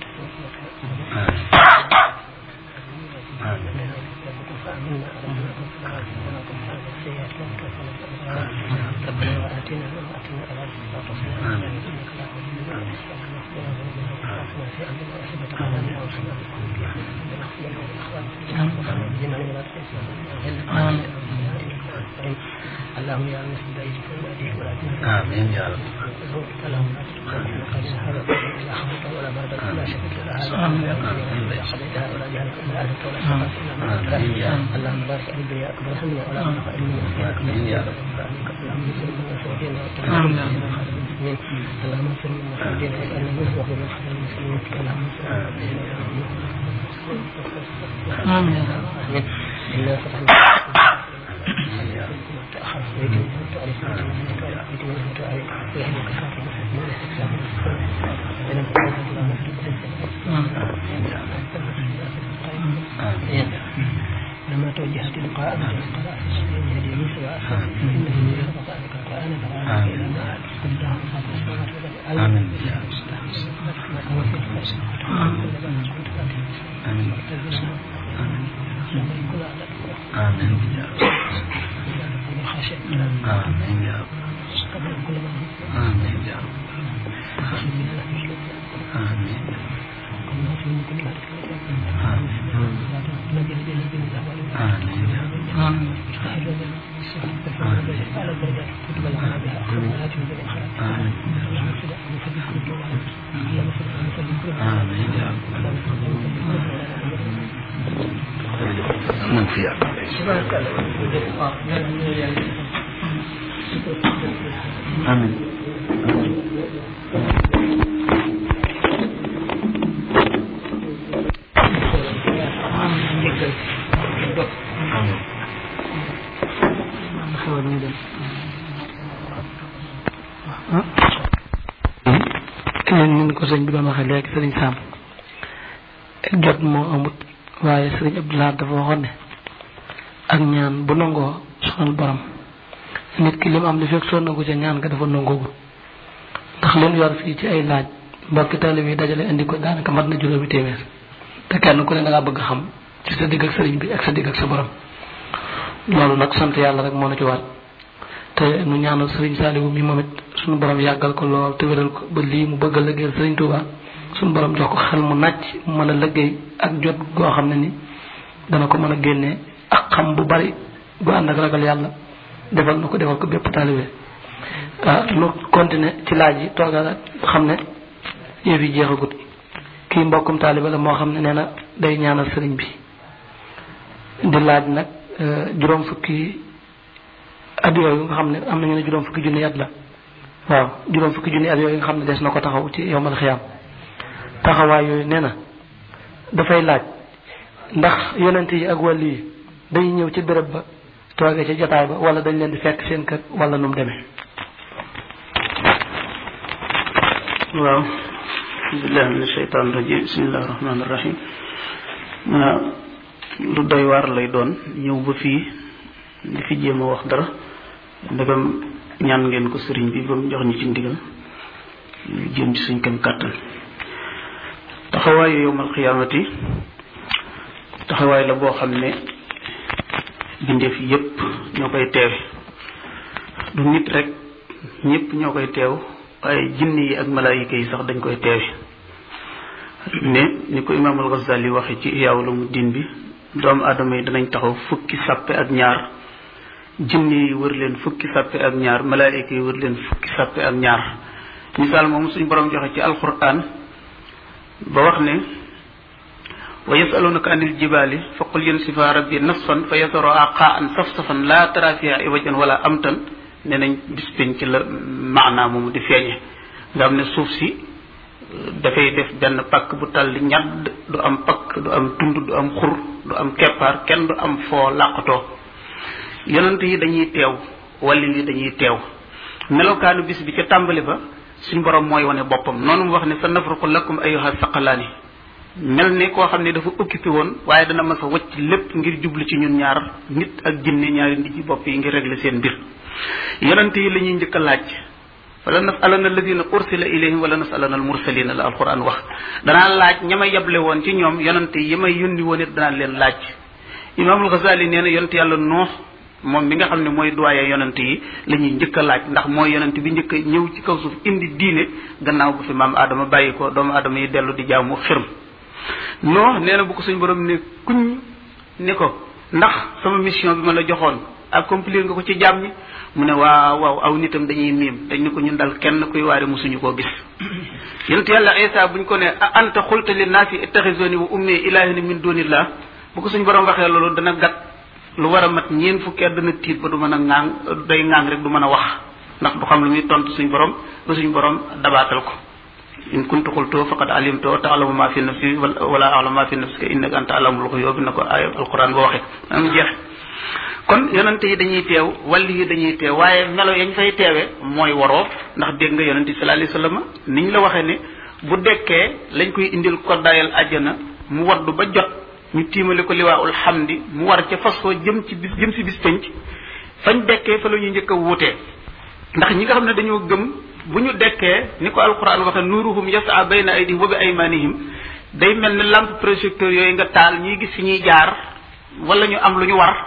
ربنا وآتنا ما وعدتنا على رسلك وتصلنا إنك لا تضل من يحبنا في أمرنا وأحبة قلنا وصلنا اللهم يا مسجد أيديك وأيديك ولا تنسى آمين يا رب اللهم لا تتخذنا قلنا هذا إلا حمدك ولا مرضى إلا شكرك لها ولا قضيتها ولا جهلك إلا أهلك ولا شفاك إلا ما أنت اللهم بارك عليك يا أكبر همنا ولا تنفع إلنا يا أكبر يا رب اللهم اغفر لنا وسعدنا وتوفنا المسلمين اللهم اغفر لنا وسعدنا واجعلنا منه وهو من خير المسلمين اللهم اغفر لنا آمين آمين إنا فتحنا تأخر ويجب أن تعرف ويجب أن تعرف ويهدك خاطر من الاستقسام ولم تكن الله مفتوحا لما توجهت لقاء أنت القراء في السبيل يهديني سواء إنه من يرضى ذلك القرآن فلا إلى ما قل الله خاطر السماوات والأرض آمين آمين آمين آمين يا رب آمين يا رب آمين من فيها آمين ñun ko sëñ bi doon waxee léegi sëriñ Sam jot moo amut waaye sëriñ Abdoulaye dafa waxoon ne ak ñaan bu nangoo sonal borom nit ki lim am li fekk soo nangu ca ñaan nga dafa nangoogul ndax leen yor fii ci ay laaj mbokki taalibe yi dajale indi ko daanaka mat na juróomi téeméer te kenn ku ne da ngaa bëgg xam ci sa digg ak sëriñ bi ak sa digg ak sa borom loolu nag sant yàlla rek moo na ci war te nu ñaanal sëriñ Saliou mi moom it suñu borom yàggal ko lool te wéral ko ba lii mu bëgg a liggéeyal sëriñ Touba suñu borom jox ko xel mu nàcc mu mën a liggéey ak jot goo xam ne ni dana ko mën a génnee ak xam bu bari bu ànd ak ragal yàlla defal na ko defal ko bépp taalibe ah nu continuer ci laaj yi toogal xam ne yëf yi jeexagut kii mbokkum taalibe la moo xam ne nee na day ñaanal sëriñ bi di laaj nag juróom fukki at yooyu nga xam ne am nañu ne juróom fukki junni at la waaw juróom fukki junni at yooyu nga xam ne des na ko taxaw ci yowmal xiyaam taxawaay yooyu nee na dafay laaj ndax yonent yi ak wàll yi dañuy ñëw ci béréb ba toogee ci jotaay ba wala dañ leen di fekk seen kër wala nu mu demee waaw billahi min ashaytan rajim bismillahi rahmani rahim lu doy waar lay doon ñëw ba fii di fi jéem a wax dara ndegam ñaan ngeen ko sëriñ bi ba mu jox ñu ci ndigal ñu jéem ci suñ kem kàttan taxawaayu yowmal xiyaamati taxawaay la boo xam ne bindeef yépp ñoo koy teewe du nit rek ñépp ñoo koy teew waaye jinne yi ak malaayika yi sax dañ koy teewe ne ni ko imaamul Ghazali waxe ci Ihya Ulumuddin bi doomu aadama yi danañ taxaw fukki sàppe ak ñaar jinne yi wër leen fukki sàppe ak ñaar malaayika yi wër leen fukki sàppe ak ñaar misaal moom suñ borom joxe ci alquran ba wax ne wa yasalunaka anil jibaali fa qul yansifa rabbi nasfan fa yasara qa'an safsafan la tara fiha iwajan wala amtan ne nañ bis pénc ci la maanaa moomu di feeñe nga xam ne suuf si dafay def benn pakk bu talli ñadd du am pakk du am tund du am xur du am keppaar kenn du am foo làqatoo yonent yi dañuy teew walli yi dañuy teew melokaanu bis bi ca tàmbali ba suñ borom mooy wane boppam noonu mu wax ne sa nafruqu lakum ayyuha saqalaani mel ni koo xam ne dafa occupé woon waaye dana mas a wacc lépp ngir jublu ci ñun ñaar nit ak jinne ñaari nit ci bopp yi ngir régler seen mbir yonent yi la ñuy njëkk a laaj wala nasalana alladina ursila ilayhim wala nasalana al mursalina la alquran wax danaa laaj ña ma yeble woon ci ñoom yonent yi may yónni woon it danaa leen laaj imaamul Ghazali nee na yonent yàlla Nuux moom mi nga xam ne mooy doyen yonent yi la ñuy njëkk a laaj ndax mooy yonent bi njëkk a ñëw ci kaw suuf indi diine gannaaw bu fi maam Adama bàyyi ko doomu Adama yi dellu di jaamu xërm Nuux nee na bu ko suñ borom ne kuñ ni ko ndax sama mission bi ma la joxoon accomplir nga ko ci jaam ñi mu ne waaw waaw aw nitam dañuy miim dañ ne ko ñun dal kenn kuy waare musuñu koo gis yonent yàlla Isa buñ ko ne anta xulta li naasi ittaxizuni wa ummi ilaahina min dunillah bu ko suñ borom waxee loolu dana gat lu war a mat ñeen fukki at dana tiit ba du mën a ŋaang day ŋaang rek du mën a wax ndax du xam lu muy tontu suñ borom ba suñ borom dabaatal ko in kuntu xultoo faqad alimtoo taalamu ma fi nafsi wala alamu ma fi nafsika innaka anta alamul xuyub na ko ay alquran ba waxe am jeex kon yonente yi dañuy teew wàlli yi dañuy teew waaye melo yañ fay teewe mooy waroo ndax dégg nga yonente sallallahu alayhi wasallam niñ la waxee ne bu dekkee lañ koy indil koddaayal àjjana mu waddu ba jot ñu tiimale ko liwaa'ul hamdi mu war ca fas koo jëm ci bis jëm si bis penc fañ dekkee fa la ñuy njëkk a wuutee ndax ñi nga xam ne dañoo gëm bu ñu dekkee ni ko alquran waxe nuruhum yas'a bayna aydihim wa bi aymanihim day mel ne lampe projecteur yooyu nga taal ñuy gis fi ñuy jaar wala ñu am lu ñu war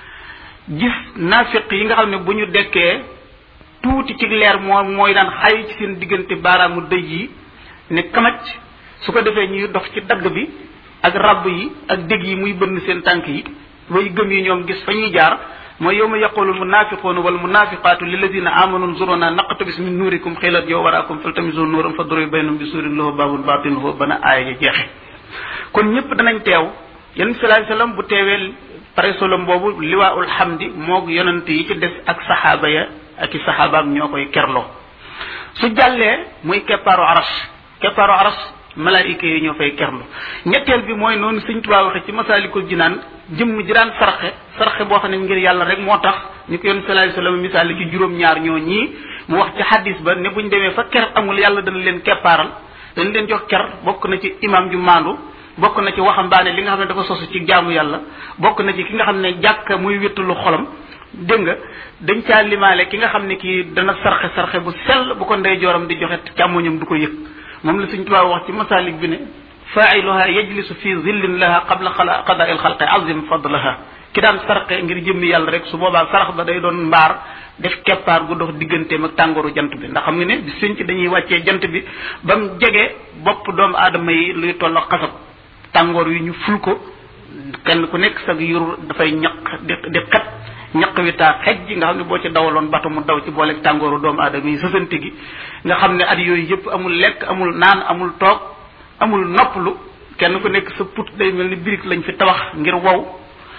gis naafiq yi nga xam ne bu ñu dekkee tuuti ci leer moo mooy daan xay ci seen diggante baaraamu dëj yi ne kamaj su ko defee ñuy dox ci dagg bi ak rabb yi ak dégg yi muy bënn seen tànk yi way gëm yi ñoom gis fa ñuy jaar mooy yawma yaqulu almunafiquna walmunafiqatu lilladina amanu nzuruna naqtabis min nurikum xilat yow waraakum faltamisu nuuran fadribu baynahum bi suurin lahu baabun baatinuhu bana aaya ja jeexe kon ñëpp danañ teew yonent sallallahu alayhi wasallam bu teewee pare solom boobu liwaa'ul hamdi moog yonent yi ci des ak saxaaba ya ak i saxaabaam ñoo koy kerloo su jàllee muy keppaaru aras keppaaru aras malaayika yi ñoo fay kerlu ñetteel bi mooy noonu Sëñ Tuubaa waxe ci Masaalikul Jinaan jëmm ji daan sarxe sarxe boo xam ne ngir yàlla rek moo tax ñu ko yoon sallallahu alayhi wasallam misaal ci juróom-ñaar ñoo ñii mu wax ci xadis ba ne buñ demee fa ker amul yàlla dana leen keppaaral dañ leen jox ker bokk na ci imam ju maandu bokk na ci waxambaane li nga xam ne dafa sosu ci jaamu yàlla bokk na ci ki nga xam ne jàkka muy wéttalu xolam dégg nga dañ caa limaale ki nga xam ne kii dana sarxe sarxe bu sell bu ko ndey jooram di joxe càmmoñam du ko yëg moom la Sëñ Tuubaa wax ci masalik bi ne fa'iluha yajlisu fi zillin laha qabla qada'i al-khalqi azim fadlaha ki daan sarxe ngir jëmmi yàlla rek su boobaa sarax ba day doon mbaar def keppaar gu dox digganteem ak tàngooru jant bi ndax xam nga ne bi sëñ ci dañuy wàccee jant bi ba mu jege bopp doomu aadama yi luy toll xasab tàngoor yi ñu ful ko kenn ku nekk sag yur dafay ñaq di di xet ñaq wi taa xej ji nga xam ne boo ci dawaloon bato mu daw ci booleeg tàngooru doomu aadama yi sësante gi nga xam ne at yooyu yëpp amul lekk amul naan amul toog amul nopplu kenn ku nekk sa put day mel ni birig lañ fi tabax ngir wow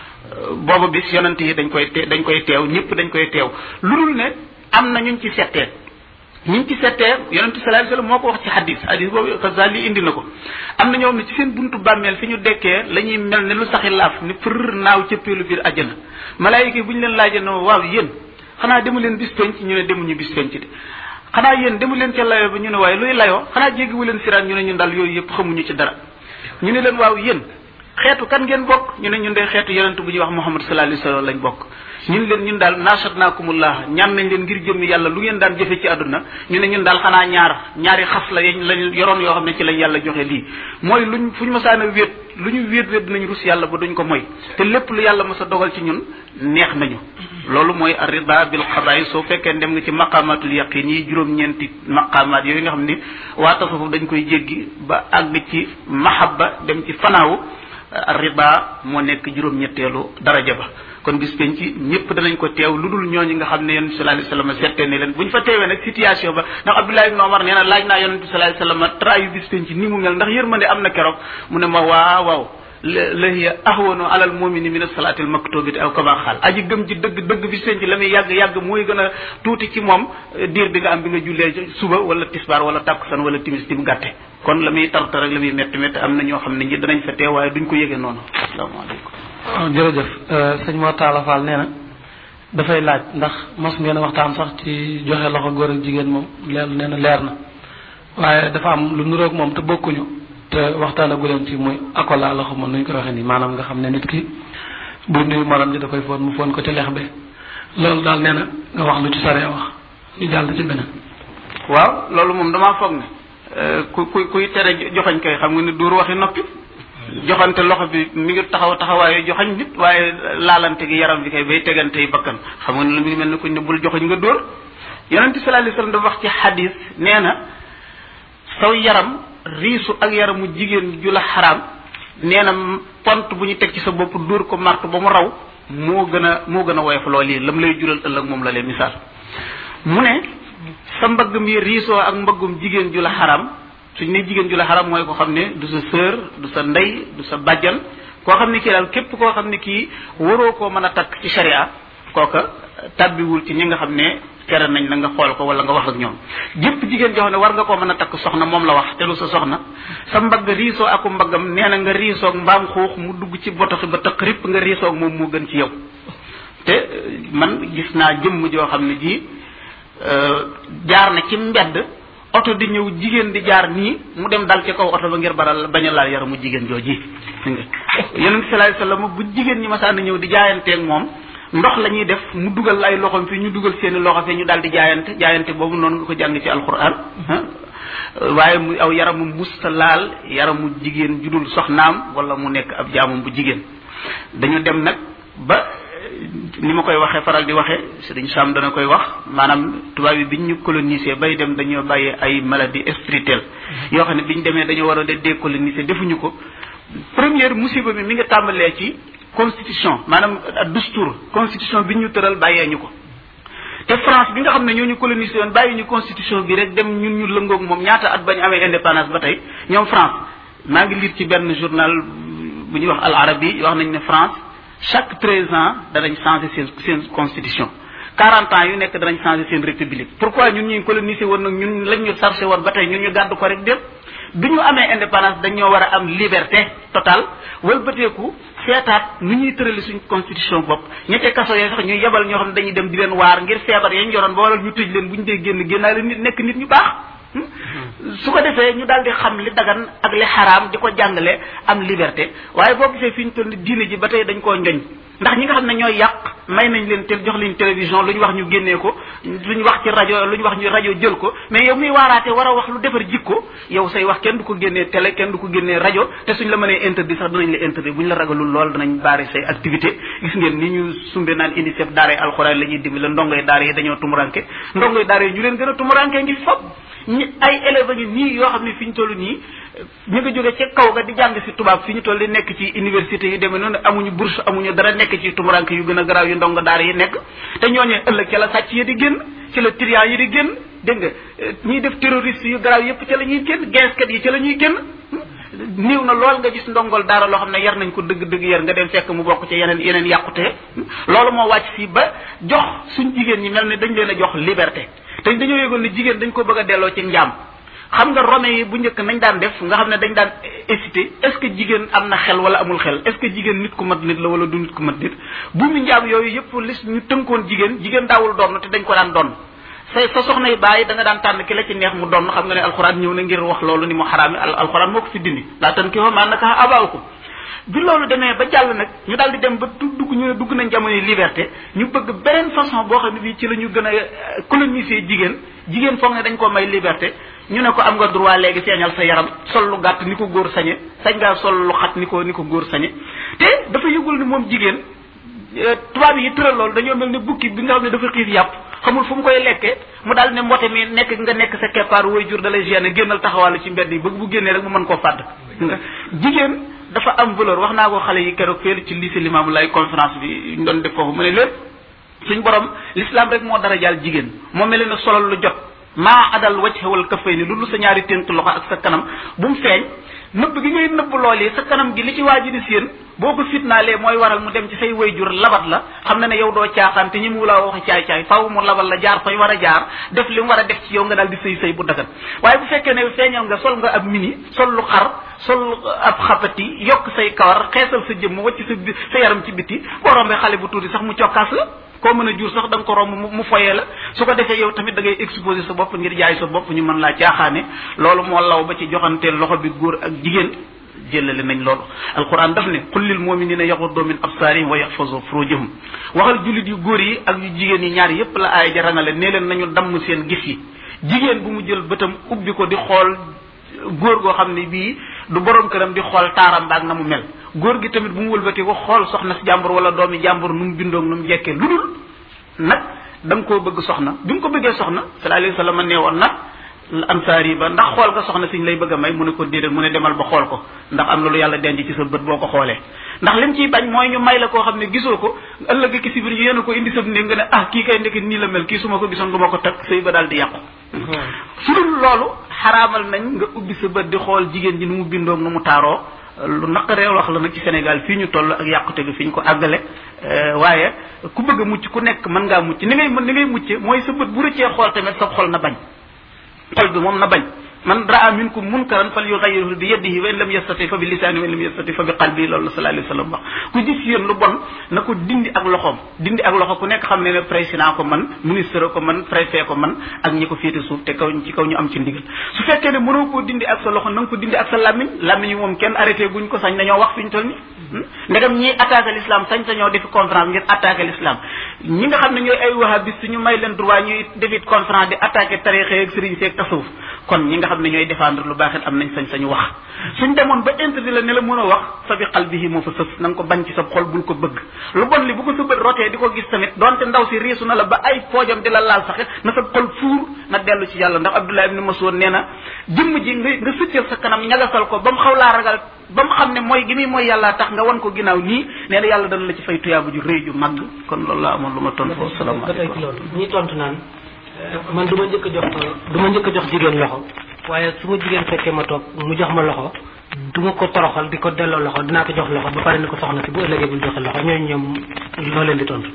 booba bis yonent yi dañ koy dañ koy teew ñëpp dañ koy teew lu dul ne am na ñuñ ci settee ñuñ ci settee yonent sallallahu alayhi wasallam moo ko wax ci hadis hadis boobu Xasaali indi na ko am na ñoo xam ne ci seen buntu bàmmeel fi ñu dekkee la ñuy mel ne lu saxi laaf ni fër naaw cëppeelu biir àjjana malaayika yi bu ñu leen laajee no waaw yéen xanaa demu leen bis penc ñu ne demuñu bis penc de xanaa yéen demu leen ca layoo ba ñu ne waaye luy layoo xanaa jéggiwu leen siraat ñu ne ñun daal yooyu yëpp xamuñu ci dara ñu ne leen waaw yéen xeetu kan ngeen bokk ñu ne ñun de xeetu yonent bu ñuy wax Muhammad sallallahu alayhi wasallam lañ bokk ñun leen ñun daal nashatnaakumullah ñaan nañ leen ngir jëmmi yàlla lu ngeen daan jëfe ci àdduna ñu ne ñun daal xanaa ñaar ñaari xas la yañ lañ yoroon yoo xam ne ci lañ yàlla joxe lii mooy luñ fu ñu mësaan a wéet lu ñu wéet wéet dinañ rus yàlla ba duñ ko moy te lépp lu yàlla mës a dogal ci ñun neex nañu loolu mooy ar-rida bil qada'i soo fekkee dem nga ci maqamatul yaqin yi juróom-ñeenti maqamat yooyu nga xam ni waa tasawuf dañ koy jéggi ba àgg ci mahabba dem ci fanaawu ar-rida moo nekk juróom-ñetteelu daraja ba kon bis penc ñëpp danañ ko teew lu dul ñooñu nga xam ne yonent bi sallallahu alayhi wasallam seetee ne leen bu ñu fa teewee nag situation ba ndax Abdullah ibn Omar nee na laaj naa yonent bi sallallahu alayhi wasallam trayu bis penc ni mu mel ndax yërmande am na keroog mu ne ma waaw waaw la hiya ahwanu alal mu'mini min as-salati al-maktubati aw kama xaal aji gëm ci dëgg dëgg bis penc la muy yàgg yàgg mooy gën a tuuti ci moom diir bi nga am bi nga jullee suba wala tisbaar wala takkusaan wala timis tim gàtte kon la muy tartar ak la muy métti métti am na ñoo xam ne ñi danañ fa teew waaye duñ ko yëgee noonu asalaamaaleykum waaw jërëjëf sëñ Mor Talla Fall nee na dafay laaj ndax mos ngeen a waxtaan sax ci joxe loxo góor ak jigéen moom leer nee na leer na waaye dafa am lu nuroog moom te bokkuñu te waxtaan agu leen ci muy akola loxo moom nuñ ko waxee nii maanaam nga xam ne nit ki bu nuyu morom ji da koy foon mu foon ko ci lex be loolu daal nee na nga wax lu ci saree wax ñu jàll ci beneen. waaw loolu moom damaa foog ne ku ku kuy tere joxañ kay xam nga ne duur waxi noppi. joxante loxo bi mi ngi taxaw taxawaayu joxañ nit waaye laalante gi yaram bi kay bay tegante yi bakkan xam nga ne lu mi ngi mel ni kuñ ne bul joxañ nga dóor yonent bi sallallahu alayhi wasallam dafa wax ci xadis nee na saw yaram riisu ak yaramu jigéen ju la xaraam nee na pont bu ñu teg ci sa bopp dóor ko martu ba mu raw moo gën a moo gën a woyof lool yi lam lay jural ëllëg moom la leen misaal mu ne sa mbagg mi riisoo ak mbaggum jigéen ju la xaraam suñ ne jigéen ju la xaram mooy ko xam ne du sa sœur du sa ndey du sa bàjjan koo xam ne kii daal képp koo xam ne kii waroo koo mën a takk ci sharia kooka tabbiwul ci ñi nga xam ne tere nañ la nga xool ko wala nga wax ak ñoom jëpp jigéen joo xam ne war nga koo mën a takk soxna moom la wax te lu sa soxna sa mbagg riisoo aku mbaggam nee na nga riisoog mbaam xuux mu dugg ci botoxi ba tëq ripp nga riisoog moom moo gën ci yow te man gis naa jëmm joo xam ne ji jaar na ci mbedd oto di ñëw jigéen di jaar nii mu dem dal ci kaw oto ba ngir baral bañ a laal yaramu jigéen jooji yonent bi sallallahu alayhi wasallam bu jigéen ñi masaan ñëw di jaayanteeg moom ndox la ñuy def mu dugal ay loxom fi ñu dugal seeni loxo fi ñu daal di jaayante jaayante boobu noonu nga ko jàng ci alquran waaye mu aw yaramu musta laal yaramu jigéen judul soxnaam wala mu nekk ab jaamum bu jigéen dañu dem nag ba ni ma koy waxee faral di waxee Serigne Sam dana koy wax maanaam tubaab yi biñ ñu colonisé bay dem dañoo bàyyi ay maladie spirituelle yoo xam ne biñ demee dañoo war a décoloniser defuñu ko première musiba bi mi nga tàmbalee ci constitution maanaam dustour constitution bi ñu tëral bàyyee ñu ko te France bi nga xam ne ñoo ñu colonisé woon bàyyi ñu constitution bi rek dem ñun ñu lëngoog moom ñaata at bañ amee indépendance ba tey ñoom France maa ngi lire ci benn journal bu ñuy wax Al Arabi wax nañ ne France chaque treize ans danañ changer seen seen constitution quarante ans yu nekk danañ changer seen république pourquoi ñun ñuy colonisé woon nag ñun lañ ñu chargé woon ba tey ñun ñu gàddu ko rek dem bi ñu amee indépendance dañoo war a am liberté totale wëlbateeku seetaat nu ñuy tërali suñ constitution bopp ñettee kaso yooyu sax ñuy yebal ñoo xam ne dañuy dem di leen waar ngir feebar yañ yoroon ba waral ñu tëj leen bu ñu dee génn génnaale nit nekk nit ñu baax su ko defee ñu daal di xam li dagan ak li xaraam di ko jàngale am liberté waaye boo gisee fi ñu toll diine ji ba tey dañ koo njoñ ndax ñi nga xam ne ñooy yàq may nañ leen te jox leen télévision lu ñu wax ñu génnee ko lu ñu wax ci rajo lu ñu wax ñu rajo jël ko mais yow muy waaraate war a wax lu defar jikko yow say wax kenn du ko génnee télé kenn du ko génnee rajo te suñ la mënee interdit sax danañ la interdit bu ñu la ragalul lool danañ baare say activité gis ngeen ni ñu sumbe naan UNICEF daara yi alxuraan la ñuy dimbali ndongoy daara yi dañoo tumuranke ndongoy daara yi ñu leen gën a tumuranke ngi fop ñi ay élèves ngi nii yoo xam ne fi ñu toll nii ñu nga jóge ca kaw ga di jàng si tubaab fi ñu toll di nekk ci université yu demee noonu amuñu bourse amuñu dara nekk ci tumuranke yu gën a garaaw yu ndongo daara yi nekk te ñooñee ëllëg ca la sàcc yi di génn ci la trian yi di génn dégg nga ñiy def terroriste yu garaaw yépp ca la ñuy génn geeskat yi ca la ñuy génn niiw na lool nga gis ndongol daara loo xam ne yar nañ ko dëgg dëgg yar nga dem fekk mu bokk ci yeneen yeneen yàqute loolu moo wàcc fii ba jox suñ jigéen ñi mel ne dañ leen a jox liberté te dañoo yëgoon ne jigéen dañ ko bëgg a delloo ci njaam xam nga Romain yi bu njëkk nañ daan def nga xam ne dañ daan hésité est-ce que jigéen am na xel wala amul xel est-ce que jigéen nit ku mat nit la wala du nit ku mat nit bu mu njaam yooyu yëpp lis ñu tënkoon jigéen jigéen daawul doon te dañ ko daan doon sa sa soxna yi bàyyi da nga daan tànn ki la ci neex mu doon xam nga ne alxuraan ñëw na ngir wax loolu ni mu xaraami alxuraan moo ko fi dindi laa tan ki maa naka abaakum bi loolu demee ba jàll nag ñu daal di dem ba dugg ñu ne dugg nañ jamono liberté ñu bëgg beneen façon boo xam ne bii ci la ñu gën a coloniser jigéen jigéen foog ne dañ ko may liberté ñu ne ko am nga droit léegi feeñal sa yaram sol lu gàtt ni ko góor sañe sañ ngaa sol lu xat ni ko ni ko góor sañe te dafa yëgul ni moom jigéen tubaab yi tëral loolu dañoo mel ne bukki bi nga xam ne dafa xiif yàpp xamul fu mu koy lekkee mu daal ne mbote mi nekk nga nekk sa keppaar way jur da lay gêner génnal taxawàllu ci mbedd yi bëgg bu génnee rek mu mën koo fàdd jigéen dafa am valeur wax naa ko xale yi keroog féelu ci lycée Limamou Laye conférence bi ñu doon def foofu mu ne lépp suñ borom l'islam rek moo dara jaal jigéen moo mel ne solal lu jot maa adal wajh wal kaffayni lu sa ñaari tënk loxo ak sa kanam bu mu feeñ nëbb gi ngay nëbb lool yi sa kanam gi li ci waa ji di séen boo ko fitnaalee mooy waral mu dem ci say wayjur labat la xam na ne yow doo caaxaan te ñi mu la wax caay caay faaw mu labal la jaar fay war a jaar def li mu war a def ci yow nga daal di sëy sëy bu dagan waaye bu fekkee ne feeñal nga sol nga ab mini sol lu xar sol ab xapati yokk say kawar xeesal sa jëmm wacc sa sa yaram ci biti boo rombee xale bu tuuti sax mu cokkaas la koo mën a jur sax da nga ko romb mu foyee la su ko defee yow tamit da ngay exposer sa bopp ngir jaay sa bopp ñu mën laa caaxaane loolu moo law ba ci joxanteel loxo bi góor ak jigéen jëlale nañ loolu alquran daf ne qul lil muminina yaxuddu min absarihim wa yaxfazu furujahum waxal jullit yu góor yi ak yu jigéen yi ñaar yépp la aaya ja rangale nee leen nañu damm seen gis yi jigéen bu mu jël bëtam ubbi ko di xool góor goo xam ne bii du borom këram di xool taaram baag na mu mel góor gi tamit bu mu wëlbatee ko xool soxna si jàmbur wala doomi jàmbur nu mu bindoog nu mu jekkee lu dul nag da nga koo bëgg soxna bi mu ko bëggee soxna sallallahu alayhi wa sallam nee woon nag ansaari ba ndax xool nga soxna siñ lay bëgg a may mu ne ko déedéet mu ne demal ba xool ko ndax am na lu yàlla denc ci sa bët boo ko xoolee ndax lim ciy bañ mooy ñu may la koo xam ne gisoo ko ëllëg ki si biir yéen ko indi sa néeg nga ne ah kii kay ndekki nii la mel kii su ma ko gisoon du ma ko teg sëy ba daal di yàqu su dul loolu xaraamal nañ nga ubbi sa bët di xool jigéen ji nu mu bindoog nu mu taaroo lu naqaree wax la nag ci Sénégal fii ñu toll ak yàqute gi fi ñu ko àggale waaye ku bëgg a mucc ku nekk mën ngaa mucc ni ngay ni ngay mucce mooy sa bët bu rëccee xool tamit sa xol na bañ xol bi moom na bañ man raa minkum munkaran fal yughayyiru bi yadihi wa in lam yastati fa bi lisani wa in lam yastati fa bi qalbi loolu sallallahu alayhi wa sallam wax ku gis yéen lu bon na ko dindi ak loxoom dindi ak loxo ku nekk xam ne ne président ko man ministre ko man préfet ko man ak ñi ko féete suuf te kaw ci kaw ñu am ci ndigal su fekkee ne mënoo koo dindi ak sa loxo na nga ko dindi ak sa làmmiñ làmmiñ moom kenn arrêté guñ ko sañ nañoo wax fi ñu toll ni ndegam ñiy attaqué l'islam sañ sañoo defi conférence ngir attaqué l'islam ñi nga xam ne ñooy ay wahabiste ñu may leen droit ñuy defit conférence di attaqué tarixa ak sëriñ seeg tasawuf kon ñi nga xam ne ñooy défendre lu baax it am nañ sañ-sañu wax suñ demoon ba interdit la ne la mën a wax fa bi qalbihi moo fa sës na nga ko bañ ci sa xol bul ko bëgg lu bon li bu ko sa bët rotee di ko gis tamit donte ndaw si riisu na la ba ay poojam di la laal sax na sa xol fuur na dellu ci yàlla ndax Abdullah ibn Mas'ud nee na jëmm ji nga nga sëccal sa kanam ñagasal ko ba mu xaw laa ragal ba mu xam ne mooy gi muy mooy yàlla tax nga wan ko ginnaaw nii nee na yàlla dana la ci fay tuyaabu ju rëy ju màgg kon loolu la amoon lu ma tontu foofu salaamaaleykum ñi tontu naan man du ma njëkk a jox du ma njëkk a jox jigéen loxo waaye su ma jigéen fekkee ma toog mu jox ma loxo du ma ko toroxal di ko delloo loxo dinaa ko jox loxo ba pare ni ko soxna si bu ëllëgee bul joxe loxo ñooñu ñoom loo leen di tontu.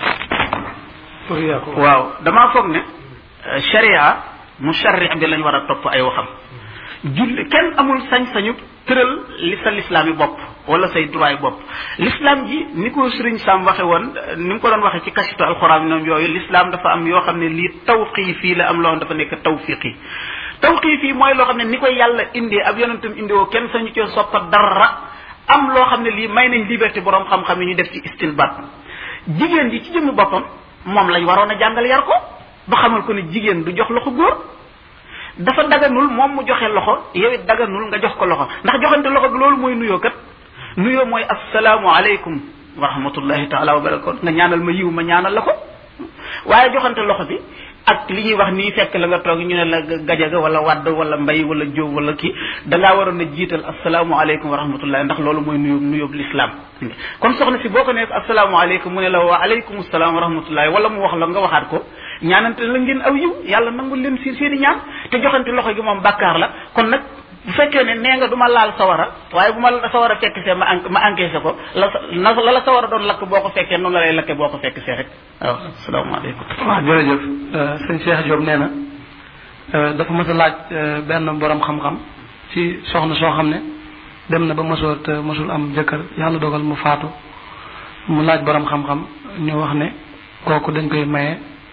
waaw damaa foog ne sharia musharri bi lañ war a topp ay waxam julli kenn amul sañ-sañu tëral li sa lislaam yi bopp wala say droit yi bopp l'islam ji ni ko Sëriñ Sam waxe woon ni mu ko doon waxe ci kasitu alxuraan ñoom yooyu l'islam dafa am yoo xam ne lii tawqiifi la am loo xam dafa nekk tawfiqi tawqiifi mooy loo xam ne ni koy yàlla indee ab yonentam indiwoo kenn sañu ci soppa dara am loo xam ne lii may nañ liberté borom xam-xam yi ñu def ci istinbat jigéen ji ci jëmmi boppam moom lañ waroon a jàngal yar ko ba xamal ko ne jigéen du jox loxo góor dafa daganul moom mu joxe loxo yow it daganul nga jox ko loxo ndax joxante loxo bi loolu mooy nuyoo kat nuyoo mooy assalaamu aleykum wa rahmatullahi taala wa barakatu nga ñaanal ma yiw ma ñaanal la ko waaye joxante loxo bi ak li ñuy wax nii fekk la nga toog ñu ne la gajaga wala wadd wala mbay wala jóob wala kii dangaa waroon a jiital assalaamu aleykum wa rahmatullahi ndax loolu mooy nuyób nuyób l'islam kon soxna si boo ko nekk assalaamu aleykum mu ne la wa aleykum salaam wa rahmatullahi wala mu wax la nga waxaat ko ñaanante la ngeen aw yiw yàlla nangul leen si seeni ñaan te joxante loxo gi moom bàkkaar la kon nag bu fekkee ne nee nga du ma laal sawara waaye bu ma sawara fekk see ma ma encaissé ko la na la la sawara doon lakk boo ko fekkee noonu la lay lakke boo ko fekk see rek waaw asalaamaaleykum. waaw jërëjëf sëñ Cheikh Diop nee na dafa mës a laaj benn borom xam-xam ci soxna soo xam ne dem na ba mësoor te mësul am jëkkër yàlla dogal mu faatu mu laaj borom xam-xam ñu wax ne kooku dañ koy maye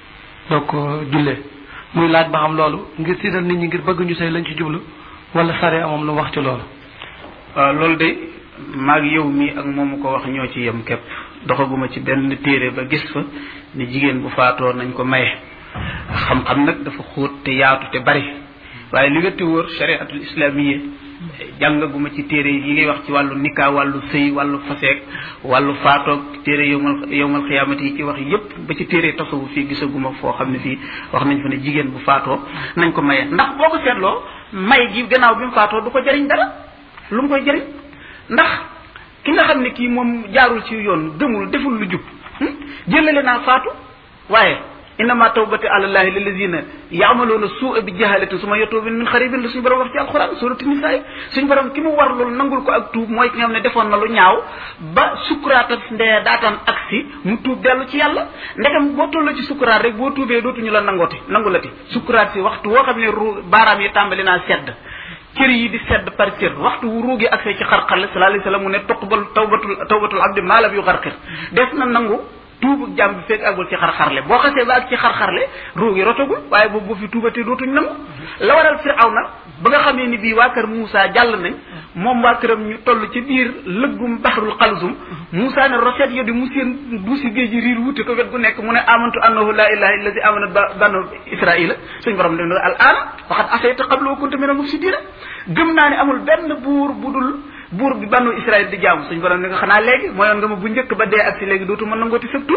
doo ko jullee muy laaj ba xam loolu ngir tiital nit ñi ngir bëgg ñu sëy lañ ci jublu wala sare moom lu wax ci loolu. waaw loolu de maag yow mi ak moomu ko wax ñoo ci yem képp doxaguma ci benn téere ba gis fa ni jigéen bu faatoo nañ ko maye xam-xam nag dafa xóot te yaatu te bari waaye li nga te wóor chariatul islamiyya jàngaguma ci téere yi ngay wax ci wàllu nikah wàllu sëy wàllu faseek wàllu faatoog téere yowmal yowmal xiyaamati yi ci wax yépp ba ci téere tasawuf fii gisaguma foo xam ne fii wax nañ fa ne jigéen bu faatoo nañ ko maye ndax boo ko seetloo may gi gannaaw bi mu faatoo du ko jëriñ dara lu mu koy jëriñ ndax ki nga xam ne kii moom jaarul ci yoon gëmul deful lu jub jëlale naa faatu waaye innama tawbati alallahi lillazina yaamaluuna suua bi jahalatin suma yatuubun min xaribin la suñu borom wax ci alquran suratu nisaa suñu borom ki mu war loolu nangul ko ak tuub mooy ki nga xam ne defoon na lu ñaaw ba sukkuraat ak ndee daataan agsi mu tuub dellu ci yàlla ndegam boo tolloo ci sukkuraat rek boo tuubee dootuñu la nangooti nangulati sukkuraat si waxtu woo xam ne ru baaraam yi tàmbali naa sedd cër yi di sedd par cër waxtu wu ruugi agsee ci xarxarle sallallahu alayhi wasallam mu ne tuqbal tawbatul tawbatul abdi maa lam yuxarqir des na nangu tuubu jàmm bi fekk àggul ci xarxarle boo xasee ba ak ci xarxarle ruugi rotagul waaye boobu boo fi tuubatee dootuñ nangu la waral Firawna ba nga xamee ni bii waa kër Moussa jàll nañ moom waa këram ñu toll ci biir lëggum baxrul xalsum Moussa ne roset yo di mu seen duusi géej ji riir wute ko wet gu nekk mu ne amantu annahu la ilaha illa allazi amanat banu israila suñ borom dem al aana waxat asayta qabla wa kunta minal mufsidina gëm naa ne amul benn buur bu dul buur bi banu Israël di jaamu suñu borom ne nga xanaa léegi mooyoon nga ma bu njëkk ba dee ak si léegi dootu mën nangooti sëbtu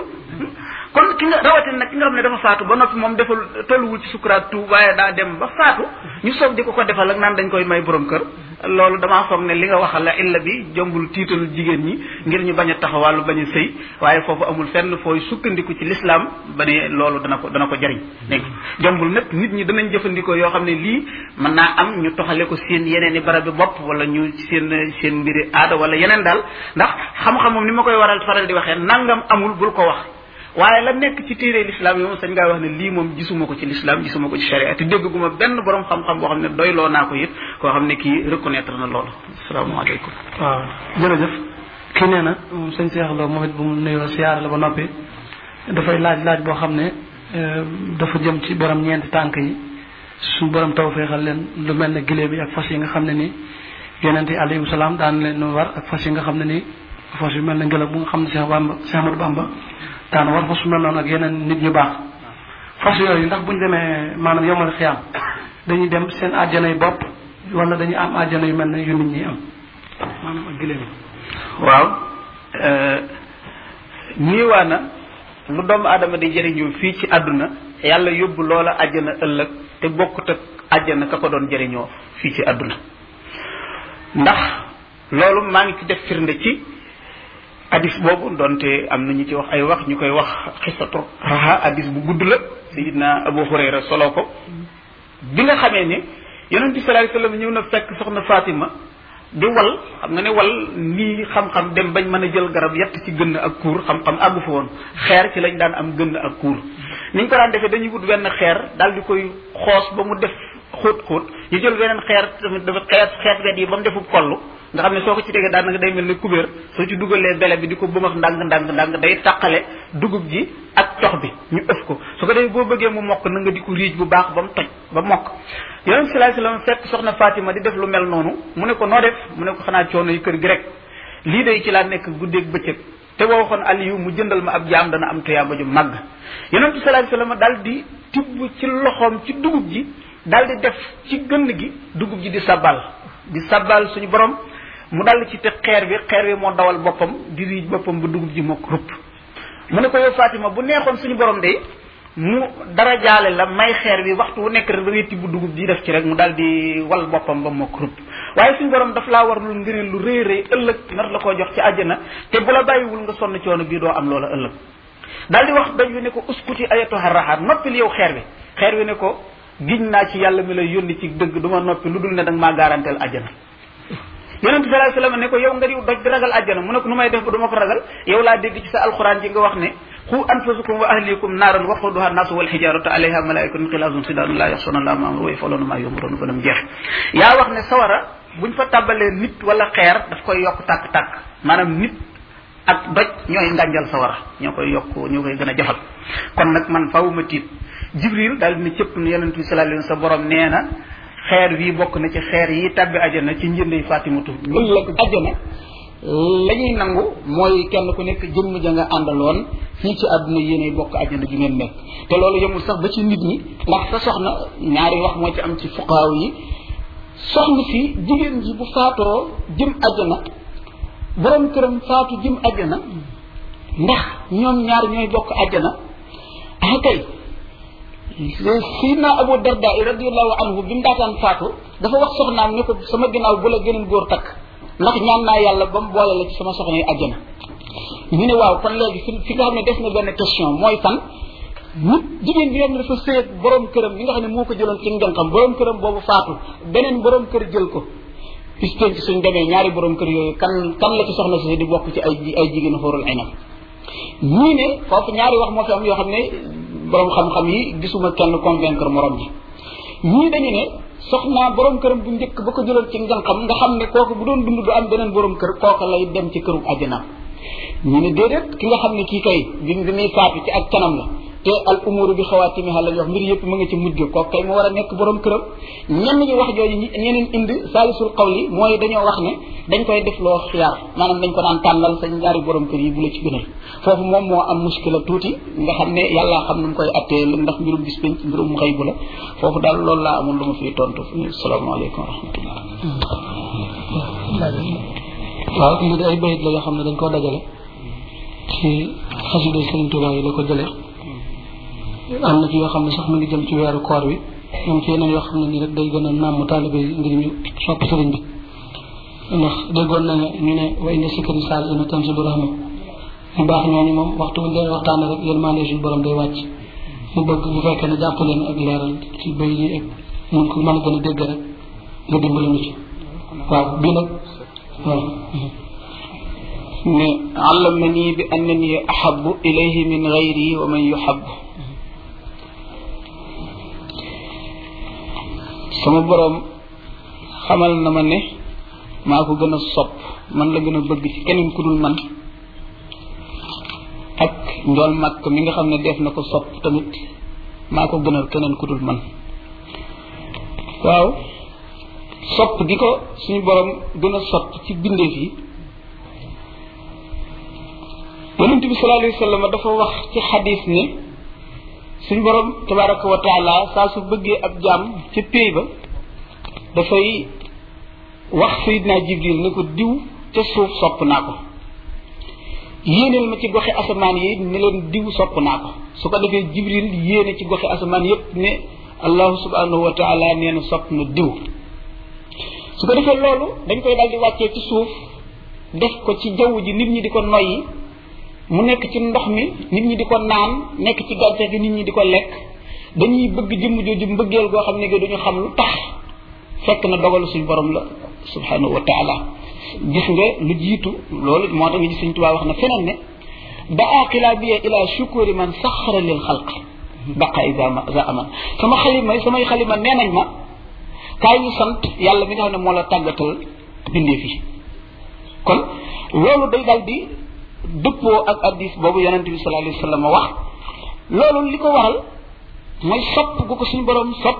kon ki nga rawatina nag ki nga xam ne dafa faatu ba noppi moom defal tolluwul ci sukuraat tu waaye daa dem ba faatu ñu soog di ko ko defal ak naan dañ koy may borom kër loolu damaa foog ne li nga waxal la illa bi jombul tiital jigéen ñi ngir ñu bañ a taxawàllu bañ a sëy waaye foofu amul fenn fooy sukkandiku ci l'islam ba ne loolu dana ko dana ko jariñ dégg jombul nag nit ñi danañ jëfandikoo yoo xam ne lii mën naa am ñu toxale ko seen yeneen i barab bi bopp wala ñu seen seen mbiri aada wala yeneen daal ndax xam-xam moom ni ma koy waral faral di waxee nangam amul bul ko wax waaye la nekk ci téere l'islam yi moom sañ ngaa wax ne lii moom gisuma ko ci l'islam gisuma ko ci sharia te dégguma benn borom xam-xam boo xam ne doyloo naa ko it koo xam ne kii reconnaître na loolu asalaamaaleykum. waaw jërëjëf kii nee na sëñ Cheikh Lo moom it bu mu nuyoo siyaare la ba noppi dafay laaj laaj boo xam ne dafa jëm ci borom ñeenti tànk yi suñu borom tawfeexal leen lu mel ne gileem yi ak fas yi nga xam ne nii yonent yi alayhi salaam daan leen war ak fas yi nga xam ne nii fas yu mel ne ngelaw bu nga xam ne Cheikh Bamba Cheikh Ahmadou Bamba daan war fas su mel noonu ak yeneen nit ñu baax fas yooyu ndax buñ demee maanaam yomal xiyaam dañuy dem seen àjjana yu bopp wala dañuy am àjjana yu mel ne yu nit ñi am maanaam ak gileem yi. waaw ñiiwaa na lu doomu aadama di jëriñoo fii ci àdduna yàlla yóbbu loola àjjana ëllëg te bokkut ak àjjana ka ko doon jëriñoo fii ci àdduna ndax loolu maa ngi ci def firnde ci hadis boobu donte am na ñu ci wax ay wax ñu koy wax xisatu raha hadis bu gudd la sayidna Abu Hurayra solo ko bi nga xamee ne yonent bi sallallahu alayhi wasallam ñëw na fekk soxna Fatima di wal xam nga ne wal nii xam-xam dem bañ mën a jël garab yett ci gënn ak kuur xam-xam àggu fa woon xeer ci lañ daan am gënn ak kuur niñ ko daan defee dañuy wut benn xeer daal di koy xoos ba mu def xóot xóot ñu jël beneen xeer tamit dafa xeet xeet wet yi ba mu defu kollu nga xam ne soo ko ci tegee daanaka day mel ne kubéer soo ci dugalee bele bi di ko bëmax ndànk ndànk ndànk day tàqale dugub ji ak cox bi ñu ëf ko su ko defee boo bëggee mu mokk na nga di ko riij bu baax ba mu toj ba mokk yonent sallallahu alayhi wasallam fekk soxna Fatima di def lu mel noonu mu ne ko noo def mu ne ko xanaa coono yi kër gi rek lii day ci laa nekk guddeeg bëccëg te boo waxoon Aliyu mu jëndal ma ab jaam dana am tuyaaba ju màgg yonent sallallahu alayhi wasallam daal di tibb ci loxoom ci dugub ji daal di def ci gënn gi dugub ji di sabbal di sabbal suñu borom mu dal ci te xeer bi xeer bi moo dawal boppam di riij boppam ba dugub ji mokk rupp mu ne ko yow Fatima bu neexoon suñu borom de mu dara jaale la may xeer bi waxtu wu nekk rek da ngay tibb dugub ji def ci rek mu daal di wal boppam ba mokk rupp waaye suñu borom daf laa war lu ngëneel lu rëy rëy ëllëg nar la koo jox ci àjjana te bu la bàyyiwul nga sonn coono bii doo am loola ëllëg daal di wax daj wi ne ko uskuti ayatuha raxaat noppil yow xeer bi xeer bi ne ko giñ naa ci yàlla mi lay yónni ci dëgg du ma noppi lu dul ne danga maa garanteel àjjana yonent sallallahu alayhi wasallam ne ko yow nga di doj di ragal àjjana mu ne ko nu may def ba du ma ko ragal yow laa dégg ci sa alxuraan ji nga wax ne xu anfusakum wa ahlikum naaran waquduha naasu wal hijaratu alayha malaikatun xilaazun sidaadun laa yaxsuna llaaha ma amruhum wa yaf'aluuna maa yu'maruun ba mu jeex yaa wax ne sawara buñ fa tàbbalee nit wala xeer daf koy yokk tàkk-tàkk maanaam nit ak doj ñooy ngànjal sawara ñoo koy yokk ñoo koy gën a jafal kon nag man faaw ma tiit Jibril daal dina cëpp ne yonent bi sallallahu alayhi wasallam sa borom nee na xeer wi bokk na ci xeer yi tabbi ajana ci njëndey Fatimatu ëllëg ajana la ñuy nangu mooy kenn ku nekk jëmm ja nga àndaloon fii ci àdduna yéenay bokk ajana ju ngeen nekk te loolu yemul sax ba ci nit ñi ndax sa soxna ñaari wax moo ci am ci fuqaaw yi soxna si jigéen ji bu faatoo jëm ajana borom këram faatu jëm ajana ndax ñoom ñaar ñooy bokk ajana ah kay Sayyidina Abu Darda radiyallahu anhu bi mu daataan faatu dafa wax soxnaam ne ko sama ginnaaw bu la gëneen góor takk ndax ñaan naa yàlla ba mu boole la ci sama soxna yi ajjana ñu ne waaw kon léegi fi fi nga xam ne des na benn question mooy fan nit jigéen bi nga xam ne dafa sëy ak borom këram bi nga xam ne moo ko jëloon ci njànkam borom këram boobu faatu beneen borom kër jël ko pisteen ci suñ demee ñaari borom kër yooyu kan kan la ci soxna si di bokk ci ay ay jigéen xóorul aynam ñii ne foofu ñaari wax moo fi am yoo xam ne borom xam-xam yi gisuma kenn convaincre morom ji ñii dañu ne soxna borom këram bu njëkk ba ko jëloon ci njànkam nga xam ne kooku bu doon dund du am beneen borom kër kooku lay dem ci këru àjjana ñu ne déedéet ki nga xam ne kii kay bi bi muy faatu ci ak kanam la te al umuru bi xawaatimiha la wax mbir yëpp mu nga ci mujj kooku kay mu war a nekk borom këram ñenn ñi wax jooju ñeneen indi saalisul qawli mooy dañoo wax ne dañ koy def loo xiyaar maanaam dañ ko daan tànnal sa ñaari borom kër yi bu la ci gënal foofu moom moo am muskila tuuti nga xam ne yàlla xam nu mu koy attee ndax mbirum bis penc mbirum xëy bu la foofu daal loolu laa amul lu ma fiy tontu salaamaaleykum wa rahmatullah waaw lii de ay bayit la yoo xam ne dañ koo dajale ci xasida Sëriñ Tuubaa yi la ko jëlee am na ci yoo xam ne sax mu ngi jëm ci weeru koor wi am ci yeneen yoo xam ne nii rek day gën a nàmm taalibe yi ngir ñu sopp sëriñ bi ndax déggoon na ñu ne wa inna sikri saal ina tanzilu rahma ñu baax ñooñu moom waxtu bu leen waxtaane rek yërmande suñu borom day wàcc mu bëgg bu fekkee ne jàpp leen ak leeral ci bay yi ak mun ko mën a gën a dégg rek nga dimbali mu ci waaw bii nag waaw ne allamani bi annani ahabbu ilayhi min ghayri wa man yuhabbu sama borom xamal na ma ne maa ko gën a sopp man la gën a bëgg ci keneen ku dul man ak njool màkk mi nga xam ne def na ko sopp tamit maa ko gënal keneen ku dul man waaw sopp gi ko suñu borom gën a sopp ci bindeef yi yonent bi sallallahu alayhi wa sallam dafa wax ci xadis ne suñu borom tabaraka wa taala saa su bëggee ab jaam ca péy ba dafay wax Seydina Jibril ne ko diw ca suuf sopp naa ko yéeneel ma ci goxi asamaan yi ne leen diw sopp naa ko su ko defee Jibril yéene ci goxi asamaan yépp ne allahu subhanahu wa taala nee na sopp na diw su ko defee loolu dañ koy daal di wàccee ci suuf def ko ci jaww ji nit ñi di ko noyyi mu nekk ci ndox mi nit ñi di ko naan nekk ci gàncax gi nit ñi di ko lekk dañuy bëgg jëmm jooju mbëggeel goo xam ne gi duñu xam lu tax fekk na dogalu suñu borom la subhanahu wa taala gis nga lu jiitu loolu moo tax nga gis suñ Tuubaa wax na feneen ne daa xilabiya ila shukuri man saxara lil xalq baqa isa za aman sama xalima samay xalima nee nañ ma kaay ñu sant yàlla mi nga xam ne moo la tàggatal bindee fi kon loolu day daal di dëppoo ak addis boobu yonente bi sallallahu alayhi wa sallam wax loolu li ko waral mooy sopp gu ko suñu borom sopp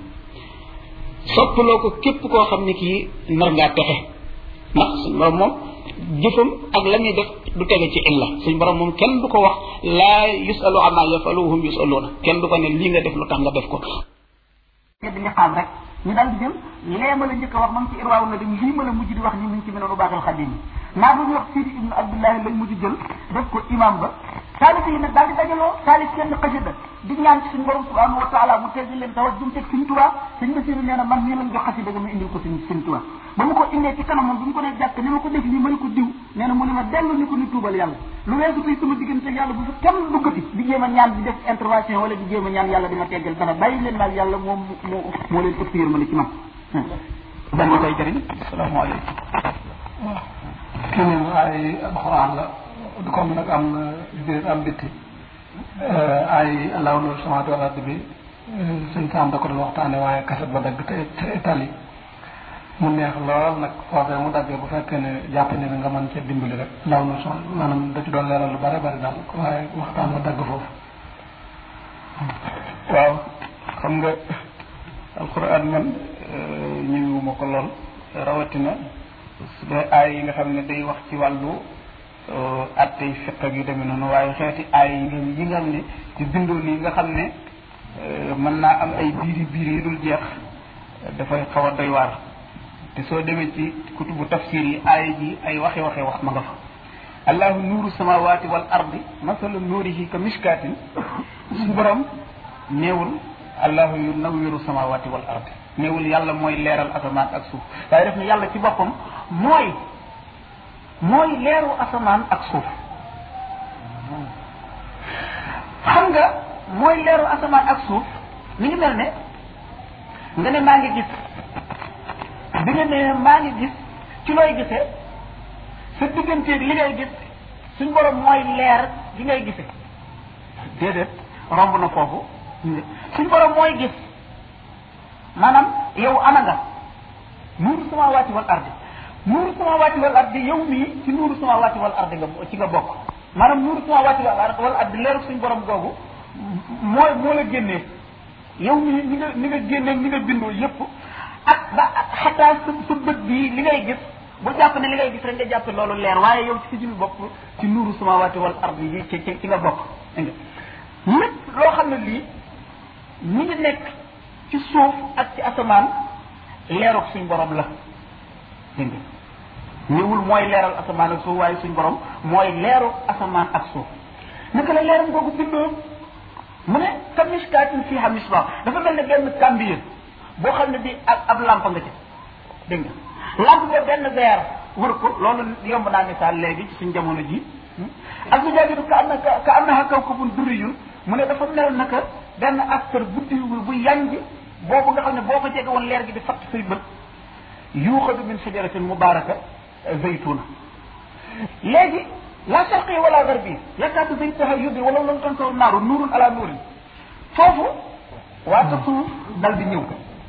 soppaloo ko képp koo xam ne kii nar ngaa texe ndax suñu borom moom jëfam ak la ñuy def du tege ci illa suñu borom moom kenn du ko wax laa yusalu amma yafalu hum yusaluuna kenn du ko ne lii nga def lu tax nga def ko di liqaam rek ñu daal di jël lee ma la njëkk a wax ma ngi ci irwaaw na dañ lii ma la mujj di wax ni mu ngi ci mel lu baaxal xadim yi naa bu ñu wax Sidi ibnu Abdullahi lañ mujj jël def ko imam ba taalif yi nag daal di dajaloo taalif kenn xasida di ñaan ci suñu borom subhanahu wa taala mu teggi leen tawat jum teg suñ Tuubaa suñ Basiru nee na man nii lañ jox xasida ga ma indil ko suñ suñ Tuubaa ba mu ko indee ci kanamam bi mu ko dee jàkk ni ma ko def lii ma ne ko diw nee na mu ne ma dellu ni ko ni tuubal yàlla lu weesu tey sama diggante yàlla bu fi kenn duggati di jéem a ñaan di def intervention wala di jéem a ñaan yàlla di ma teggal dara bàyyi leen daal yàlla moom moo moo leen ëpp yërmande ci man dan ma koy jëriñ asalaamaaleykum kii moom ay alxuraan la comme nag am biir am bitti ay allahu nur samaatu wal ardi bi sëñ Sam da ko doon waxtaane waaye kaset ba dagg te te tali mu neex lool nag foofee mu daggee bu fekkee ne jàpp ne nga mën cee dimbali rek allahu nur sama maanaam da ci doon leeral lu bare bari daal waaye waxtaan ba dagg foofu waaw xam nga alquran man ñëwuma ko lool rawatina su dee aay yi nga xam ne day wax ci wàllu attey fiq ak yu demee noonu waaye xeeti aay yi nga yi nga xam ne ci bindoo nii nga xam ne mën naa am ay biiri biir yi dul jeex dafay xaw a doy waar te soo demee ci kutubu tafsir yi aay ji ay waxe waxe wax ma nga fa allahu nuuru samawati wal ardi masalu nuurihi ka mishkatin suñu borom néewul allahu yunawwiru samawati wal ardi néewul yàlla mooy leeral asamaan ak suuf waaye def ne yàlla ci boppam mooy mooy leeru asamaan ak suuf xam nga mooy leeru asamaan ak suuf mi ngi mel ne nga ne maa ngi gis bi nga ne maa ngi gis ci looy gisee sa digganteeg li ngay gis suñ borom mooy leer gi ngay gisee déedéet romb na foofu suñ borom mooy gis maanaam yow ana nga nuuru samaawaati wal ardi nuuru samaawaati wal ardi yow mii ci nuuru samaawaati wal ardi nga ci nga bokk maanaam nuuru samaawaati wal ardi leeru suñ borom googu mooy moo la génnee yow mii ni nga ni nga génnee ni nga bindoo yépp ak ba xataa sa sa bët bii li ngay gis bu jàpp ne li ngay gis rek nga jàppe loolu leer waaye yow ci si jumi bopp ci nuuru samaawaati wal ardi yi ci ci ci nga bokk dégg nga lépp loo xam ne lii mi ngi nekk ci suuf ak ci asamaan leeruk suñ borom la dégg nga ñëwul mooy leeral asamaan ak suuf waaye suñ borom mooy leeru asamaan ak suuf naka la leeram googu bindoo mu ne ka miskaatin fiihaa misbaah dafa mel ne benn kàmbiye boo xam ne bi ak ab lampe nga ci dégg nga lampe ba benn verre wër ko loolu yomb naa misaal léegi ci suñ jamono ji az-zujaajatu ka annaka ka annahaa kawkabun durriyyun mu ne dafa mel naka benn astar buddi bu yanj boobu nga xam ne boo ko jege woon leer gi di fatt say bët yuuxadu min shajaratin mubaaraka zaytuna léegi la sharqi wala garbi yakaadu zaytuha yudri wala lam tansaw naaru nuurun ala nuurin foofu waa ta suuf dal di ñëw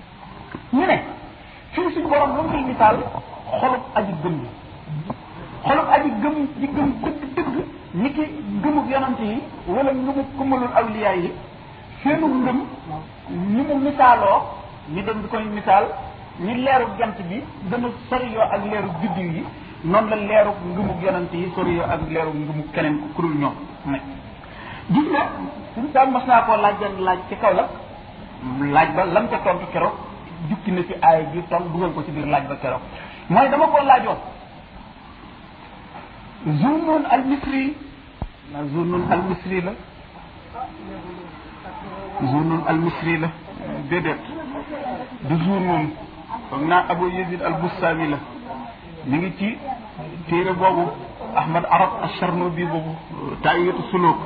ñu ne fii suñu borom lu mu fiy misaal xolub aji gëm yi xolub aji gëm ji gëm dëgg dëgg ni ki gëmub yonante yi wala ngëmub kumalul awliya yi seenu ngëm ni mu misaaloo ñu dem di koy misaal ni leeru jant bi gën a soriyoo ak leeru biddiw yi noonu la leeru ngëmub yonante yi soriyoo ak leeru ngëmub keneen ku kurul ñoom nag gis nga suñu daal mas naa koo laaj benn laaj ci kaw la laaj ba lam ca tontu keroog jukki na ci aaya ji ton dugal ko ci biir laaj ba keroog mooy dama koo laajoon Zunnun al Misri na Zunnun al Misri la Zunnun al Misri la déedéet du Zunnun foog naa Abu Yazid al Bustami la mi ngi ci téere boobu Ahmad Arab al-Charnubi boobu Taa'iyatu Suluk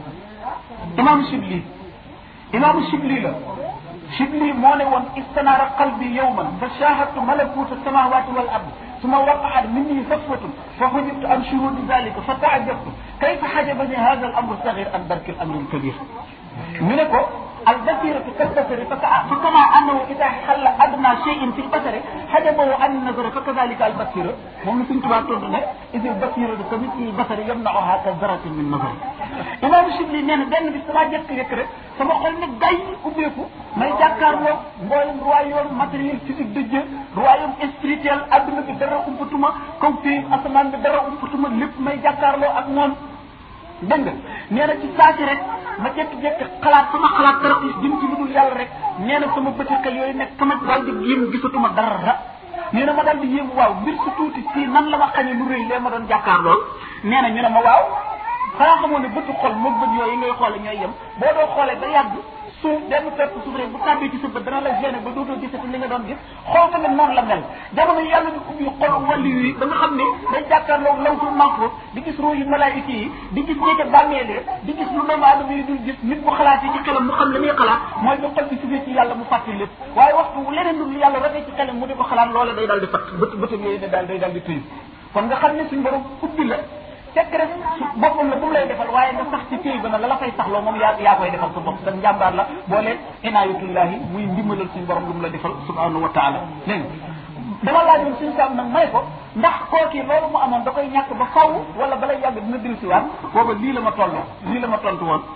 imam Shibli imam Shibli la Shibli moo ne woon istanaara qalbi yawman fa shahadtu malakuta samawati wal ard ثم وقعت مني صفوة فحجبت عن شهود ذلك فتعجبت كيف حجبني هذا الأمر الصغير عن درك الأمر الكبير منكو البصيرة كالبصر فكما أنه إذا حل أدنى شيء في البصر حجبه عن النظر فكذلك البصيرة هم سنت باتون إذ البصيرة كمثل البصر يمنعها كالذرة من نظر إمام الشبلي نين بن بسما جك يكر sama xol ne day ubbeeku may jàkkaarloo mboolem royaume matériel physique de Dieu royaume spirituel adduna bi dara umpatuma kaw fii asamaan bi dara umpatuma lépp may jàkkaarloo ak moom dégg nga nee na ci saasi rek ma jékki-jékki xalaat sama xalaat dara jëm ci lu dul yàlla rek nee na sama bëti xel yooyu nekk sama daal di yéem gisatuma dara nee na ma daal di yéem waaw mbir su tuuti ci nan la ma xañee lu rëy lee ma doon jàkkaarloo nee na ñu ne ma waaw xanaa xamoo ne bëtu xol moom bët yooyu ngay xoole ñooy yem boo doo xoolee ba yàgg suuf benn pepp suuf rek bu tàbbee ci sa bët dana la gêné ba dootoo gisati li nga doon gis xool tamit noonu la mel jamono yi yàlla ñu ubbi xol wàllu yi ba nga xam ne day jàkkaarloo lawtul mahfuz di gis ruu yu malaayika yi di gis ñeeke bàmmeelee di gis lu doomu aadama yi dul gis nit bu xalaatee ci xelam mu xam li muy xalaat mooy ba xol bi sufee ci yàlla mu fàtte lépp waaye waxtu leneen lu yàlla rafet ci xelam mu di ko xalaat loola day daal di fatt bët bëtam yooyu ne daal day daal di tëyu kon nga xam ne suñ borom ubbi la fekk rek boppam la bu mu lay defal waaye nga sax ci téy ba na la la fay saxloo moom yaa yaa koy defal sa bopp sa njàmbaar la boo leen inaayatullahi muy ndimbalal suñu borom lu mu la defal subhanahu wa taala dégg nga dama laajoon suñu saam nag may ko ndax kooki loolu mu amoon da koy ñàkk ba faw wala balay yàgg dina dil si waat booba lii la ma tolloo lii la ma tontu woon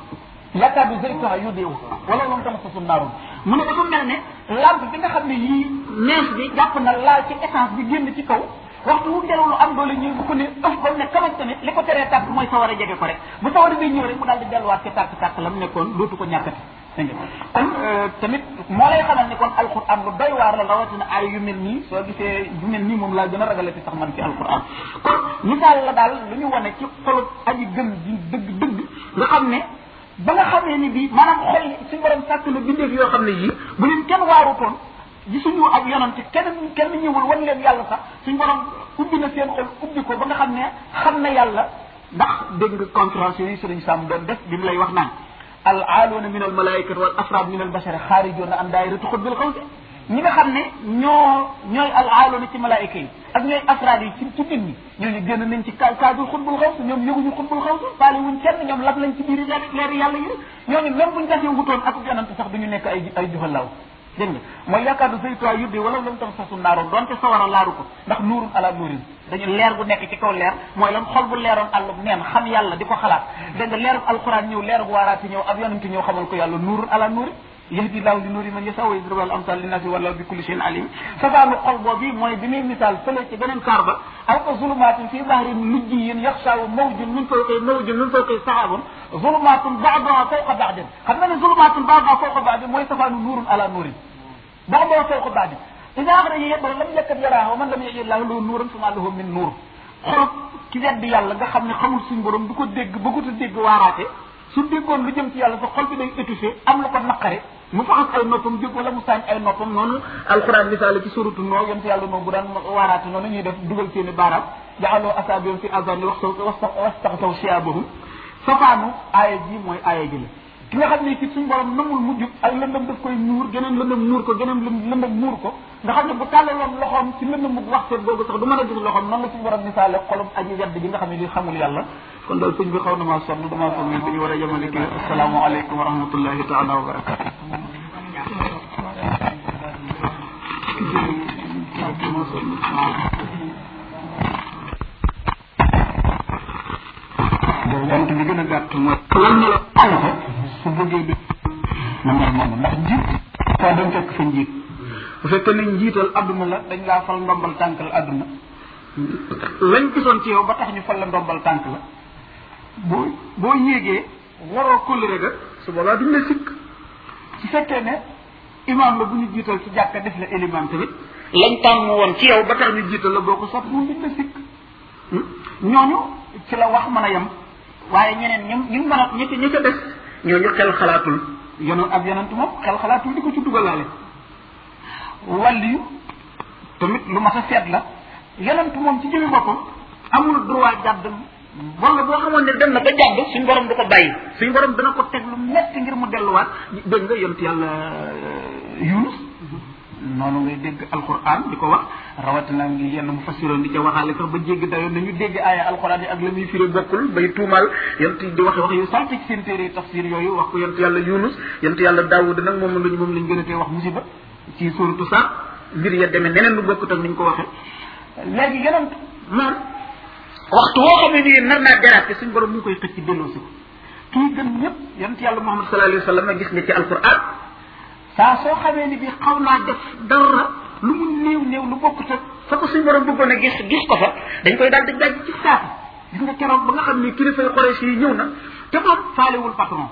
yakkaadu zaytuha yudiu wala lam tamsasu naarun mu ne dafa mel ne lampe bi nga xam ne yii nees bi jàpp na laal ci essence bi génn ci kaw waxtu wu ngelaw lu am doole ñëw bu ko ne ëf ba mu ne kamaj tamit li ko teree tàkk mooy sawar a jege ko rek bu sawar a day ñëw rek mu daal di delluwaat ci tàkk tàkk la mu nekkoon dootu ko ñàkkati dégg nga kon tamit moo lay xamal ni kon alquran lu doy waar la rawatina ay yu mel nii soo gisee yu mel nii moom laa gën a ragalati sax man ci alquran kon misaal la daal lu ñu wane ci xolu aji gëm ji dëgg dëgg nga xam ne ba nga xamee ni bii maanaam xol suñu borom sàkk na bindeef yoo xam ne yii bu leen kenn waarutoon gisuñu ak yonante kenn kenn ñëwul wan leen yàlla sax suñu borom ubbi na seen xol ubbi ko ba nga xam ne xam na yàlla ndax dégg nga conférence yooyu sëriñ Sam doon def bi mu lay wax naan al aaluuna min al malaikati wal afraad min al bashari xaarijoona an daayirati xutbil xawsi ñi nga xam ne ñoo ñooy al aaluuna ci malaayika yi ak ñooy afraad yi ci ci nit ñi ñooñu génn nañ ci cadre xutbul xawsi ñoom yëguñu xutbul xawsi faale wuñ kenn ñoom lab lañ ci biir leer yàlla yi ñooñu même buñ tasee wutoon ak yonante sax duñu nekk ay ay juhalaw dégg nga mooy yaakaar du saytuwaa yuddi wala lam tam sasu naaroon donte sawara laaru ko ndax nuurun ala nuurin dañu leer bu nekk ci kaw leer mooy lan xol bu leeroon àllub neen xam yàlla di ko xalaat dégg nga leerub alquran ñëw leerub waaraati ñëw ab yonante ñëw xamal ko yàlla nuurun ala nuurin yahdi laahu li nuuri man yashaa wa yadribu al amsal linnaasi wallahu bi kulli shay'in alim safaanu xol boobu mooy bi muy misaal fële ci beneen kaar ba aw ko zulumaatin fii bahrin lujjiyyin yaxshaahu mawjun min fawqihi mawjun min fawqihi sahaabun zulumaatun ba'duhaa fawqa ba'din xam nga ne zulumaatun ba'duhaa fawqa ba'din mooy safaanu nuurun ala nuurin ba'duhaa fawqa ba'din ida axraja yadahu lam yakad yaraaha wa man lam yaj'al lahu nuuran famaa lahu min nuur xolop ki weddi yàlla nga xam ne xamul suñu borom du ko dégg bëggut a dégg waaraate su déggoon lu jëm ci yàlla sa xol bi day étouffé am la ko naqare mu faxas ay noppam jóg wala mu saañ ay noppam noonu alquran misaale ci suratu noo yonte yàlla noo bu daan waaraate noonu ñuy def dugal seeni baaraam jaxaloo asaabiam fi azani wastaxsaw siyaabahum safaanu aaya ji mooy aaya ji la ki nga xam ne ci suñu borom namul mu jub ay lëndëm daf koy nuur geneen lëndëm nuur ko geneen lëndëm nuur ko nga xam ne bu tàllaloon loxoom ci lëndëm mu waxteet googu sax du mën a gis loxoom noonu la suñu borom misaale xolum aji wedd ji nga xam ne li xamul yàlla kon daal sëñ bi xaw na maa sonn damaa foog ne dañu war a yemale kii asalaamaaleykum wa rahmatullahi taala wa barakatu bant bi gën a gàtt mooy lan na la ko su bëggee bi na mel noonu ndax njiit foo dem fekk fa njiit bu fekkee ne njiital adduna la dañ laa fal ndombal tànk la adduna lañ gisoon ci yow ba tax ñu fal la ndombal tànk la boo boo yéegee waroo kóllëre ga su boobaa duñ la sikk su fekkee ne imaam la bu ñu jiital ci jàkka def la éliman tamit lañ tàmm woon ci yow ba tax ñu jiital la boo ko sot moom duñ la sikk ñooñu ci la wax mën a yem waaye ñeneen ñu ñu mën a ñi ñi ca des ñooñu xel xalaatul yonoon ab yonent moom xel xalaatul di ko ci dugalaale wàlliyu tamit lu mas a seet la yonent moom ci jëmi boppam amul droit jàdd wala boo xamoon ne dem na ba jàdd suñ borom du ko bàyyi suñ borom dana ko teg lu metti ngir mu delluwaat dégg nga yonent yàlla Yunus noonu ngay dégg alquran di ko wax rawatina ngi yenn mu fassiroon di ca waxaale sax ba jéggi dayoon nañu dégg aaya alquran yi ak la muy firi bokkul bay tuumal yonent di waxe wax yu salte ci seen téere tafsir yooyu wax ko yonent yàlla Yunus yonent yàlla Daawud nag moom lañ moom lañ gën a tee wax musiba ci suuratu Saar mbir ya demee neneen lu bokkut ak niñ ko waxee léegi yonent moom waxtu woo xam ne nii nar naa déraper suñ borom mu ngi koy xëcc delloo si ko kii gën ñëpp yonent yàlla Muhammad sallallahu alayhi wa sallam gis nga ci alquran saa soo xamee ni bi xaw naa def dara lu mu néew néew lu bokkut ak fa ko suñ borom bëggoon a gis gis ko fa dañ koy daal di daj ci saati gis nga keroog ba nga xam ne kilifay Quraysh yi ñëw na te moom faalewul patron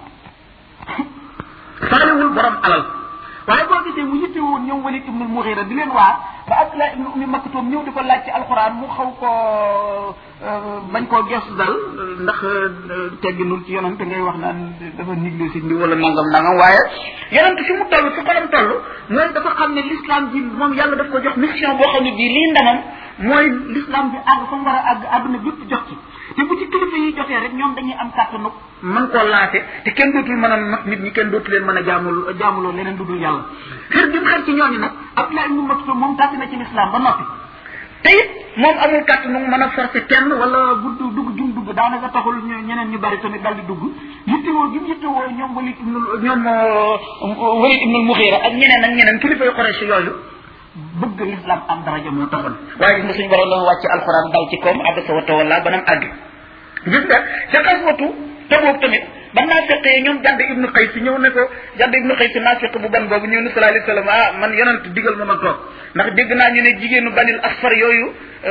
faalewul borom alal waaye boo gisee mu yitte woon ñëw Walid ibnul Mughira di leen waar ba Abdullah ibnu Ummi Maktum ñëw di ko laaj ci alxuraan mu xaw koo bañ koo gestu daal ndax tegginul ci yonent ngay wax naan dafa nigle si ndi wala nangam nangam waaye yonent fi mu toll fi xolam toll mooy dafa xam ne l'islam bi moom yàlla daf ko jox mission boo xam ne bii lii ndamam mooy l'islam bi àgg fa mu war a àgg àdduna bépp jox ci te bu ci kilifa yi jotee rek ñoom dañuy am kàttanu mën koo laate te kenn dootul mën a not nit ñi kenn dootu leen mën a jaamul jaamuloo leneen dudul yàlla xër gi mu xër ci ñooñu nag Abdullah ibn Maktum moom tàgg na ci l'islam ba noppi te it moom amul kàttanu mën a forcer kenn wala bu dugg jum dugg daanaka taxul ñeneen ñu bari tamit daal di dugg yittewoo gi mu yittewoo ñoom Walid ibn ñoom Walid ibn Mughira ak ñeneen ak ñeneen kilifa yu Quraysh yooyu bëgg l'islam am daraja moo taxoon waaye gis nga suñu borom dafa wàcc alxuraan dal ci koom abasa wa tawalla banam àgg gis nga ca xaswatu Tabuk tamit ba naafiqee ñoom Jadd ibnu Qays ñëw ne ko Jadd ibnu Qays naafiq bu ban boobu ñëw ne sallallahu alayhi wasallam ah man yonent digal ma ma toog ndax dégg naa ñu ne jigéenu banil asfar yooyu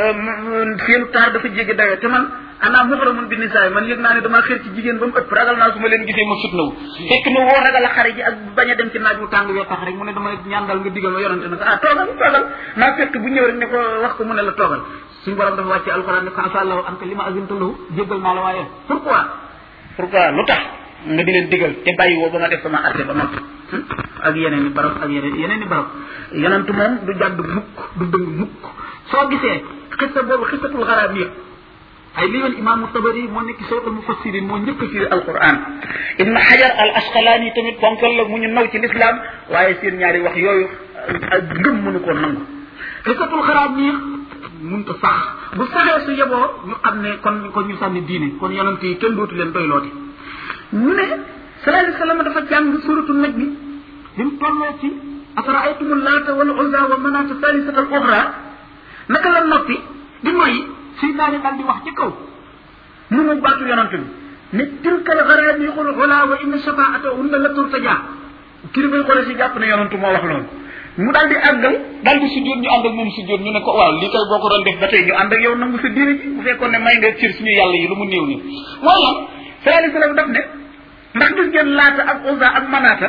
seenu taar dafa jéggi dayoo te man ana muhramun bi nisaay man yëg naa ne damaa xër ci jigéen ba mu ëpp ragal naa su ma leen gisee ma fitnawu fekk na woo ragal a xare ji ak bañ a dem ci naaj bu tàng wee tax rek mu ne dama ñaan daal nga digal ma yonent ne ko ah toogal toogal naafiq bu ñëw rek ne ko wax ko mu ne la toogal suñu borom dafa wàcce alquran ne ko asa allahu an ka lima azinta lahu jéggal naa la waaye pourquoi pourquoi lu tax nga di leen digal te bàyyi woo ba ma def sama arte ba noppi ak yeneen i barab ak yeneen yeneen i barab yonent moom du jàdd mukk du dëng mukk soo gisee xissa boobu xissatul xaraab yëpp ay li yoon imaamu Tabari moo nekk sawtul mufassirin moo njëkk ci alquran ibn Hajar al Asqalani tamit ponkal la mu ñu naw ci l'islam waaye seen ñaari wax yooyu ak ngëm mënu koo nangu xissatul xaraab yi mënta sax bu saxee su yeboo ñu xam ne kon kon ñu sànni diine kon yonent yi kenn dootu leen doy looti ñu ne sallallahu alayhi wasallam dafa jàng suratu naj bi bi mu tolloo ci afara'aytumul laata wal uzza wa manaata thalithata al ukhra naka la noppi di noyyi seytaane daal di wax ci kaw mu mu baatu yonent bi ne tilka al gharaniqul ula wa inna shafaa'atahunna la turtaja kii bay xoole si jàpp ne yonent moo wax loolu mu daal di àggal daal di sujjóot ñu ànd ak moom sujjóot ñu ne ko waaw lii kay boo ko doon def ba tey ñu ànd ak yow nangu sa diine ji bu fekkoon ne may nga cër suñu yàlla yi lu mu néew nii mooy lan sallallahu alayhi wasallam daf ne ndax gis ngeen laata ak uzza ak manaata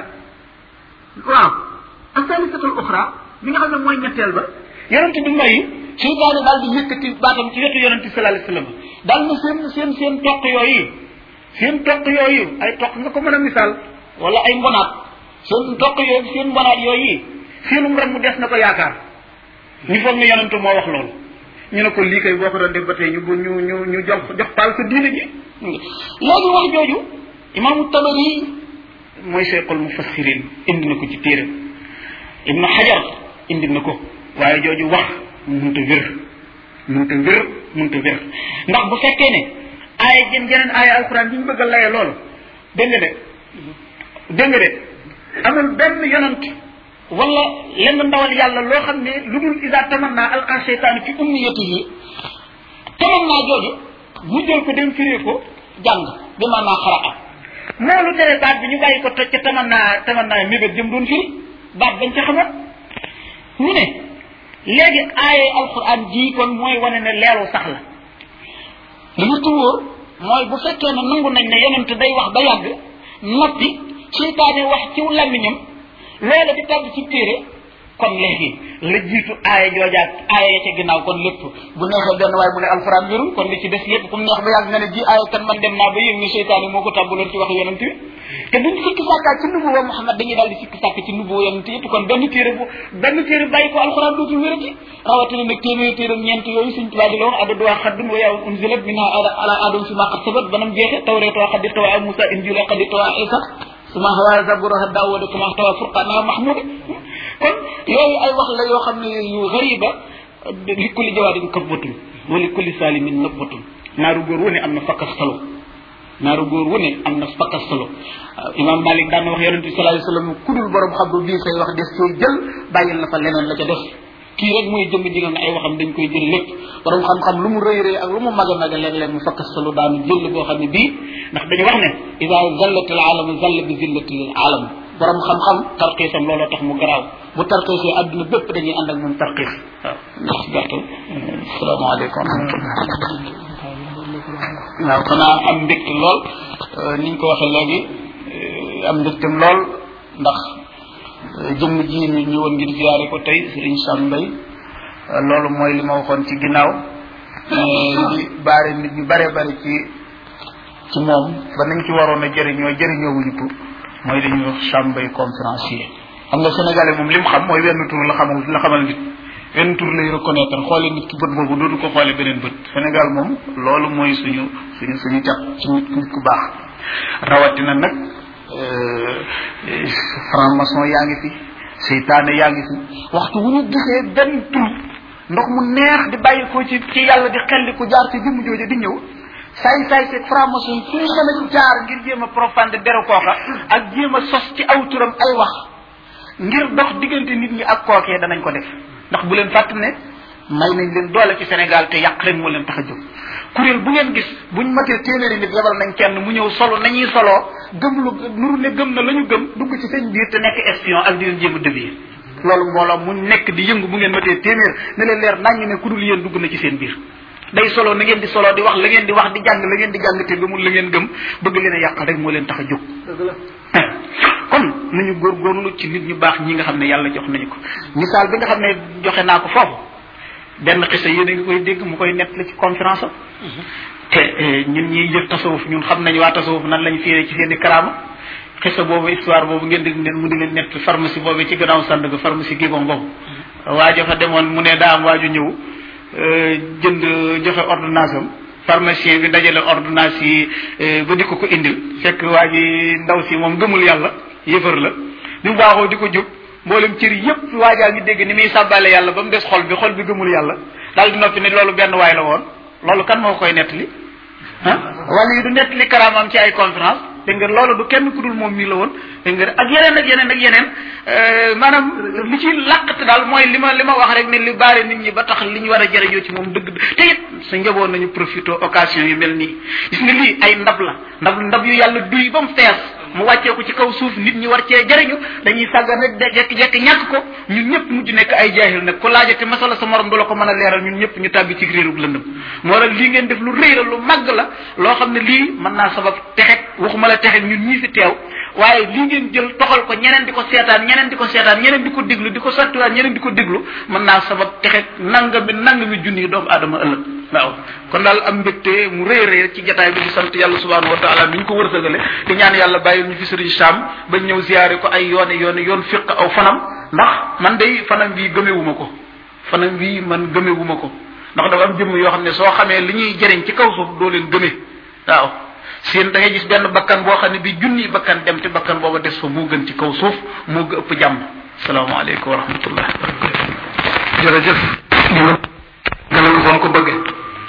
waaw ak salisatul uxra bi nga xam ne mooy ñetteel ba yonent bi may seytaane daal di yëkkati baatam ci wetu yonent bi sallallahu alayhi wasallam daal na seen seen seen toq yooyu seen toq yooyu ay toq nga ko mën a misaal wala ay mbonaat seen toq yooyu seen mbonaat yooyu seenum ren mu des na ko yaakaar ñu foog ne yonent moo wax loolu ñu ne ko lii kay boo ko doon def ba tey ñu ñu ñu ñu jox jox paal sa diine ji léegi wax jooju imaamu Tabari mooy cheikhul mufassirin indi na ko ci téere Ibn Hajar indi na ko waaye jooju wax mënut a wér mënut a wér mënut a wér ndax bu fekkee ne aaya jën jeneen aaya alquran bi ñu bëgg a laye loolu dégg nga de dégg nga de amul benn yonent wala lenn ndawal yàlla loo xam ne lu dul isa tamanna alqa seytaanu fi umniyatihi tamanna jooju mu jël ko dem firee ko jàng bi maanaa xaraa moo lu tere baat bi ñu bàyyi ko toj ca tamanna tamanna mébét jëm doon firi baat bañ ca xamoon ñu ne léegi aaye alquran ji kon mooy wane ne leelu sax la li ñu tuwóor mooy bu fekkee ne nangu nañ ne yonent day wax ba yàgg noppi seytaane wax ci làmmiñam loola di tàgg ci téere kon léegi la jiitu aaya joojaat aaya ya ca ginnaaw kon lépp bu neexee benn waaye mu ne alxuraan wérul kon li ci des lépp comme neex ba yàgg nga ne ji aaya kan man dem naa ba yëg ni seytaane moo ko tàmbaloon ci wax yonent bi te duñ sikki sàkkaat ci nubuwa Muhammad dañuy daal di sikki sàkk ci nubuwa yonent yëpp kon benn téere bu benn téere bàyyi ko alxuraan dootul wérati rawatina nag téeméer téere ñeent yooyu suñ tubaab di la wax adadu waa xaddun wa yaa unzilat minha ala adam fi ma qad sabat banam jeexe tawreet waa xadir tawaa Musa injil waa xadir tawaa Isa suma hawa zaburaha daawud kama tawa furqana mahmud kon yooyu ay wax la yoo xam ne yu gariba li kulli jawaadin kabbatun wa li kulli salimin nabbatun naaru góor wu ne am na fakkas salo naaru góor wu ne am na fakkas salo imam Malik daan na wax yonente bi sallallahu alayhi wasallam kudul borom xam bu bii say wax des koy jël bàyyil na fa leneen la ca def kii rek mooy jëmm ji nga ne ay waxam dañ koy jël lépp borom xam-xam lu mu rëy rëy ak lu mu mag a mag léeg-léeg mu fakkas salo daanu jël boo xam ne bii ndax dañu wax ne ida zallat al alamu zalla bi zillati al alam borom xam-xam tarxiisam looloo tax mu garaaw bu tarxiisee adduna bépp dañuy ànd ak moom tarxiis waaw ndax gàttal asalaamaaleykum wa rahmatullah waaw xanaa am mbégte lool ni ñu ko waxee léegi am mbégtem lool ndax jëmm ji ñu ñëwoon ngir ziyaare ko tey Serigne Sam Mbaye loolu mooy li ma waxoon ci ginnaaw li baare nit ñu bare bare ci ci moom ba nañ ci waroon a jëriñoo jëriñoo wuñu ko mooy li ñuy wax Sam Mbaye conférencier xam nga sénégalais moom li mu xam mooy wenn tur la xamal la xamal nit wenn tur lay reconnaître xoole nit ki bët boobu dootu ko xoole beneen bët Sénégal moom loolu mooy suñu suñu suñu cat ci nit nit ku baax rawatina nag franc-maçon yaa ngi fi seytaane yaa ngi fi waxtu wu ñu gisee benn tur ndox mu neex di bàyyi ko ci ci yàlla di xelli ku jaar ci jëmm jooju di ñëw saay saay seeg franc-maçon fu ñu mën a jaar ngir jéem a profande deru kooka ak jéem a sos ci aw turam ay wax ngir dox diggante nit ñi ak kookee danañ ko def ndax bu leen fàtt ne may nañ leen doole ci Sénégal te yàq rek moo leen tax a jóg kuréel bu ngeen gis buñ matee téeméeri nit yebal nañ kenn mu ñëw solo nañuy soloo gëm lu nuru ne gëm na la ñu gëm dugg ci seen biir te nekk espion ak di leen jéem a dévier loolu mbooloo mu nekk di yëngu bu ngeen matee téeméer ne leen leer naññ ne ku dul yéen dugg na ci seen biir day solo na ngeen di solo di wax la ngeen di wax di jàng la ngeen di jàng te gëmul la ngeen gëm bëgg leen a yàqal rek moo leen tax a jóg kon nañu góorgóorlu ci nit ñu baax ñi nga xam ne yàlla jox nañu ko misaal bi nga xam ne joxe naa ko foofu benn xisa yéen a ngi koy dégg mu koy nett la ci conférence am te ñun ñiy jëf tasawuf ñun xam nañu waa tasawuf nan lañ fiiree ci seen i karaama xisa boobu histoire boobu ngeen di mu di leen nett pharmacie boobu ci gannaaw Sandaga pharmacie Gibon boobu waajo fa demoon mu ne daa am waaju ñëw jënd joxe ordonnance am pharmacien bi dajale ordonnance yi ba di ko ko indil fekk waa ji ndaw si moom gëmul yàlla yëfër la bi mu baaxoo di ko jóg mboolem cër yépp waajaa ngi dégg ni muy sàbbale yàlla ba mu des xol bi xol bi gëmul yàlla daal di noppi ne loolu benn waay la woon loolu kan moo koy nettali ah wala yi du nettali karaamam ci ay conférence dégg nga loolu du kenn ku dul moom mii la woon dégg nga ak yeneen ak yeneen ak yeneen maanaam li ci làqate daal mooy li ma li ma wax rek ne li baare nit ñi ba tax li ñu war a jëriñoo ci moom dëgg te it sa njaboot nañu profité occasion yu mel nii gis nga lii ay ndab la ndab ndab yu yàlla duy ba mu fees mu wàccee ko ci kaw suuf nit ñi war cee jëriñu dañuy sàggan rek de jekki-jekki ñàkk ko ñun ñëpp mujj nekk ay jaahil nag ku laajate masala sa morom du la ko mën a leeral ñun ñëpp ñu tàbbi ci réerug lëndëm moo tax lii ngeen def lu rëy la lu màgg la loo xam ne lii mën naa sabab texet waxuma la texet ñun ñii fi teew waaye lii ngeen jël toxal ko ñeneen di ko seetaan ñeneen di ko seetaan ñeneen di ko déglu di ko sottiwaat ñeneen di ko déglu mën naa sabab texet nangami nangami junni doomu aadama ëllëg waaw kon daal am mbégte mu rëy rëy ci jataay bi di sant yàlla subhanahu wa taala mi ñu ko wërsëgale di ñaan yàlla bàyyil ñu fi sëriñ Sam ba ñëw ziyaare ko ay yoone yoone yoon fiq aw fanam ndax man day fanam bii gëmewuma ko fanam bii man gëmewuma ko ndax dafa am jëmm yoo xam ne soo xamee li ñuy jëriñ ci kaw suuf doo leen gëmee waaw seen da ngay gis benn bakkan boo xam ne bi junni bakkan dem te bakkan booba des fa moo gën ci kaw suuf moo gën ëpp jàmm salaamaaleykum wa rahmatullah jërëjëf gënal ko ko bëggee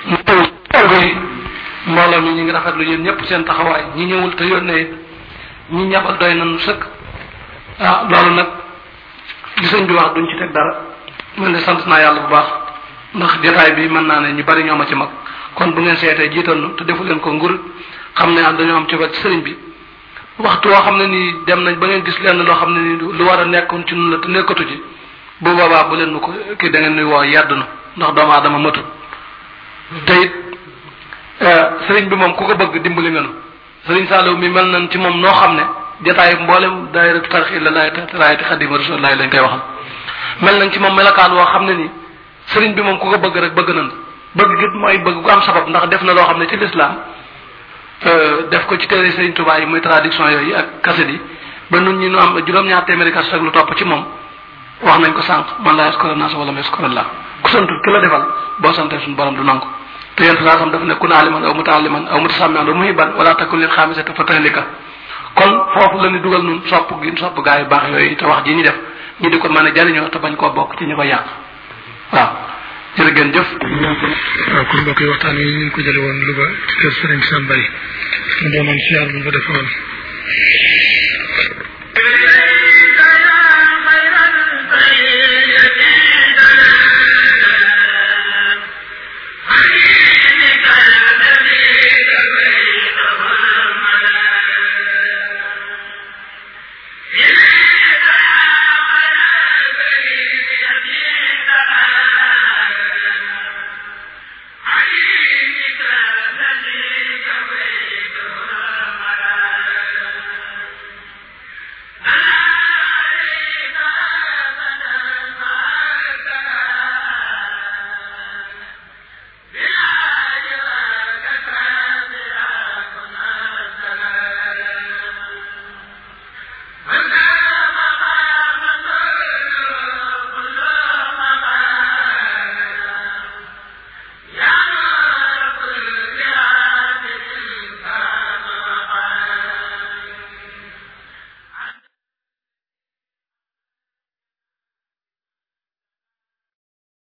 mbooloo mi ñu ngi rafetlu yéen ñëpp seen taxawaay ñi ñëwul te yónnee ñi ñabal doy nañu sëkk ah loolu nag li sëñ bi wax duñ ci teg dara man de sant naa yàlla bu baax ndax jotaay bi mën naa ne ñu bari ñoo ma ci mag kon bu ngeen seetee jiital nu te defu leen ko ngur xam ne am dañoo am ci wet sëriñ bi waxtu woo xam ne nii dem nañ ba ngeen gis lenn loo xam ne nii lu war a nekkoon ci nun la te nekkatu ci bu boobaa bu leen nu ko kii da ngeen nuy woo yedd na ndax doomu aadama matut te it sëriñ bi moom ku ko bëgg dimbali nga nu sëriñ Saliou mi mel nañ ci moom noo xam ne jotaay mboolem daayira tarixi la laay raayati xadima rasulullah lañ koy waxal mel nañ ci moom melakaan woo xam ne nii sëriñ bi moom ku ko bëgg rek bëgg nañ bëgg gi mooy bëgg gu am sabab ndax def na loo xam ne ci lislaam def ko ci téere sëriñ Tuubaa yi muy traduction yooyu ak kaset yi ba nun ñi nu am juróom-ñaar téeméeri kaset ak lu topp ci moom wax nañ ko sànq man laa yaskura naas wala ma yaskura llah ku santul ki la defal boo santee suñu borom du nangu te yéen saa sam dafa ne kun aaliman aw mutaalliman aw mutasamian aw muhiban wala takun lil xaamisati fa tahlika kon foofu la ñu dugal nun sopp gi sopp gaa yu baax yooyu te wax ji ñu def ñu di ko mën a jariñoo te bañ koo bokk ci ñu ko yàq waaw jërë ngeen jëf. waaw kon mbokk yi waxtaan yi ñu ngi ko jële woon Louga ci kër Serigne Sam Mbaye mu doonoon siyaar bu ñu ko defoon